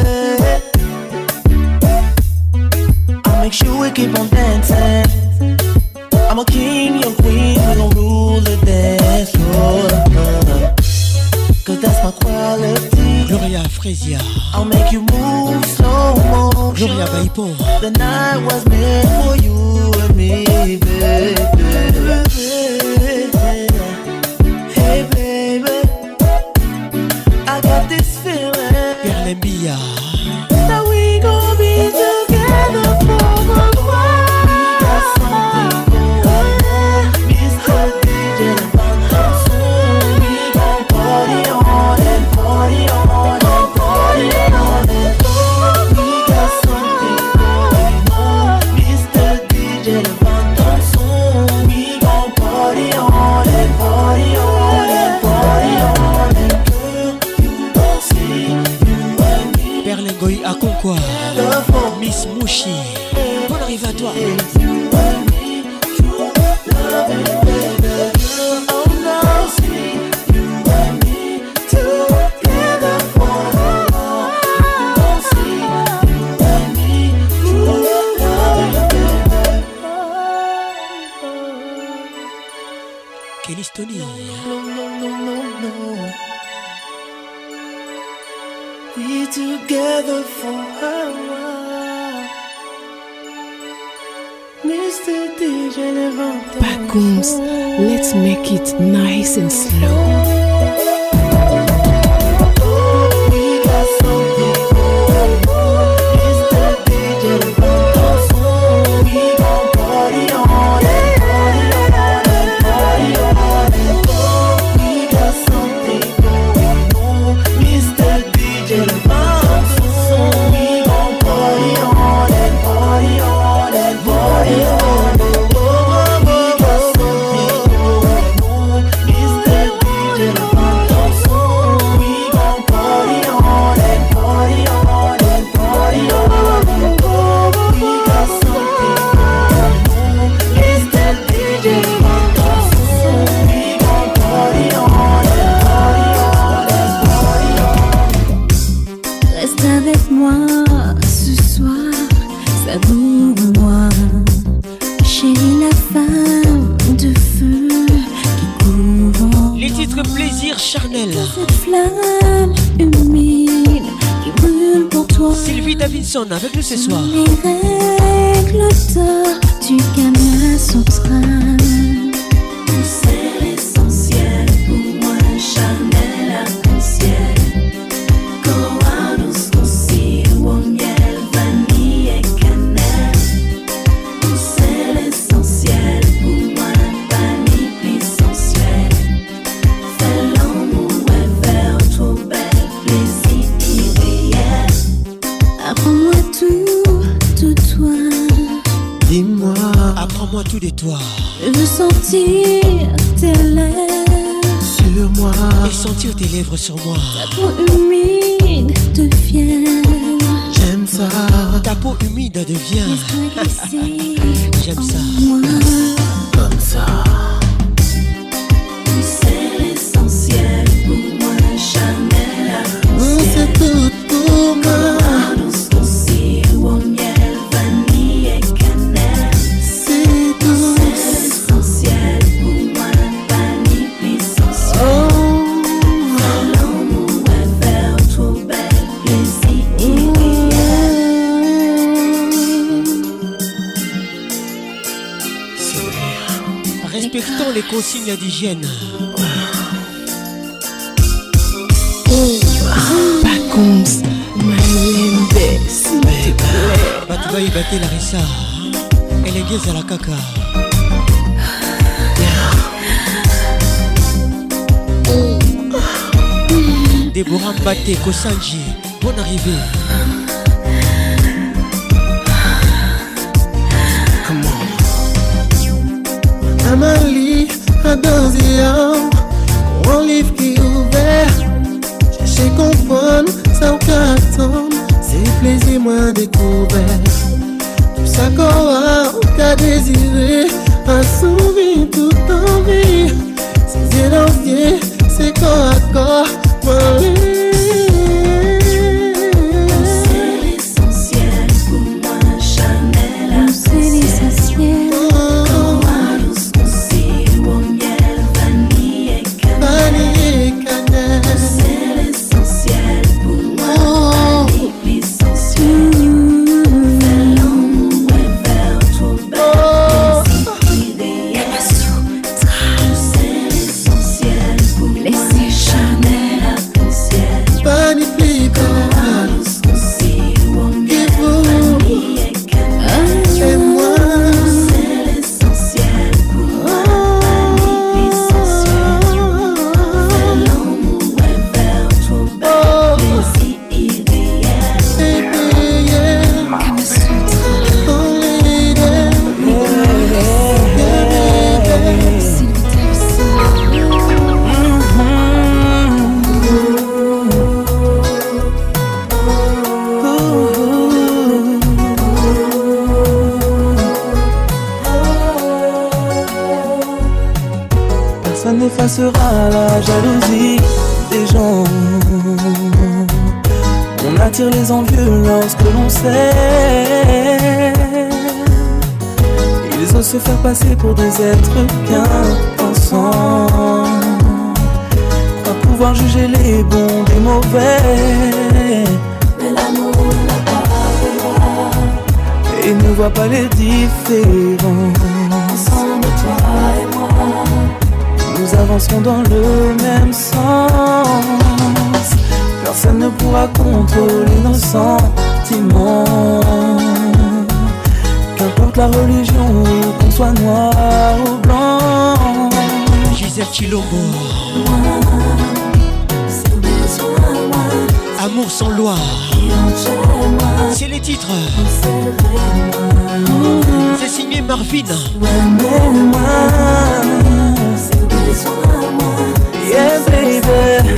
I'll make sure we keep on dancing. I'm a king, you're queen, we gon' rule the dance floor. Cause that's my quality. Gloria Fresia. I'll make you move slow motion. Gloria Baipon. The night was meant for you and me, baby. Hey baby, I got this feeling Perlembia that we gon' be together for a while. We got something going, Mister D J the Phantom soon. We gon' party on and party on and party on and on. We got something going on, Mister D J the Phantom soon. We gon' party on and party on and party on and Perlengoy à Concours. Miss Mouchi. Bonne arrivée à toi. Kelly Stony. We together for a while. Mister D J Levante. Backums, let's make it nice and slow. We got something going on. Mister D J Levante. We gon' party on and party on and party on and on. We got something going on. Mister D J Levante. We gon' party on and party on and party on. Reste avec moi ce soir, savoure-moi. Chérie, la femme de feu qui couvre les titres plaisir charnel. cette flamme humide qui brûle pour toi. Sylvie Davidson avec nous ce soir. Les règles d'or du Kama Sutra. C'est l'essentiel pour moi, charnel arc-en-ciel. Koanos, consigo, miel, vanille et cannelle. C'est l'essentiel pour moi, vanille plus sensuelle. Fais l'amour et faire trop belle, plaisir irréel. Apprends-moi tout de toi. Dis-moi, apprends-moi tout de toi. Je veux sentir tes lèvres sur moi et sentir tes lèvres sur moi. Ta peau humide de fièvre. J'aime ça. Ta peau humide devient. J'aime ça. Comme ça. C'est l'essentiel pour moi, Chanel. C'est tout pour moi. Aussi au miel, vanille et cannelle. C'est tout. C'est l'essentiel pour moi, vanille puissance. Oh. L'amour est faire trop belle, plaisir idéal. Respectons les consignes d'hygiène. Vacances, Malembe, s'il te plaît. Batuba y batté Larissa. Elle est gaise à la caca. Déborah Mbaté, Kosanji, bonne arrivée. Amalie, Adozia, mon livre qui est ouvert. Chercher comprendre, ça ou qu'à attendre. C'est plaisir moins découvert. Tout ça qu'on a, ou qu'à désirer. Assouvir toute envie. C'est zélantier, c'est corps à corps. C'est l'essentiel pour moi, Chanel. C'est l'essentiel. C'est l'essentiel pour moi, vanille puissance. Fais l'amour et faire trop belle, plaisir idéal. C'est l'essentiel pour moi, Chanel arc-en-ciel. Vanille puissance. Vanille et cannelle. Et moi, c'est l'essentiel pour moi, vanille puissance. Fais l'amour et faire trop belle, plaisir idéal. Kama Sutra. Personne n'effacera la jalousie des gens. On attire les envieux lorsque l'on sait. Ils osent se faire passer pour des êtres bien pensants. Croient pouvoir juger les bons des mauvais. Mais l'amour n'a pas de loi. Et ne voit pas les différences. Ensemble, toi et moi, nous avancerons dans le même sens. Personne ne pourra contrôler nos sentiments. Qu'importe la religion, qu'on soit noir ou blanc. Gisèle Chilombo. Amour sans loi. C'est les titres. C'est signé Marvin. Yeah baby.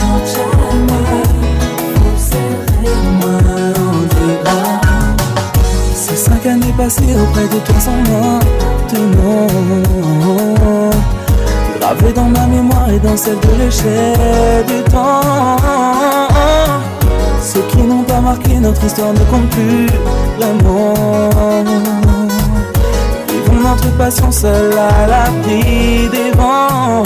Ces cinq années passées auprès de toi sont maintenant gravées dans ma mémoire et dans celle de l'échelle du temps. Ceux qui n'ont pas marqué notre histoire ne comptent plus vraiment. Vivons notre passion seule à l'abri des vents.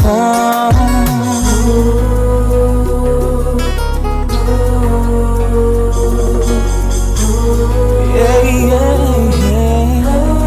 Yeah, yeah, yeah.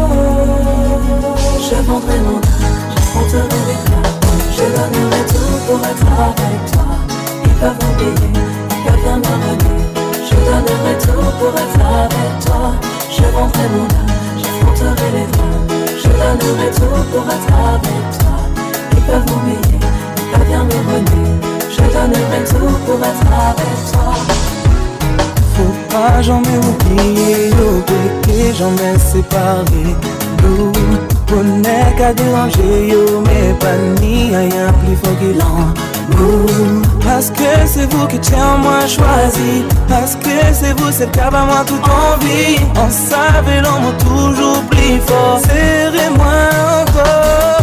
je vendrai mon âme, j'affronterai les flammes. Je donnerai tout pour être avec toi. Ils peuvent oublier, ils peuvent bien m'abandonner. Je donnerai tout pour être avec toi. Je vendrai mon âme, j'affronterai les flammes. Je donnerai tout pour être avec toi. Ils peuvent m'oublier, ils peuvent bien me renier. Je donnerai tout pour être avec toi. Faut pas jamais oublier nos péchés, jamais séparés. Nous, on n'est qu'à déranger, yo, mais pas ni rien plus fort qu'il en Parce que c'est vous qui tiens moi choisi. Parce que c'est vous, c'est le cap à moi toute envie. On savait l'amour toujours plus fort. Serrez-moi encore.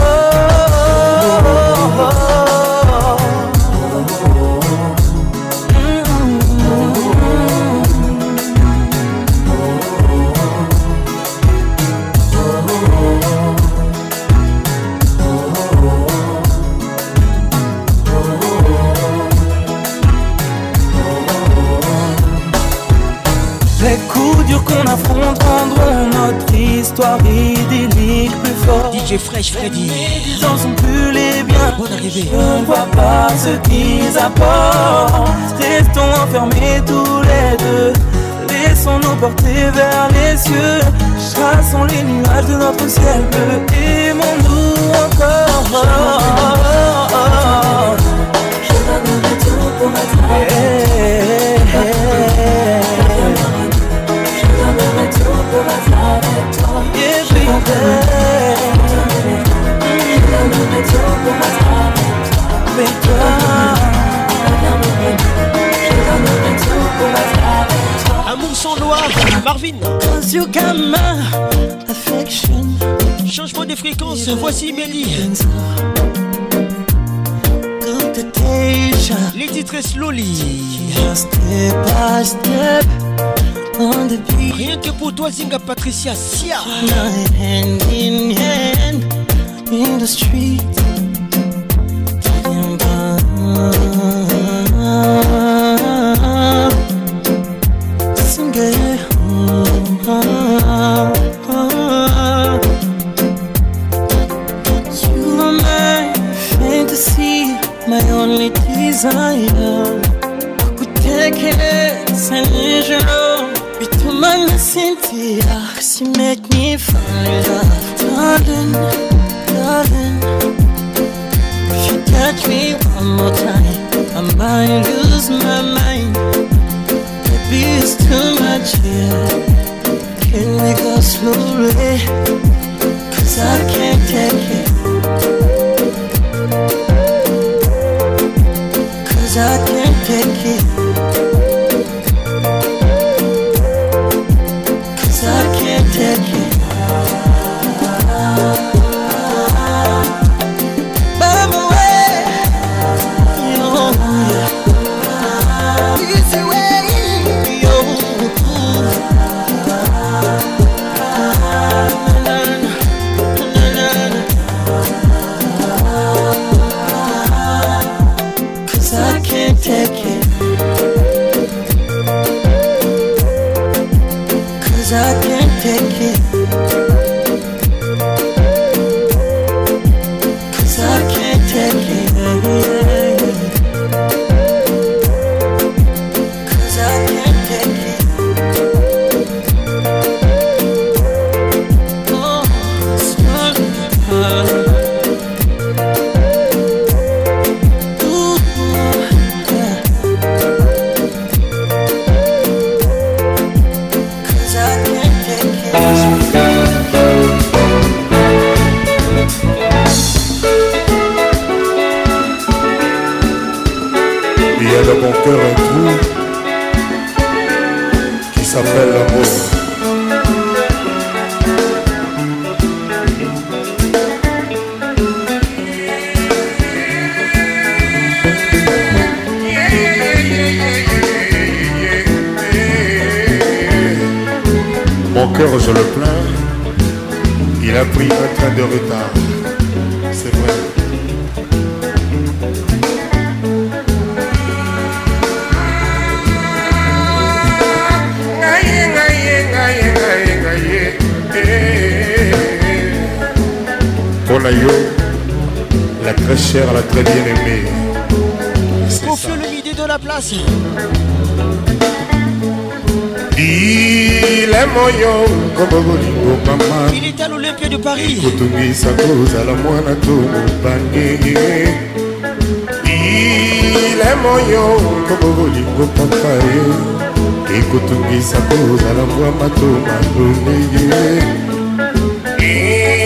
Qu'on affronte rendront notre histoire idyllique plus forte. D J Fresh Freddy. Les gens sont plus les biens. Bonne arrivée. Je ne vois pas ce qu'ils apportent. Restons enfermés tous les deux. Laissons-nous porter vers les cieux. Chassons les nuages de notre ciel bleu. Aimons-nous encore. Je donnerai tout pour être avec toi. Pour être avec toi, yeah, je donnerai tout pour être avec toi. Je donnerai tout pour être avec toi. Amour sans loi, Marvin. Cause you got my affection. Changement de fréquence, voici Mehdi. Les titres slowly. Step by step. Rien que pour toi, Zinga Patricia Sia. Hand in hand in the street. You are my fantasy, my only desire. Kutekele sanjiro. Bitumana Cynthia, cause you make me fall in love. Darling, darling, if you touch me one more time, I might lose my mind. Baby, it's too much here. Can we go slowly? Cause I can't take it. Cause I can't take it. Take it. By my way, yo, yeah. Easy way, yo. Cause I can't take it. Cause I can't take it. Cause I can't take it. Cause I can't take it. Oh, sorry. Ooh, yeah. Cause I can't take it. Il y a dans mon cœur un trou qui s'appelle l'amour. Mon cœur, je le plains, il a pris un train de retard, c'est vrai. Ponayo, la très chère, la très bien aimée. Confie le midi de la place. Il est moyo, comme Bolingo Mama. Il est à l'Olympia de Paris. Kutungi sa cause à la moine to Mubani. Il est moyo, comme Bolingo Papa. Et Kutungi sa cause à la moine to Mabuni.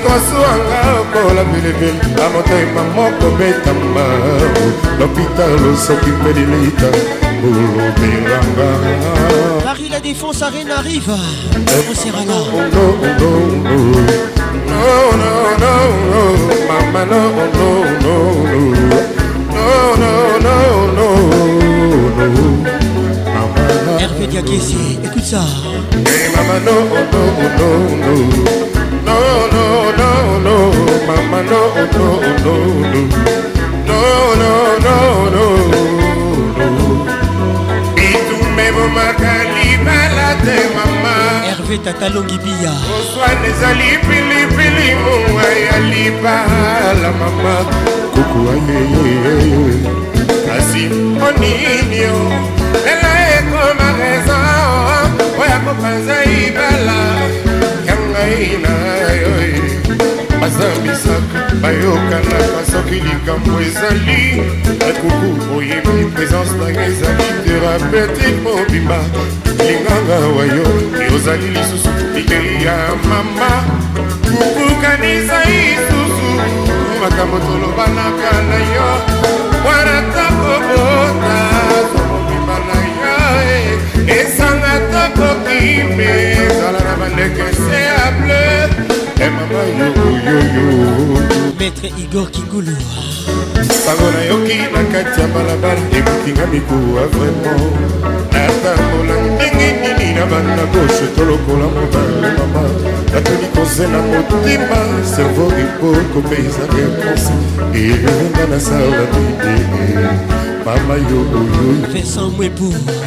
ekosuanga okola bilibili amotema moko betamba lopitalo soki mpe lilita bulubelanga. Paris La Défense Arène arrive. On sera là. No, no, no, no, no, no, no, mama, no, no, no, no, no, no, no, no, mama. Hervé Diakesi, écoute ça. Hey, mama, no, no, no, no, no, no, no, no, mama, no, no, no, no, no, no, no, no, no. Bitume bomakali balade mama. Hervé Tatalongi Bia. Oswane zali pili pili munga ya libala mama. Kuku ayeye. Kasi oninio. Ela eko ma raison. Oya kopanza ibala. Yanga ina yoye. Bazambisaka bayokana kasoki likambo ezali. Kuku oyebi présence na ezali thérapeutique mobimba. Linganga wayo yozali lisusu ikei ya mama. Kukukanisa isusu makambo tolobanaka na yo wana takobota zomobimba na yo esanga tokokimbe zala na bandeke se a bleu e mama yoyoyo. Maître Igor Kingulu sango na yoki na kati ya balabala ekokinga mikuwa vraiment natambola ndenge nini na banda gauche tolokola mobale mama natoni kozela motima servo ekoko mpe eza reponse elenga na sala nini mama yoyoyo Vincent Mwebu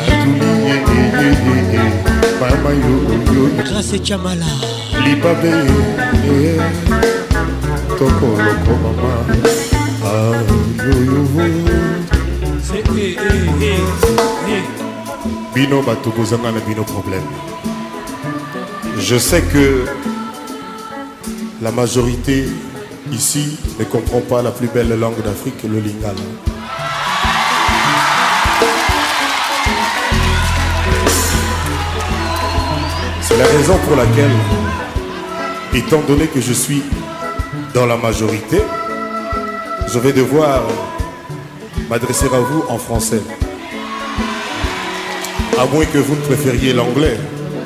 atuli mama yoyoyo Grâce Chamala libabe tokoloko mama Bino bato bozanga na bino problème. Je sais que la majorité ici ne comprend pas la plus belle langue d'Afrique, le lingala. C'est la raison pour laquelle, étant donné que je suis dans la majorité, je vais devoir m'adresser à vous en français. À moins que vous ne préfériez l'anglais.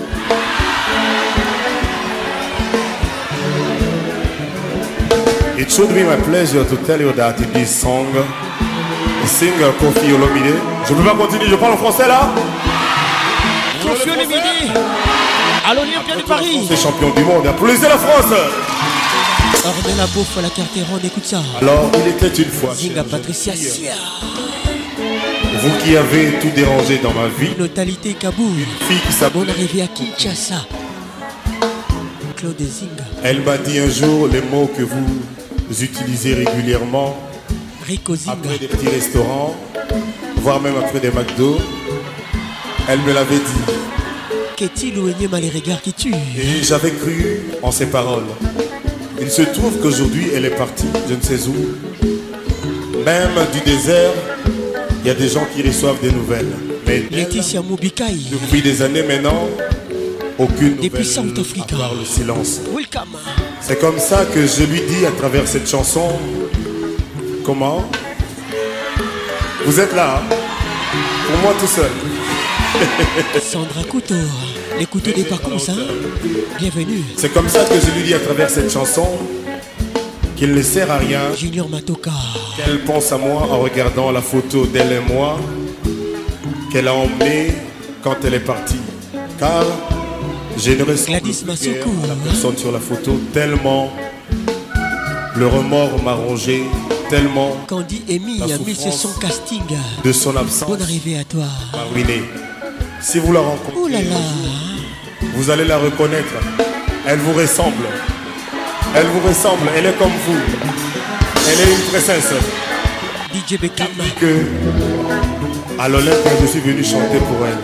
It should be my pleasure to tell you that in this song, the singer Kofi Olomide. Je ne peux pas continuer, je parle en français là. Kofi Olomide, à l'Olympia de Paris. C'est champion du monde, applaudissez la France. Ornella Bouffe, la carte ronde, écoute ça. Alors, il était une fois. Zinga Patricia Sia. Vous qui avez tout dérangé dans ma vie. Notalité Kaboul. Fille qui s'appelle. Bonne arrivée à Kinshasa. Claude Zinga. Elle m'a dit un jour les mots que vous utilisez régulièrement. Rico Zinga. Après des petits restaurants, voire même après des McDo. Elle me l'avait dit. Qu'est-il ou Enyema les regards qui tuent. Et j'avais cru en ses paroles. Il se trouve qu'aujourd'hui elle est partie, je ne sais où. Même du désert, il y a des gens qui reçoivent des nouvelles. Mais Laetitia Moubikai. Depuis des années maintenant, aucune nouvelle. Depuis South Africa. À part le silence. Welcome. C'est comme ça que je lui dis à travers cette chanson. Comment? Vous êtes là, hein? Pour moi tout seul. Sandra Couteau, les couteaux des parcours, hein? Bienvenue. C'est comme ça que je lui dis à travers cette chanson qu'il ne sert à rien. Junior Matoka. Qu'elle pense à moi en regardant la photo d'elle et moi qu'elle a emmenée quand elle est partie. Car je ne reste Gladys Massoukou, à la personne sur la photo tellement le remords m'a rongé, tellement Candy Amy a mis sur son casting de son absence. Bonne arrivée à toi. M'a ruiné. Si vous la rencontrez, oh là là, vous allez la reconnaître. Elle vous ressemble. Elle vous ressemble. Elle est comme vous. Elle est une princesse. D J Beckham. Que à l'Olympe, je suis venu chanter pour elle.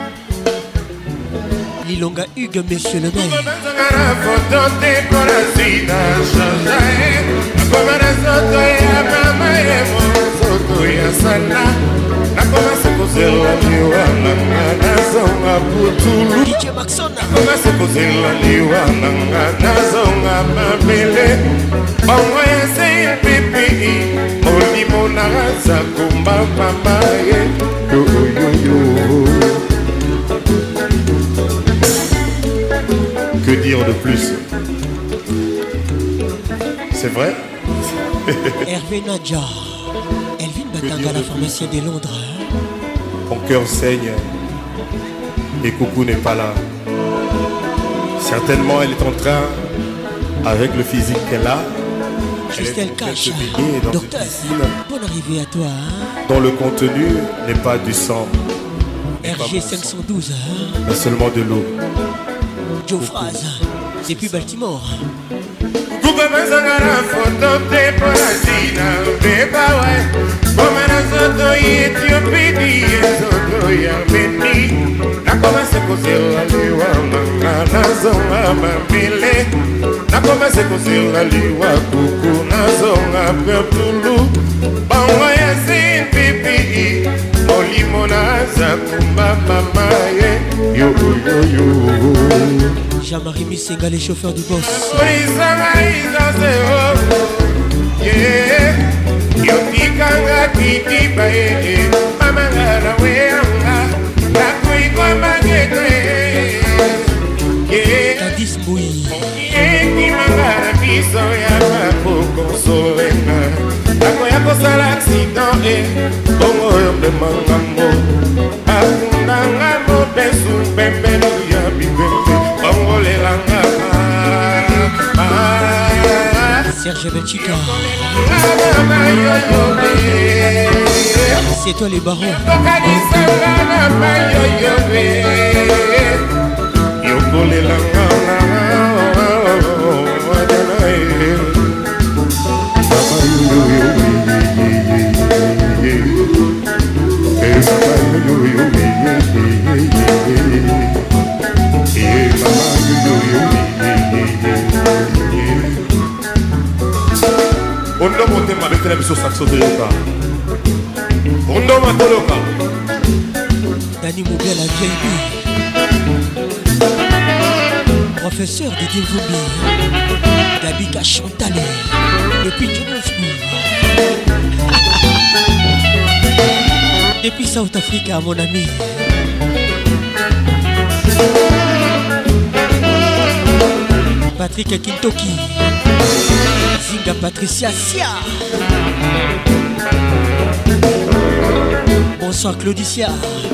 Lilonga Hugues, monsieur le maire. Nakomase kozela liwa nanga nazonga putulu D J Maxona nakomase kozela liwa nanga nazonga mabele bangoyese pipi molimo naraza kumba mama ye yo yo yo. Que dire de plus? C'est vrai? Hervé Nadja, Elvin Batanga, la pharmacienne de Londres. Mon cœur saigne et Coucou n'est pas là. Certainement elle est en train, avec le physique qu'elle a, Christelle Cache, docteur, bonne arrivée à toi. Hein? Dont le contenu n'est pas du sang. R G cinq cent douze, hein? Mais seulement de l'eau. Joe Fraz, depuis Baltimore. Kukabazanga photo te ponasina beba we Komana soto Ethiopia soto ya meni Nakoma seko zera liwa manga nazonga mamile Nakoma seko zera liwa kuku nazonga pepulu Bangwa ya sin pipi Olimo naza kumba mama ye Yo yo yo Jean-Marie Missenga, les chauffeurs du boss. Kadis Mbouyi. Serge Belchica. C'est toi les barons. On doit monter ma bête sur Saxo de Yoka. On doit monter Yoka. Dani Moubia la vieille vie. Professeur Didier Vumbi. Gabika Chantalé. Depuis Johannesburg. Depuis South Africa, mon ami. Patrick Kintoki. Zinga Patricia Sia. Bonsoir Claudicia.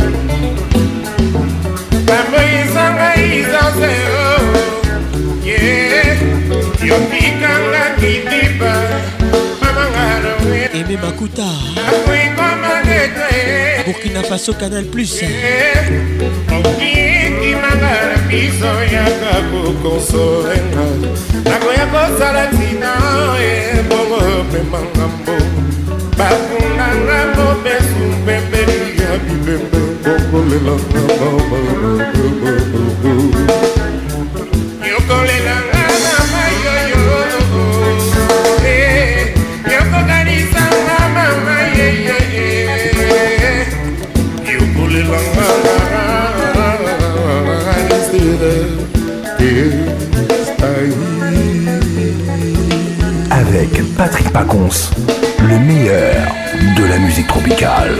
Aimé Makuta. Burkina Faso Canal Plus. Avec Patrick Pacons, le meilleur de la musique tropicale.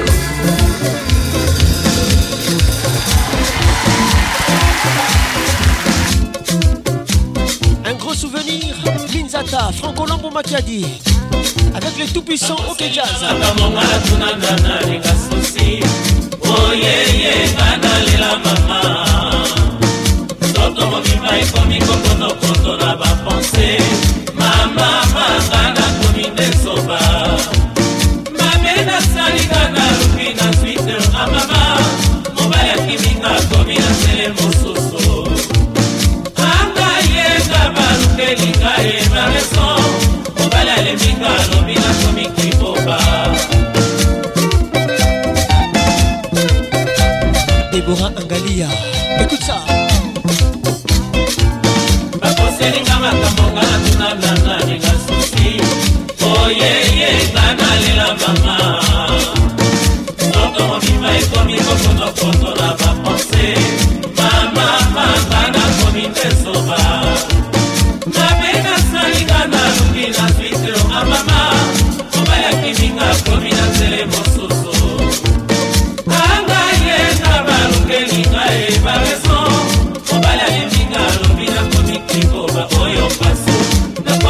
Un gros souvenir, Minzata, Franco Lambo Makiadi, avec les tout-puissants OK Jazz. Oh yeah yeah, banalela mama. Toto mobimba ekomi kokono koto na ba pensée. Mama mangana komi desoba. Mamena salika na lupi na Twitter a mama. Mobaya kiminga komi na tele mososo. Anga yenga baluke linga e mareso. Mobala le minga lobi na komi kiboba. Deborah Angalia, écoute ça. Bakoselinga makambo ngana tuna nana linga susi. Oh yeah yeah, kana lela mama. Toto mobimba ekomi kokono koto na ba pensée. Mama mangana komi desoba. Mabena salinga na lungi na Twitter.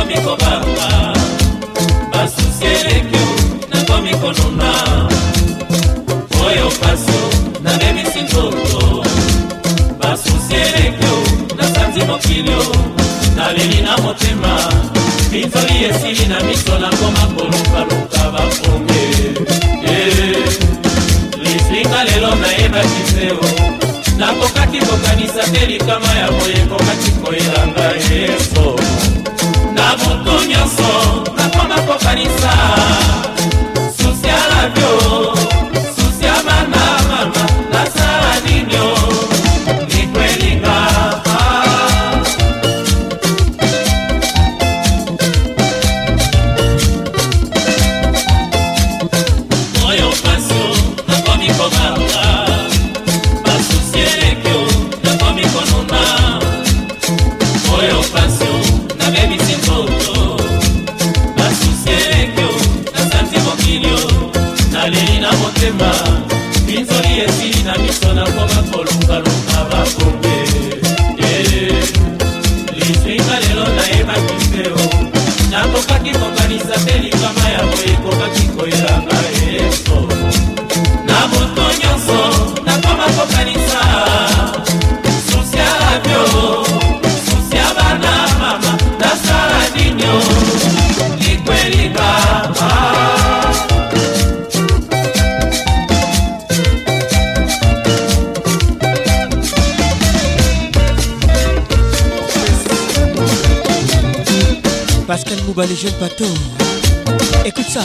nakomi kobanga basusi elekio nakomi konona oyo pasio nabebisi nzoto basusi elekio nasanzi mokilio naleli na motema minzoli esili na miso nakoma kolukaluka baponge lislinga lelo nayebaki seo nakokaki kokanisa te likama ya boye kokaki koyelanga yeso na butu nyonso nakoma kokanisa susi ya labio susi ya bana mama nasala ninyo likwelinga oyo pasio nakomi kobanga basusi elekio nakomi konona oyo pasio nabebisi nzoto basusi elekio nasanzi mokilio naleli na motema minzoli esili na miso nakoma kolukaluka bakombe lislinga lelo nayebaki mpeo nakokaki kokanisa te likama ya boye kokaki koyelanga yeso na moto nyonso nakoma kokanisa susi ya labio susi ya bana mama nasala ninyo likwelinga Pascal Mouba, les jeunes bateaux. Écoute ça.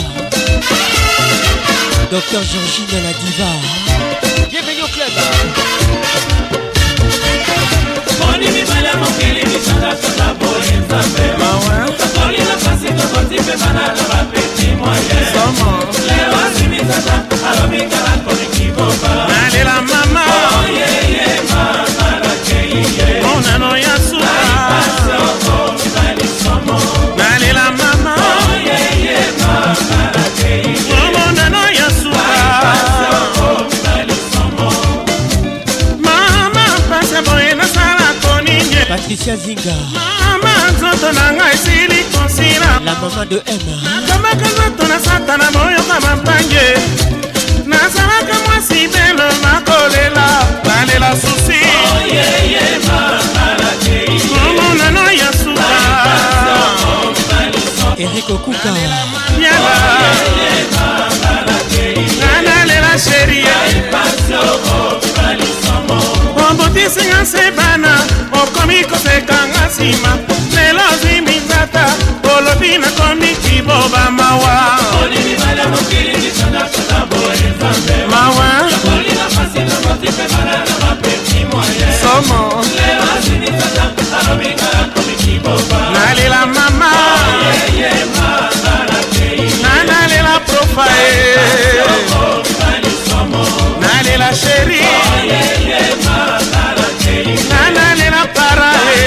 Docteur Georgine la diva. Bienvenue au club. Moni mibale mokili misanga tata boye nzambe takoli na pasi tokoti pe bana na bapeti moye lelo asimisata alobingala kolikiboba nalela mama oyeye mama nakeiye monano ya suka nalela mama oyeye mama nakeiye monano ya suka mama pasa boye nasala koninye Patricia Zinga. mama nzoto na ngai esili konsila La maman de Emma. nakamaka nzoto na satana moyoka mampange nazalaka mwasi belo nakolela nalela susi momonano ya suka Eric Okuka. yala nanalela sheria ombotisinga se bana okomi kosekanga nsima lelo ziminzata olobi nakomi kiboba mawa mawa somo nalela mama nanalela profae nalela sheri nanalela parae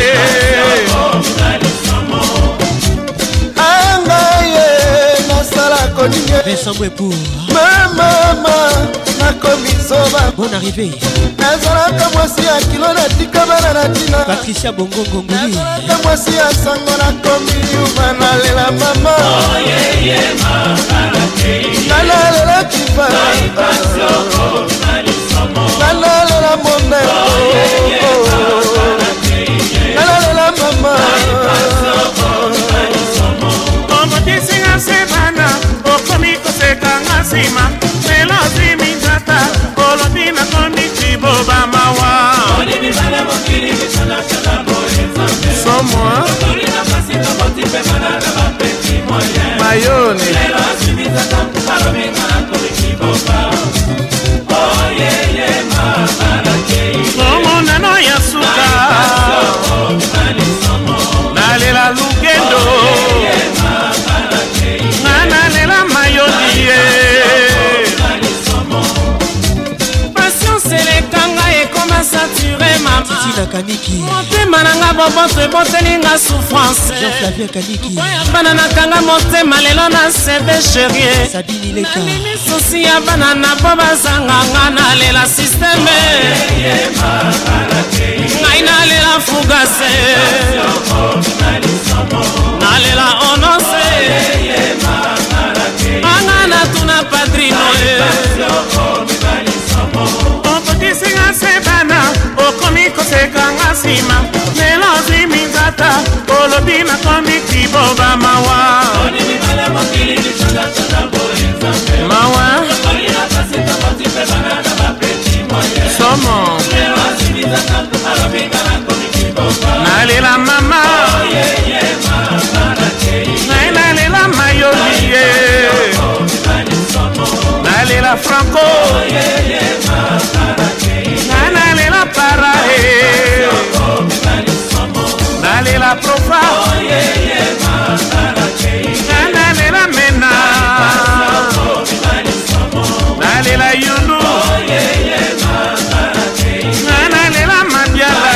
angaye nasala koninye Vincent Mwepour. mamama nakomizoba Bonne arrivée. nazalaka mwasi ya kilo natika bana na tina Patricia Bongo Ngongoli. nazalaka mwasi ya sango nakomi yuma nalela mama nalalela kifa nalalela moneko nalalela mama ombotisinga se bana okomi kosekanga nsima lelo ziminzata olobi nakomi kiboba mawa somwa mayone momonano ya suka nalela lugendo nalela mayoni ye patience elekanga ekoma sature mama Tina Kaniki. motema nanga boboto ebotelinga souffrance Jean-Flavien Kaniki. bana nakanga motema lelo na sebe sherie Sabine Leka. susi ya bana na po bazanganga nalela systeme ngai nalela fugase nalela olobi nakomi kiboba mawa mawa somo nalela mama nalela mayolie nalela franco nalela parae nalela profa nalela mena nalela yulu nalela mabiala.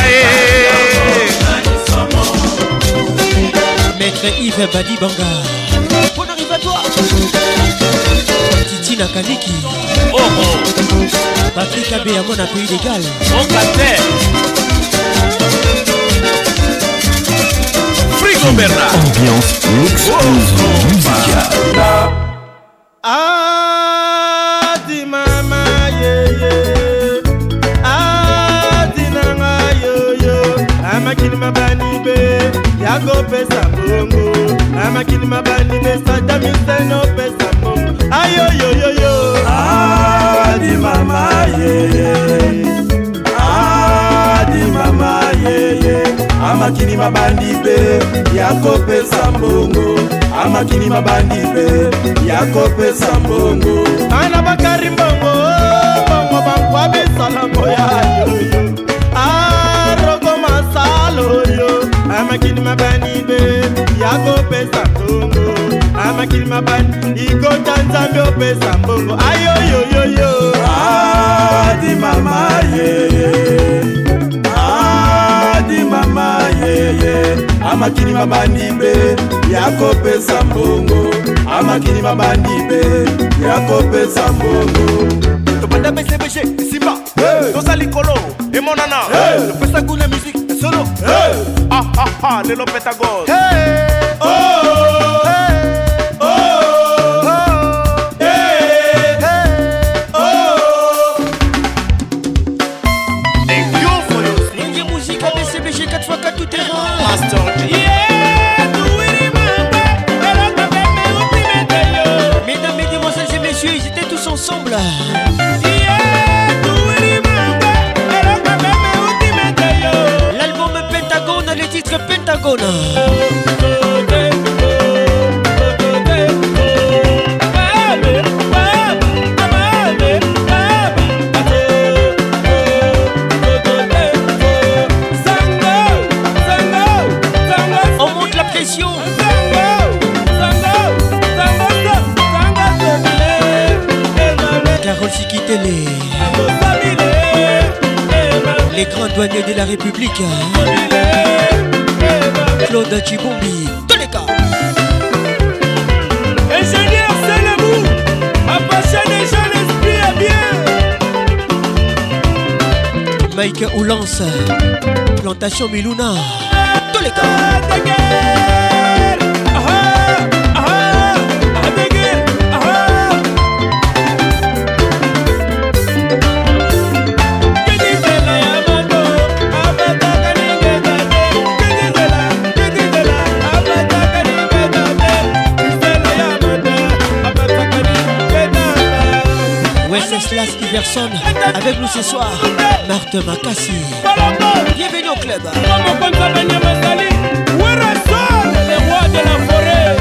Maître Yves Badi Banga, on arrive à toi. Titi Nakaniki, oh oh. Patrick Abbé à mon appui légal. On captait. Frigo Bernard. Ambiance l'explosion musicale. Ah, di mama, yeah, yeah. Ah, di nanga, yo, yo. Amakini mabani be, yago pesa bongo. Amakini mabani be, sadami seno pesa bongo. Ayo, yo, yo, yo. Ah, di mama, yeah, yeah. Ah, di mama, yeah, yeah. Amakini mabani be, yago pesa bongo. Amakini mabandi be, yako pesa mbongo. Ana bakari mbongo, mbongo bangwa bisalambo ya yo yo. Arogo masalo yo. Amakini mabandi be, yako pesa mbongo. Amakini mabandi, iko tanzambio pesa mbongo. Ayo yo yo yo. Adi mama ye ye. Adi mama ye ye. Amakini mabandi be, yako pesa mbongo. Amakini mabandi be, yako pesa mbongo. Topanda bese bese, simba, tosa likolo, e monana, le pesa goût musique, solo, ah ah ah, le lo pétagone. Oh, hey, oh, hey, oh. Thank you for your singing. Musique à B C B G quatre fois quatre tout terrain. Master G. Mesdames, mesdemoiselles et messieurs, ils étaient tous ensemble. L'album Pentagone, le titre Pentagone. On monte la pression. Carole Sikitele, les grands douaniers de la République, Claude Chibombi, tous les cas. Ingénieur, c'est le bout. Approcher les jeunes esprits est bien. Mike Oulance, Plantation Miluna, tous les cas. Wenceslas Iverson avec nous ce soir, Marthe Makassi. Bienvenue au club. Le roi de la forêt.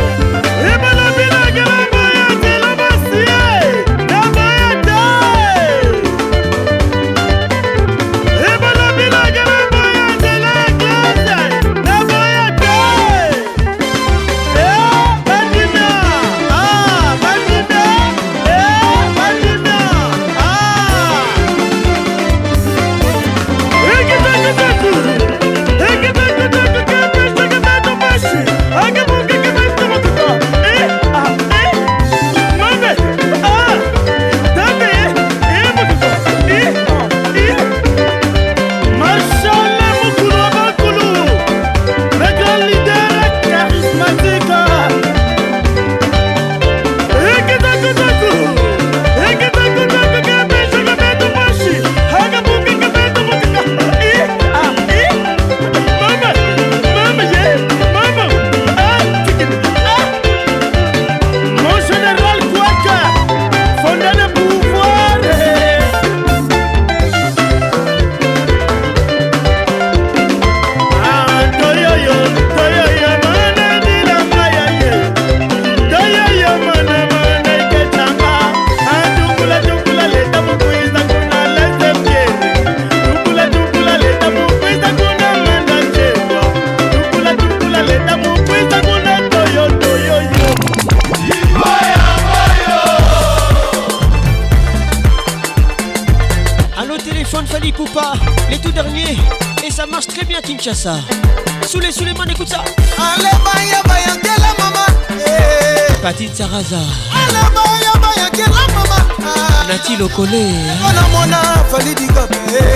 Kinshasa. Soulé, Souleymane, écoute ça. Allez, baya, baya, quelle maman. Patine Saraza. Allez, baya, baya, quelle maman. Nati Lokole. Mona, mona, fali di gabe.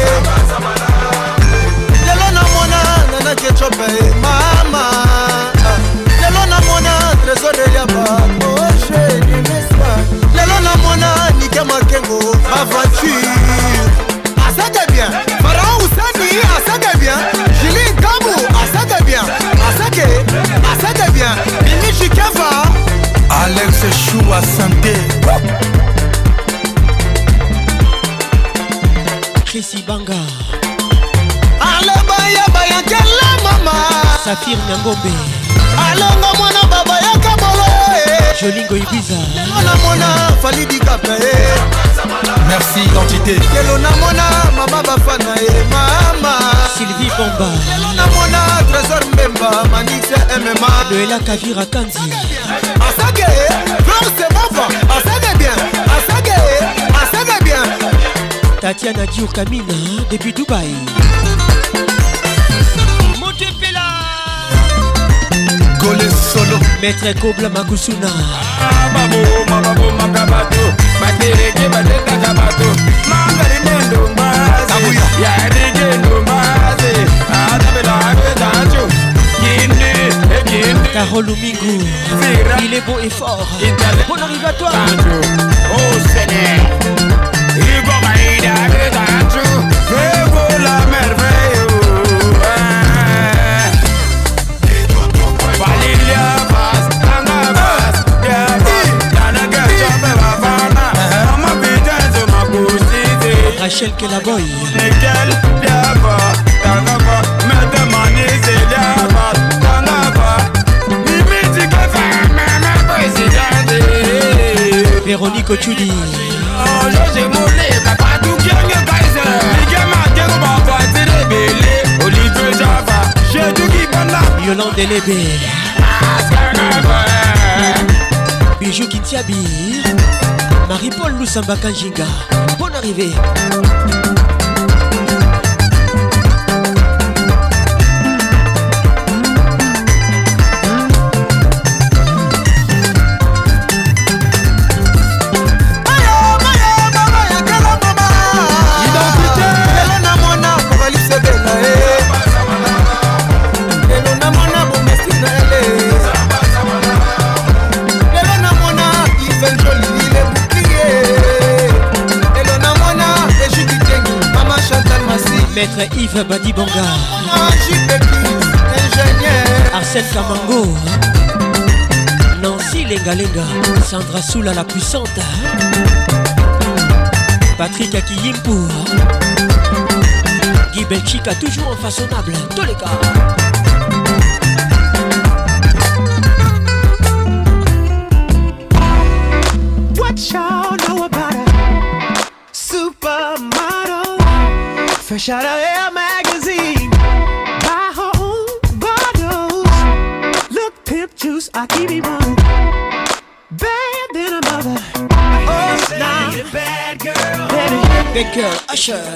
Lelo na mona, nana ketchup, mama. Lelo na mona, trésor de yaba. Oh, chérie, n'est-ce pas? Lelo na mona, nike makengo, ma voiture. Ah, ça t'est bien. Pharaon Oussani, ah, ça t'est bien. Julie Gabou, ah, ça t'est bien. Ah, ça t'est, ah, ça t'est bien. Mimi Chikava. Alex Chou à santé. Chrissy Banga. Ale baya baya kela mama. Safir Nyangombe. Alonga mwana baba ya kabolo. Jolingo Ibiza. Mwana mwana fali di kape. Merci identité. Kelo na mwana mama bafana e mama. Sylvie Bomba. Kelo na mwana Trésor Mbemba Manixe M M A. Noëlla Kavira Kandi. Asage, Flore c'est bon va. Asage bien. Asage, asage bien. Tatiana Diour Kamina depuis Dubaï. Montepela. Gole solo. Maître Kobla Makusuna. Mababo, mababo, makabato. Batereke, bateta kabato. Mangarinendo mbaze. Yarige no mbaze. Adabela abedacho. Kinde, kinde. Carole Lumingo. Il est beau et fort. Bon arrive à toi. Oh Seigneur. Ibo maïda abedacho. Febo la merveille. Valilia Vaz, Tanga Vaz, Yaba, Tanaga Chombe Vavana, Mama Pijanzo Makusite, Rachel Kelaboy, Nickel, Yaba, Tanga Va, Mete Manise, Yaba, Tanga Va, Mimiti Kefa, Mama Presidente, Véronique Ochudi, Oh, José Moulé, Papa Toukiange Kaiser, Miguel Matero Baba, Télébélé, Olivier Java, Chédouki Banda, Yolande Lébé, Bijou Kintiabi, Marie-Paul Lusamba Kanjinga. Bonne arrivée. Maître Yves Badibanga, Arsène Kamango, Nancy Lengalenga, Sandra Soula la puissante, Patrick Akiyimpo, Guy Belchika toujours en façonnable, tous les cas. What y'all know about a supermodel? Fresh out of Air magazine, buy her own bottles. Look, pimp juice, I keep it one. Bad than a mother. Oh, now a bad girl. Baby, bad girl, Usher.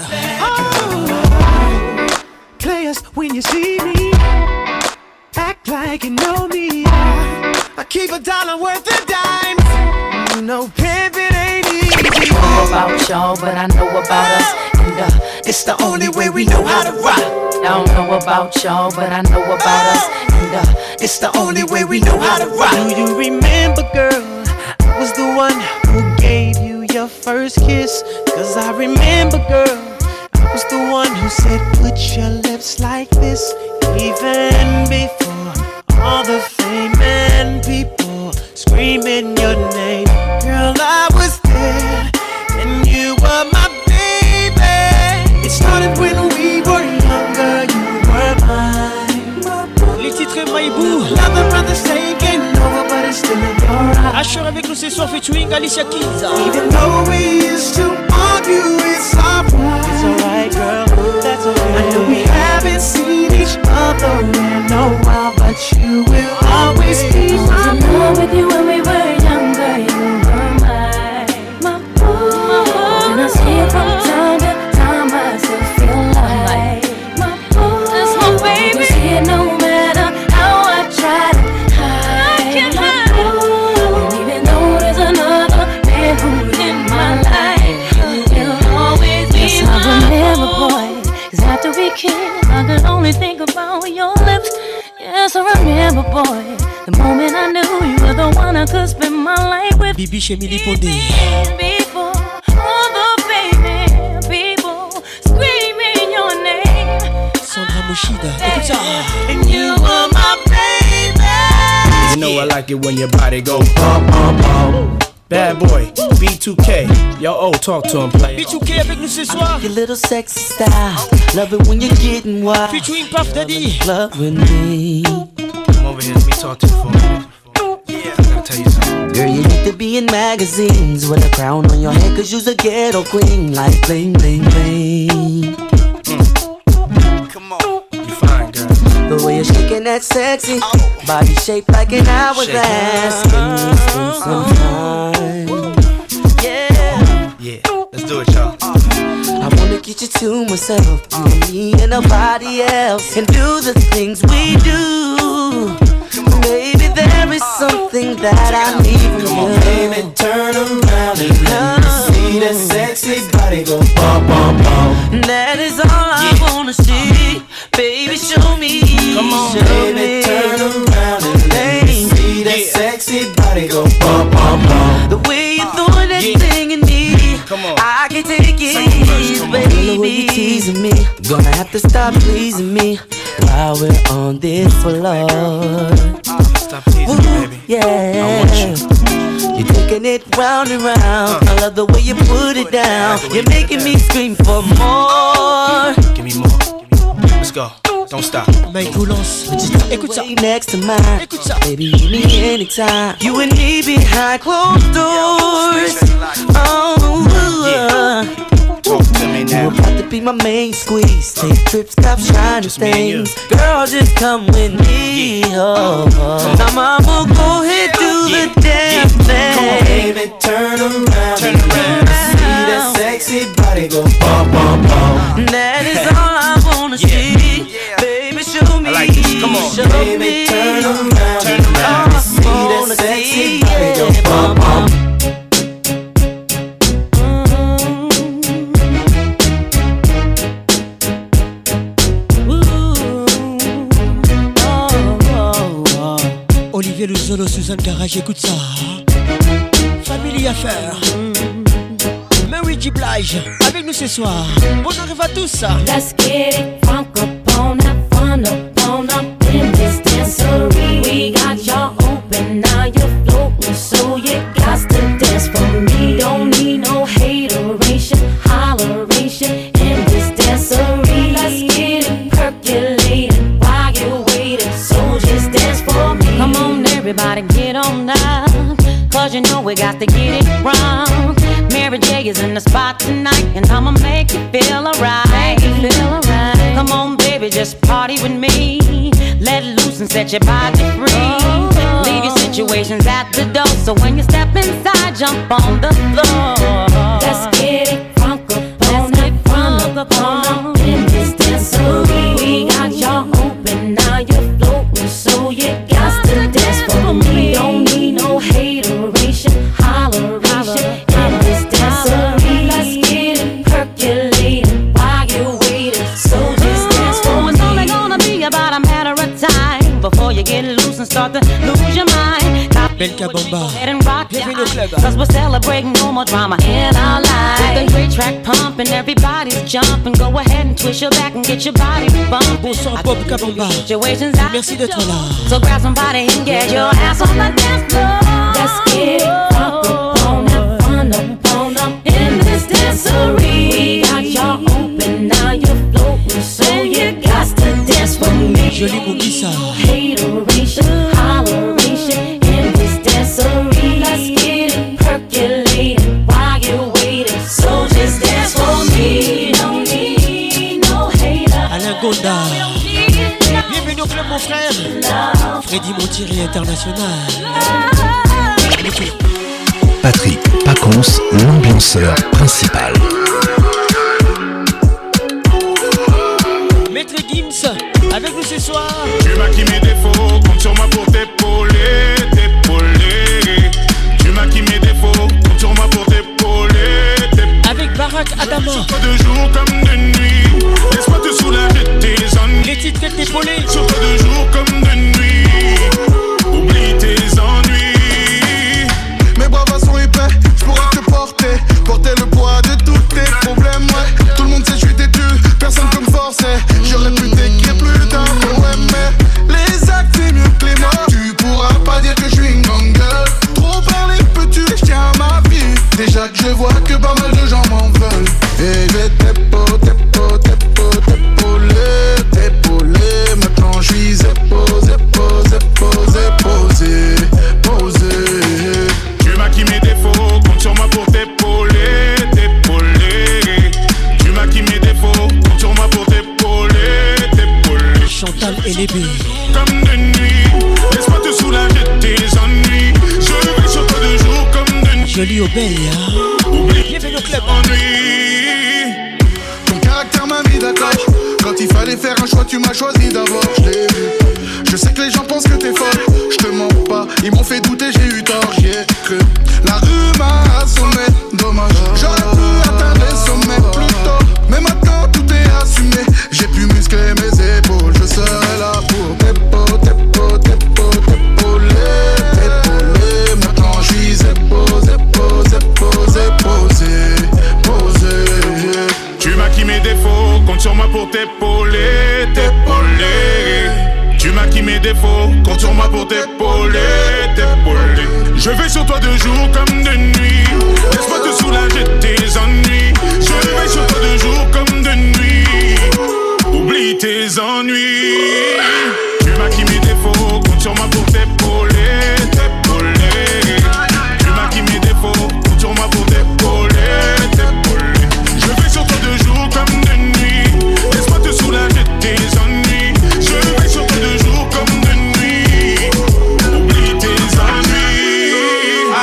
Oh, players, when you see me, act like you know me. I keep a dollar worth of dimes. You know, pimpin' ain't easy. I don't know about y'all, but I know about us. And uh, it's the only way we know how to rock. I don't know about y'all, but I know about us. And uh, it's the only way we know how to rock. Do you remember, girl, I was the one who gave you your first kiss? Cause I remember, girl, I was the one who said put your lips like this. Even before all the fame and people screaming your name. Girl, I was there and you were my baby. It started when we were younger, you were mine. Les titres Maïbou. Another brother's taking over, but it's still in your eyes. Asher avec nous ce soir featuring Alicia Keys. Even though we used to argue, it's alright. It's alright, girl, that's okay. I know we haven't seen each other in a while, but you will always be my boo. With you when we were younger, you were mine, my boo. And I see it from time to time, I still feel like my boo. That's my baby. boy. The moment I knew you were the one I could spend my life with. Bibi chez Mili Pondé. People, all the baby people screaming your name. Sandra Moshida, écoute ça. And you were my baby. You know I like it when your body go bum bum bum. Bad boy, B two K. Yo, oh, talk to him, player. B two K avec nous ce soir. Your little sexy style. Love it when you're getting wild. Featuring Puff Daddy. Love with me. Come over here, let me talk to you for a minute. Yeah, I gotta tell you something. Girl, you need to be in magazines with a crown on your head, cause you's a ghetto queen, like bling, bling, bling. Mm. Come on, you fine, girl. The way you're shaking that sexy oh. body shaped like an hourglass. Can we spend some time? Yeah. Yeah, let's do it, y'all. I wanna get you to myself, you and me and nobody else, and do the things we do. Baby, there is something that I need from Come you. on, baby, turn around and let me see that sexy body go bum, bum, bum. That is all I yeah. wanna see. Baby, show me. Come on, show baby, me. turn around and let me see that yeah. sexy body go bum, bum, bum. The way you throwing that yeah. thing in me, come on. I can take it, verse, baby. The way you teasing me, gonna have to stop pleasing me while we're on this floor. Stop teasing me, baby. Yeah, I want you. You're taking it round and round. Uh. I love the way you put it down. You're making me scream for more. Give me more. Let's go. Don't stop. Mike Goulance. Écoute ça. Next to mine. Écoute ça. Baby, meet me anytime. You and me behind closed doors. Oh, yeah. Talk to me now. You about to be my main squeeze. Take trips, cop shiny things. Girl, just come with me. Yeah. Oh, oh. Now, mama, go ahead, do yeah. the damn yeah. thing. Come on, baby, turn around. Turn around. See that sexy body go bum, bum, bum. That is all I wanna yeah. see. Yeah. Baby, show me. I like this. Come on. Show baby, me. turn around. Turn around. Oh, see that sexy body go bum, bum. Olivier Luzolo, Suzanne Garage, écoute ça. Family Affair. Mary J. Blige, avec nous ce soir. Bon arrive à tous. Let's get it crunk up on that fun up on up in this dancery. We got y'all open, now you're floating, so you got to dance for me. Don't need no hateration, holleration in this dancery. Let's get it percolating while you're waiting, so just dance for me. Come on, everybody, get on down, cause you know we got to get it wrong. Mary J is in the spot tonight, and I'ma make you feel alright. Feel alright. Come on, baby, just party with me. Let loose and set your body free. Oh. Leave your situations at the door, so when you step inside, jump on the floor. Let's get it crunk up on it, crunk up on up in this dancery. We got y'all open, now you're floating, so you got to dance for me. Don't need no hateration, holleration in this dancery. Let's get it percolating while you're waiting, so just dance for me. It's only gonna be about a matter of time before you get loose and start to lose your mind. Belka Bomba, bienvenue au club. Cause we're celebrating no more drama in our lives. With a great track pumping, everybody's jumping. Go ahead and twist your back and get your body bumping. Bonsoir Bob Kabamba. Merci d'être là. So grab somebody and get your ass on the dance floor. Let's get it up, up on up, fun up, on up in this dancery. We got y'all open, now you're floating, so you got to dance for me. Jolie Moukissa. Hateration, holleration in this dancery. Let's get it percolating while you're waiting, so just dance for me. No need no hater. Alain Gonda. Bienvenue au club mon frère. Freddy Montieri International. Patrick Pacons, l'ambianceur principal. Maître Gims, avec nous ce soir. Tu maquilles mes défauts, compte sur moi pour t'épauler, t'épauler. Tu maquilles mes défauts, compte sur moi pour t'épauler, t'épauler. Avec Barack Adama. Sur toi de jour comme de nuit, laisse-moi te soulager tes ennuis. Les titres qu'elle t'épaulait. Sur toi de jour comme de nuit, Jolie Obey. Bienvenue au club. Ton caractère m'a mis d'accord. Quand il fallait faire un choix, tu m'as choisi d'abord. Je l'ai vu. Je sais que les gens pensent que t'es folle. Je te mens pas, ils m'ont fait douter, j'ai eu tort, j'y ai cru. La rue m'a assommé, dommage. J'aurais pu atteindre les sommets plus tôt. Mais maintenant tout est assumé. J'ai pu muscler mes épaules. Je serai là pour t'épauler, t'épauler, t'épauler, t'épauler. Maintenant je suis éposé, posé, posé, posé, posé. Tu maquilles mes défauts, compte sur moi pour t'épauler, t'épauler. Tu maquilles mes défauts, compte sur moi pour t'épauler, t'épauler. Je vais sur toi de jour comme de nuit. Laisse-moi te soulager de tes ennuis. Je vais sur toi de jour comme de nuit. Oublie tes ennuis. Tu maquilles mes défauts, compte sur moi pour t'épauler, t'épauler. Tu maquilles mes défauts, compte sur moi pour t'épauler, t'épauler. Je vais sur toi de jour comme de nuit. Laisse-moi te soulager de tes ennuis. Je vais sur toi de jour comme de nuit. Oublie tes ennuis. Ah.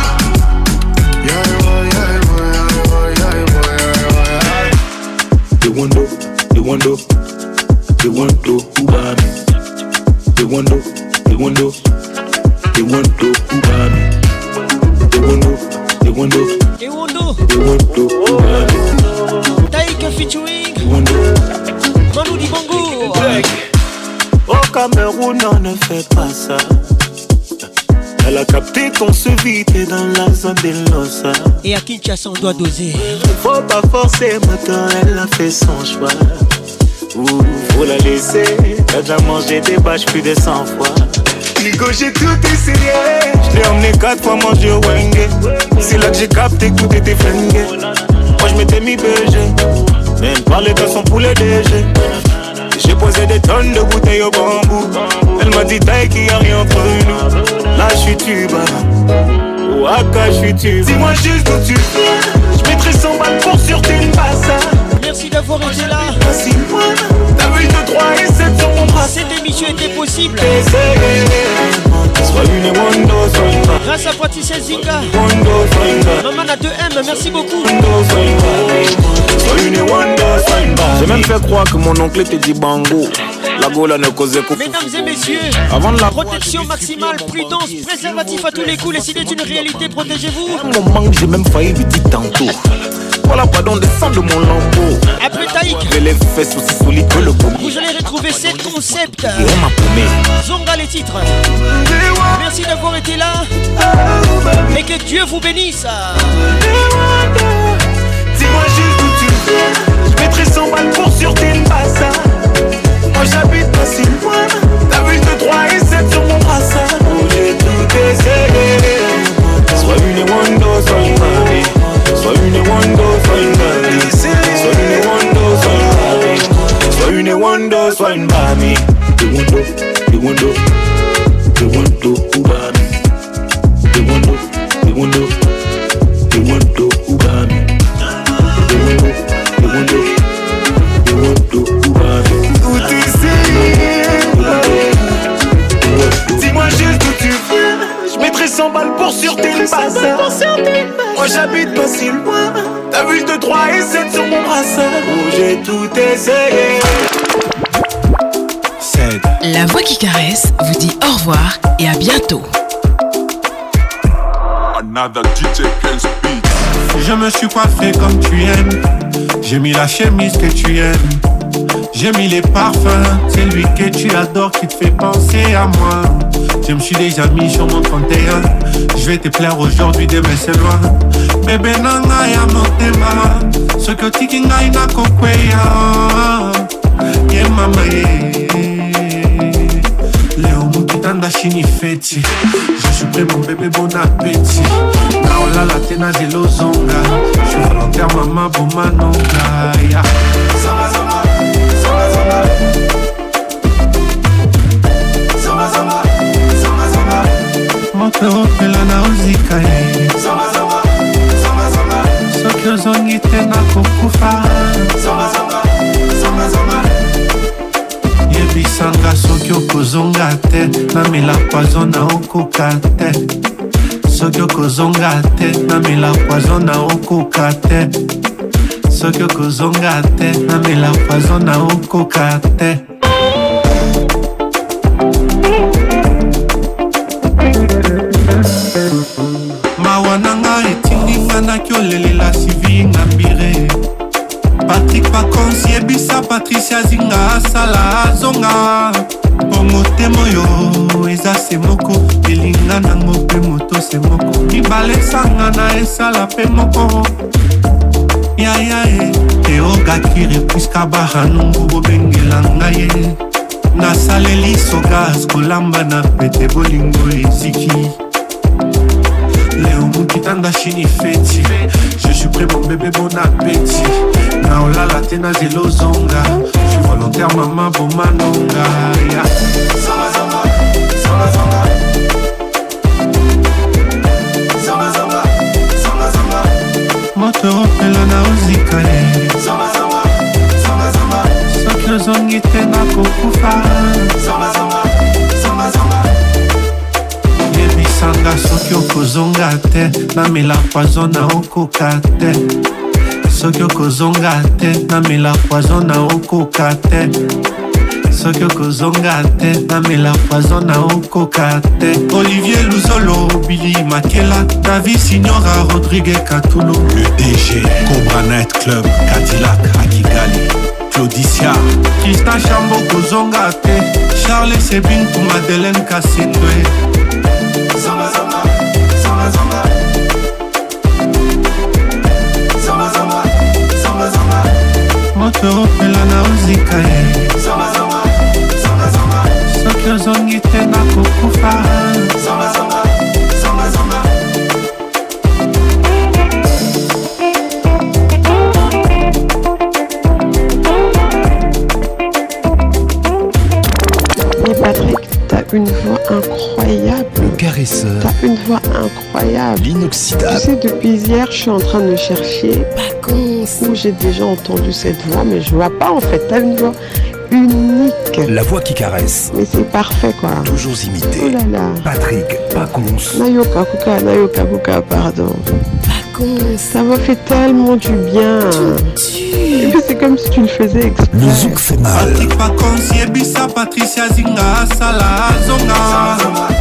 They wonder, they wonder, they wonder who got me. They wonder, they wonder, they wonder who got me. They wonder, they wonder, they wonder, they wonder who got me. Taïk featuring Manu Dibango. Au Cameroun, on ne fait pas ça. Elle a capté qu'on se vidait dans la zone des Losa. Et à Kinshasa, on doit doser. Faut pas forcer, maintenant elle a fait son choix. Ouh, faut la laisser. T'as déjà mangé des bâches plus de cent fois. Nico, j'ai tout essayé. Je l'ai emmené quatre fois manger au Wenge. C'est là que j'ai capté que tout était flingué. Moi je m'étais mis B G. Même parler de son poulet D G. J'ai posé des tonnes de bouteilles au bambou. Elle m'a dit taille qu'il n'y a rien entre nous. Là je suis tuba, Ouaka je suis tuba. Dis-moi juste où tu viens. Je mettrai cent balles pour sur tes passas. Merci d'avoir été là. Voici moi, t'as vu de trois et sept sur mon bras. Cette émission était possible Sois une Wando, sois une ma. grâce à Patricia Zinga. Wando, sois une ma. Maman a deux M, merci beaucoup. Wando, sois une ma. Sois une Wando, sois une ma. J'ai même fait croire que mon oncle était dit bango. La gola ne causait qu'au. Mesdames et messieurs, avant de la protection maximale, prudence, préservatif à tous les coups. Les signes est une réalité, protégez-vous. Un moment que j'ai même failli lui dire tantôt. Voilà, pardon, descends de mon lambeau. Après Taïk, j'ai les fesses aussi solides que le pommier. vous allez retrouver ces concepts. Et on m'a paumé. Zonga les titres. Merci d'avoir été là. Et que Dieu vous bénisse. Dis-moi juste où tu viens. Je mettrai cent balles pour sur tes passas. Moi j'habite pas si loin. T'as vu de trois et sept sur mon brassard. Oh, j'ai tout essayé. Sois une Wando, sois une mamie. Sois une Wando, sois une mamie. Sois une Wando, sois une mamie. Sois une Wando, sois une mamie. The Wando, the Wando, the Wando, Ubami. The Wando, the Wando, the Wando, Ubami. The Wando, the Wando, the Wando, Ubami. Tout essayé. Dis-moi juste où tu viens. Je mettrai cent balles pour sur tes passas. Moi j'habite pas si loin. T'as vu de trois et sept sur mon brassard. Oh j'ai tout essayé. La voix qui caresse vous dit au revoir et à bientôt. Another D J Prince Beat. Je me suis coiffé comme tu aimes. J'ai mis la chemise que tu aimes. J'ai mis les parfums. C'est lui que tu adores qui te fait penser à moi. Je me suis déjà mis sur mon trente et un. Je vais te plaire aujourd'hui, demain c'est loin. Bébé nanga ya motema. Ce que tiki ngai na kokweya. Ye mama ye. Léo mukitanda shini feti. Je suis prêt mon bébé, bon appétit. Naola la tena de lozonga. Je suis volontaire maman pour manonga. Yeah. Zama zama, zama zama. Zama zama, zama zama. Moto opela na ozika ye. Zama zama, zama zama. Soki ozongi te na kokufa. Zama zama, zama zama. Yebisanga soki okozonga te. Namela poison na okoka te. soki okozonga te namela poison na okoka te soki okozonga te namela poison na okoka te mawananga etinginga nakiolelela sivi ngambire Patrick Pacons yebisa Patricia Zinga asala azonga Pongo temo yo eza semoko elinga nango pe moto semoko mibale sanga na esala pe moko ya ya e eoga kire puiska baha nungu bobengela ngaye nasaleli sogas kolamba na pete bolingo eziki Léo Moukitanda Chini Feti Je suis prêt mon bébé bon appétit Naola la tena zelo zonga Je suis volontaire maman bon manonga yeah. Zonga zonga Zonga zonga Zonga zonga Zonga zonga Moto opela na ozika Zonga zonga Zonga zonga Soki ozongi tena kokufa Zonga zonga Zonga zonga Sanga soki okozonga te namela poison na okoka te soki okozonga te namela poison na okoka te soki okozonga te namela poison na okoka te Olivier Luzolo Billy Makela David Signora Rodrigue Katulo le D G Cobra Night Club Cadillac à Kigali Claudicia Tristan Chambo kozonga te Charles Sebin pour Madeleine Kassendwe Zonga zonga, zonga zonga Zonga zonga, zonga zonga Moto opela na ozika e Zonga zonga, zonga zonga Soki ozongi te na kokufa Zonga zonga, zonga zonga Mais Patrick, t'as une voix incroyable. Le caresseur. T'as une voix incroyable. L'inoxydable. Tu sais, depuis hier, je suis en train de chercher Pacons où j'ai déjà entendu cette voix, mais je vois pas en fait. T'as une voix unique. La voix qui caresse. Mais c'est parfait quoi. Toujours imité. Oh là là. Patrick Pacons. Nayoka Kuka, Nayoka Kuka, pardon. Pacons. Ça m'a fait tellement du bien. Et puis c'est comme si tu le faisais exprès. Le zouk fait mal. Patrick Pacons yebisa Patricia Zinga asala azonga